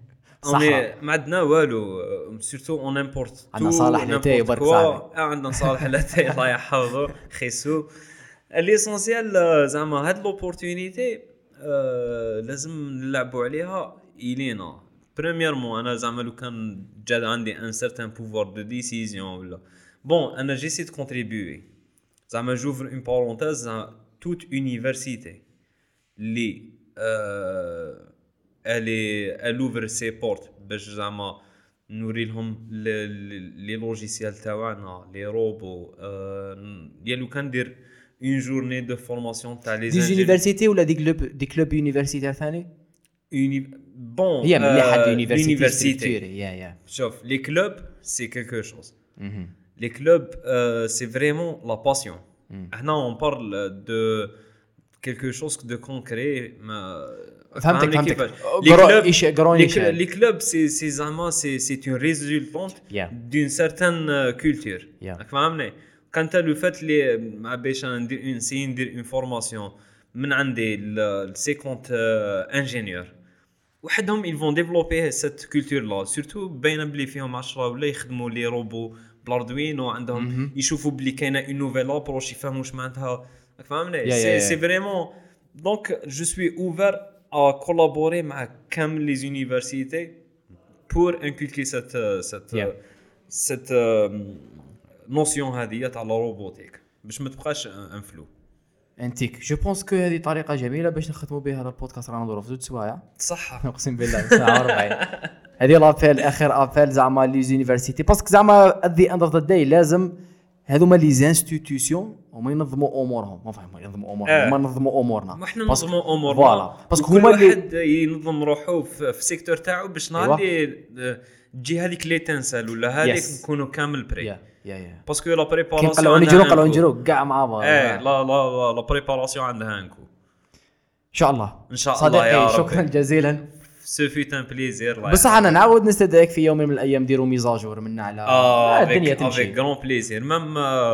اوني ما عندنا والو سورتو اون امبورت
عندنا صالح لاتاي برك صاحبي.
عندنا صالح لاتاي الله يحفظه خيسو ليسونسيال زعما هاد لوبورتونيتي لازم نلعبوا عليها الينا بريميرمون انا زعما لو كان جا عندي ان سارتان بوفوار دو ديسيزيون ولا بون انا جيسي دو كونتريبيوي زعما جوفر اون بارونتيز توت يونيفرسيتي لي الي الوفر سي بورت باش زعما نوري لهم لي لوجيسيال تاعنا لي روبو يا لو كان ندير اون جورني دو فورماسيون تاع لي
دي يونيفرسيتي ولا دي كلوب دي كلوب يونيفرسيتير ثاني
بون
هي مليحه يونيفرسيتي
يونيفرسيتي
يا يا
شوف لي كلوب سي كيلكو شوز
مهم.
les clubs euh, c'est vraiment la passion هنا on parle de quelque chose de concret ما
فهمتك
فهمني
فهمتك
كيفاش. les clubs
إيش قروني
les cl- les clubs c'est c'est زعما c'est c'est une résultante
Yeah.
d'une certaine euh, culture
Yeah.
راك فاهمني كانت لو فات اللي مع باش انا ندير اون سي ندير اون فورماسيون من عندي ل cinquante انجينيور وحدهم ils vont développer cette culture là surtout باينه بلي فيهم عشرة ولا يخدموا لي روبو بالاردوينو عندهم يشوفوا بلي كاينه اون نوفيل ابروش يفهموا واش معناتها فهمني
Yeah, yeah,
سي
yeah.
سي فريمون دونك جو سوي اوفر ا كولابوري مع كامل لي زونيفرسيتي بور انكولكي سيت سيت
Yeah.
سيت نوسيون هذه تاع لا روبوتيك باش ما تبقاش ان فلو
انتيك جو بونس كو هذه طريقه جميله باش نختموا بها هذا البودكاست. رانا ندوروا في زوج سوايع
صح
اقسم بالله ساعه وربع. هذه لابيل اخر ابيل زعما لي زونيفرسيتي باسكو زعما ات ذا اند اوف ذا داي لازم هذوما لي زانستيتيوسيون هما ينظموا امورهم ما فهم ينظموا امورهم
آه.
هما ينظموا امورنا
ما احنا ننظموا امورنا
فوالا باسكو
كل
هما اللي
واحد ينظم روحه في, في سيكتور تاعو باش نهار اللي تجي هذيك لي تنسل ولا هذيك
Yes.
نكونوا كامل بري
يا يا يا
باسكو لا
كي
بريباراسيون
نقلعوا نجرو نقلعوا نجرو كاع مع بعض.
ايه لا لا لا بريباراسيون عندها انكو
ان شاء الله
ان شاء الله يا رب.
شكرا جزيلا
سو فيت ان بليزير
بصح انا نعاود نستدعيك في يوم من الايام نديروا ميزاجور منا على
اه
الدنيا
افيك
تمشي.
افيك غران بليزير ميم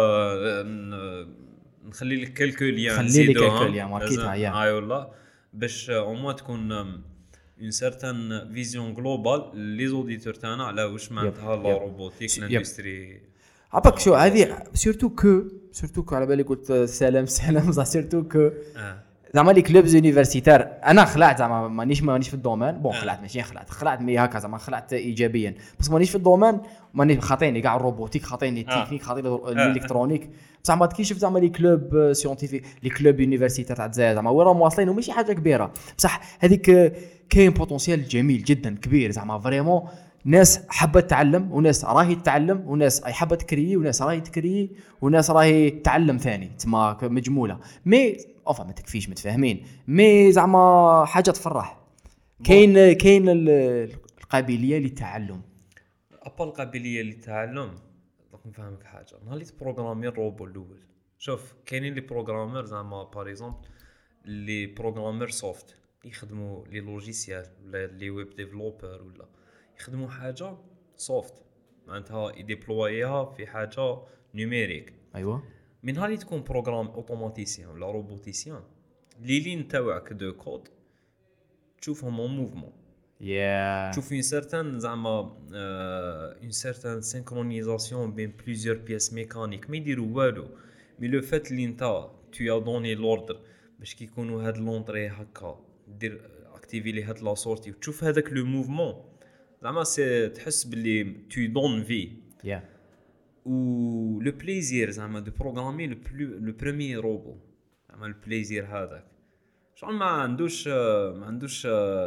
نخلي لك كلكو ليان
خلي لي كلكو ليان ماركيتها يا
اي والله باش او موا تكون اون سيرتان فيزيون جلوبال لي زوديتور تاعنا على واش معناتها لا روبوتيك لاندستري.
عباك شو هذه سورتو كو سورتو كو على بالي قلت سلام سلام صح سورتو كو زعما لي كلوبز يونيفرسيتير انا خلعت زعما مانيش مانيش في الدومين بون خلعت ماشي خلعت خلعت مي هكا زعما خلعت ايجابيا بس مانيش في الدومين ماني خاطيني كاع الروبوتيك خاطيني التكنيك خاطيني الالكترونيك بصح ما كي شفت زعما لي كلوب سيونتيفيك لي كلوب يونيفرسيتير تاع الجزائر زعما وين راهم واصلين وماشي حاجه كبيره بصح هذيك كاين بوتونسيال جميل جدا كبير زعما فريمون ناس حابه تتعلم وناس راهي تتعلم وناس اي حابه تكري وناس راهي تكري وناس راهي تعلم ثاني تما مجموله مي اوفا ما تكفيش متفاهمين مي زعما حاجه تفرح. كاين كاين القابليه للتعلم
ابا القابليه للتعلم راك نفهمك حاجه نهار اللي تبروغرامي الروبو الاول شوف كاينين لي بروغرامر زعما باغ اكزومبل لي بروغرامر سوفت يخدموا لي لوجيسيال ولا لي ويب ديفلوبر ولا يخدموا حاجه سوفت معناتها يديبلويها في حاجه نيميريك.
ايوه
من هالي تكون بروغرام اوتوماتيسيان ولا روبوتيسيان لي لين تاعك دو كود تشوفهم اون موفمون
يا
تشوف اون سيرتان زعما اون سيرتان سينكرونيزاسيون بين بليزيور بياس ميكانيك ما يديروا والو مي لو فات لي نتا تو دوني لوردر باش كي يكونوا هاد لونطري هكا دير اكتيفي لي هاد لا سورتي وتشوف هذاك لو موفمون زعما سي تحس باللي تو دون في
يا
و لو بليزير زعما دو بروغرامي لو بلو لو بريمير روبو زعما البليزير هذاك شغل ما عندوش ما عندوش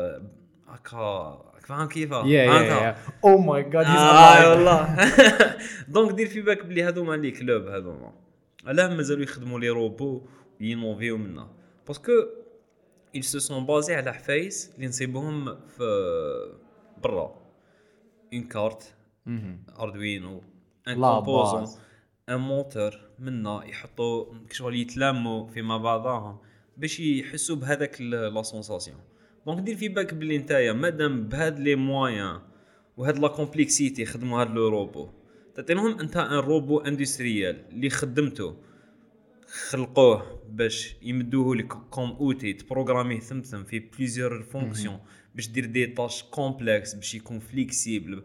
هكا فاهم كيفاه
يا يا او ماي جاد هيز
الايف والله دونك دير في بالك بلي هذوما لي كلوب هذوما علاه مازالوا يخدموا لي روبو ينوفيو منا باسكو ils se sont basés على حفايس اللي نصيبوهم في برا اون كارت اردوينو ان كومبوزون ان موتور منا يحطوا كشغل يتلاموا فيما بعضهم باش يحسوا بهذاك لا سونساسيون. دونك دير في بالك بلي نتايا مادام بهاد لي مويان وهاد لا كومبلكسيتي خدموا هاد لو روبو تعطيهم انت ان روبو اندستريال اللي خدمته خلقوه باش يمدوه لك كوم اوتي تبروغراميه ثمثم في بليزيور فونكسيون باش دير دي طاش كومبلكس باش يكون فليكسيبل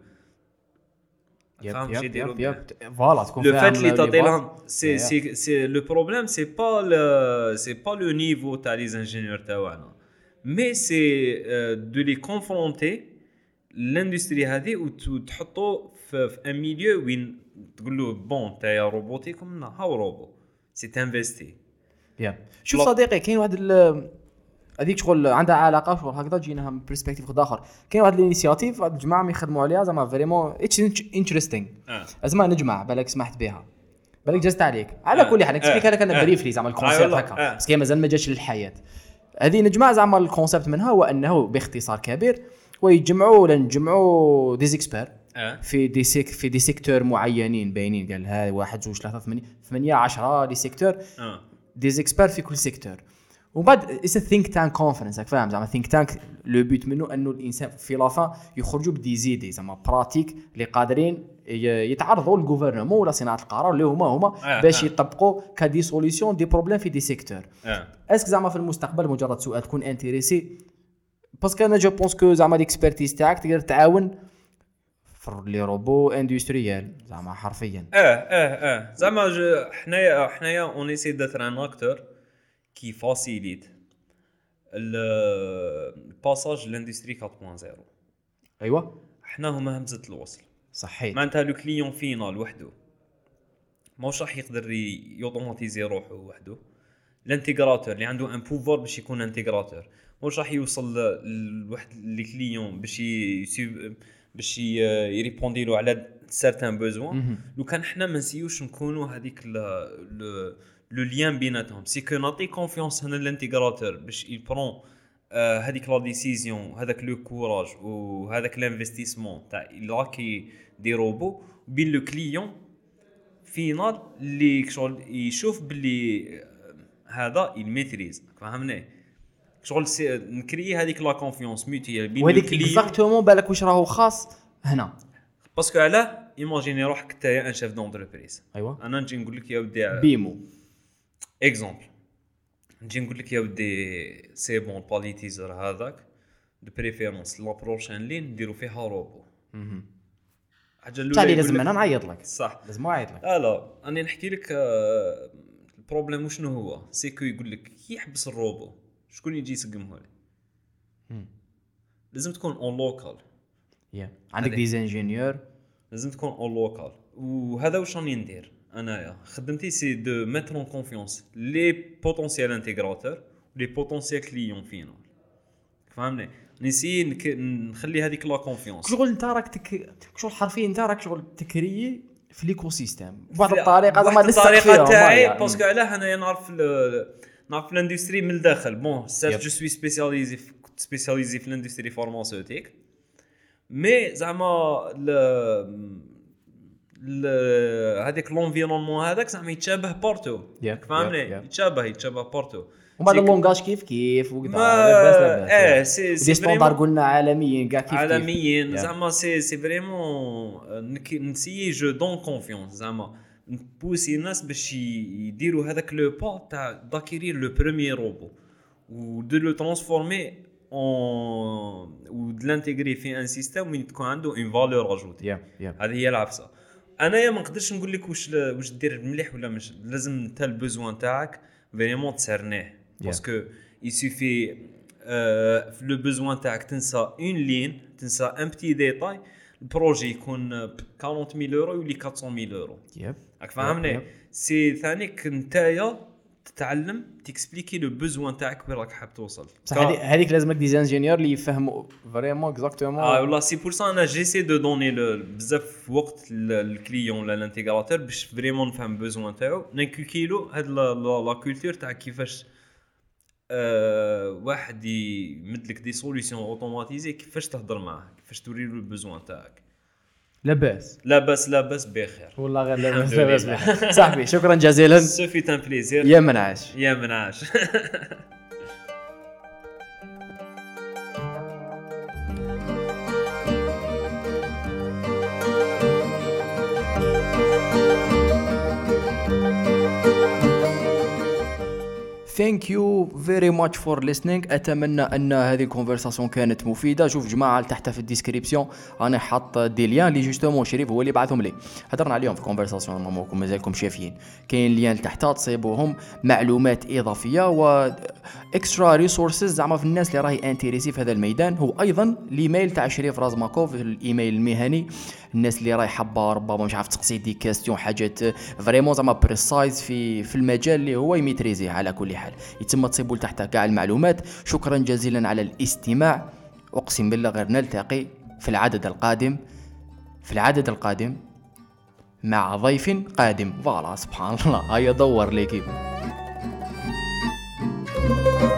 يب يب يب يب فوالا تكون
لو فات لي تعطيهم سي سي سي لو بروبليم سي با سي با لو نيفو تاع لي انجينيور تاعنا مي سي دو لي كونفرونتي لاندستري هذه وتحطو في ان ميليو وين تقول له بون تاع روبوتيك ومنا هاو روبو سي انفستي
يا شوف صديقي كاين واحد هذيك شغل عندها علاقه شغل هكذا جيناها من برسبكتيف خد اخر كاين واحد الانيشياتيف واحد الجماعه يخدموا عليها زعما فريمون اتس انتريستينغ زعما نجمع بالك سمحت بها بالك جازت عليك على كل حال نكسبيك لك انا بريفلي زعما الكونسيبت هكا بس كاين مازال ما جاش للحياه هذه نجمع زعما الكونسيبت منها هو انه باختصار كبير ويجمعوا ولا نجمعوا دي زيكسبير في دي سيك في دي سيكتور معينين باينين قال ها واحد جوج ثلاثة ثمانية ثمانية عشرة دي سيكتور دي زيكسبير في كل سيكتور وبعد اس ثينك تانك كونفرنس فاهم زعما ثينك تانك لو بوت منه انه الانسان في لافا يخرجوا بدي زيدي زعما براتيك اللي قادرين يتعرضوا للغوفرنمون ولا صناعه القرار اللي هما هما باش يطبقوا كدي سوليوشن دي بروبليم في دي سيكتور اسك زعما في المستقبل مجرد سؤال تكون انتريسي باسكو انا جو بونس كو زعما ليكسبيرتيز تاعك تقدر تعاون في لي روبو اندستريال زعما حرفيا.
اه اه اه زعما ج- حنايا حنايا اون ايسي داتر ان اكتور كي فاسيليت الباساج لاندستري أربعة فاصلة صفر.
ايوه
حنا هما همزه الوصل.
صحيت.
معناتها لو كليون فينال وحده ماهوش راح يقدر ي- يوتوماتيزي روحه وحده. الانتيغراتور اللي عنده ان بوفوار باش يكون انتيغراتور ماهوش راح يوصل لواحد لي كليون باش ي باش يريبوندي له على سيرتان بوزوان. لو كان حنا ما نسيوش نكونوا هذيك لو لو ليان بيناتهم سي كو نعطي كونفيونس هنا الانتيغراتور باش يبرون هذيك لا ديسيزيون هذاك لو كوراج وهذاك الانفستيسمون تاع لاكي دي روبو بين لو كليون فينال اللي شغل يشوف باللي هذا الميتريز. فهمني شغل نكري هذيك لا كونفيونس ميوتيال بين
وهذيك اكزاكتومون بالك واش راهو خاص هنا.
باسكو علاه ايماجيني روحك انت ان شيف دونتربريز.
ايوه
انا نجي نقول لك يا ودي
بيمو
اكزامبل نجي نقول لك يا ودي سي بون باليتيزر هذاك دو بريفيرونس لا بروشين لين نديرو فيها روبو. حاجه الاولى
تالي لازم انا نعيط لك.
صح
لازم نعيط لك.
لا انا نحكي لك آه البروبليم شنو هو سيكو يقول لك كي يحبس الروبو شكون يجي يسقمه لي. لازم تكون اون لوكال.
يا عندك ديزانجينيور
لازم تكون اون لوكال. وهذا واش راني ندير انايا خدمتي سي دو ميتر اون كونفيونس لي بوتونسيال انتيغراتور لي بوتونسيال كليون فينال. فهمني نسي نخلي هذيك لا كونفيونس.
شغل انت راك تك شغل حرفيا انت راك شغل تكري في ليكو سيستيم بواحد الطريقه زعما
الطريقه تاعي باسكو علاه انايا نعرف نعرف الاندستري من الداخل. بون سيرت جو سوي سبيسياليزي سبيسياليزي في الاندستري فارماسيوتيك مي زعما ل هذيك لونفيرونمون هذاك زعما يتشابه بارتو. فهمني يتشابه يتشابه بارتو.
وبعد اللونغاج كيف كيف وكذا لاباس لاباس.
اه سي
سي ستاندار قلنا عالميا كاع كيف
عالميا زعما سي سي فريمون نسيي جو دون كونفيونس زعما نبوسي الناس باش يديروا هذاك لو با تاع داكيرير لو بروميير روبو و دو لو ترانسفورمي اون و دو لانتيغري في ان سيستيم وين تكون عنده اون فالور اجوتي. هذه هي العفسه. انايا ما نقدرش نقول لك واش واش دير مليح ولا مش. لازم انت البوزوان تاعك فريمون تسرنيه باسكو il suffit euh, le besoin تاعك تنسى اون لين تنسى ان بتي ديتاي البروجي يكون quarante mille اورو يولي quatre cent mille اورو. راك فاهمني سي ثانيك نتايا تتعلم تكسبليكي لو بوزوان تاعك وين راك حاب توصل.
صح هذيك لازمك ديزانجينيور اللي يفهموا فريمون اكزاكتومون.
اه والله سي بور سا انا جيسي دو دوني بزاف وقت الكليون ولا الانتيغراتور باش فريمون نفهم بوزوان تاعو نانكوكيلو هاد لا كولتور تاع كيفاش أه واحد يمدلك دي سوليسيون اوتوماتيزي كيفاش تهضر معاه كيفاش توري له البوزوان تاعك.
لاباس
لاباس لاباس بخير
والله غير لاباس لاباس بخير. صاحبي شكرا جزيلا
سوفي تان بليزير.
يا منعاش
يا منعاش.
Thank you very much for listening. أتمنى أن هذه الكونفرساسيون كانت مفيدة. شوف جماعة تحت في الديسكريبسيون أنا حاط دي ليان اللي جوستومون شريف هو اللي بعثهم لي هضرنا عليهم في كونفرساسيون ماموكم مازالكم شايفين. كاين ليان تحت تصيبوهم معلومات إضافية و اكسترا ريسورسز زعما في الناس اللي راهي انتريسي في هذا الميدان. هو أيضا الإيميل تاع شريف رازماكوف الإيميل المهني الناس اللي راهي حابة ربما مش عارف تقصي دي كاستيون حاجات فريمون زعما بريسايز في في المجال اللي هو يميتريزيه. على كل حال يتم تصيبوا تحت كاع المعلومات. شكرا جزيلا على الاستماع. اقسم بالله غير نلتقي في العدد القادم في العدد القادم مع ضيف قادم. فوالا سبحان الله هيا دور ليكيب.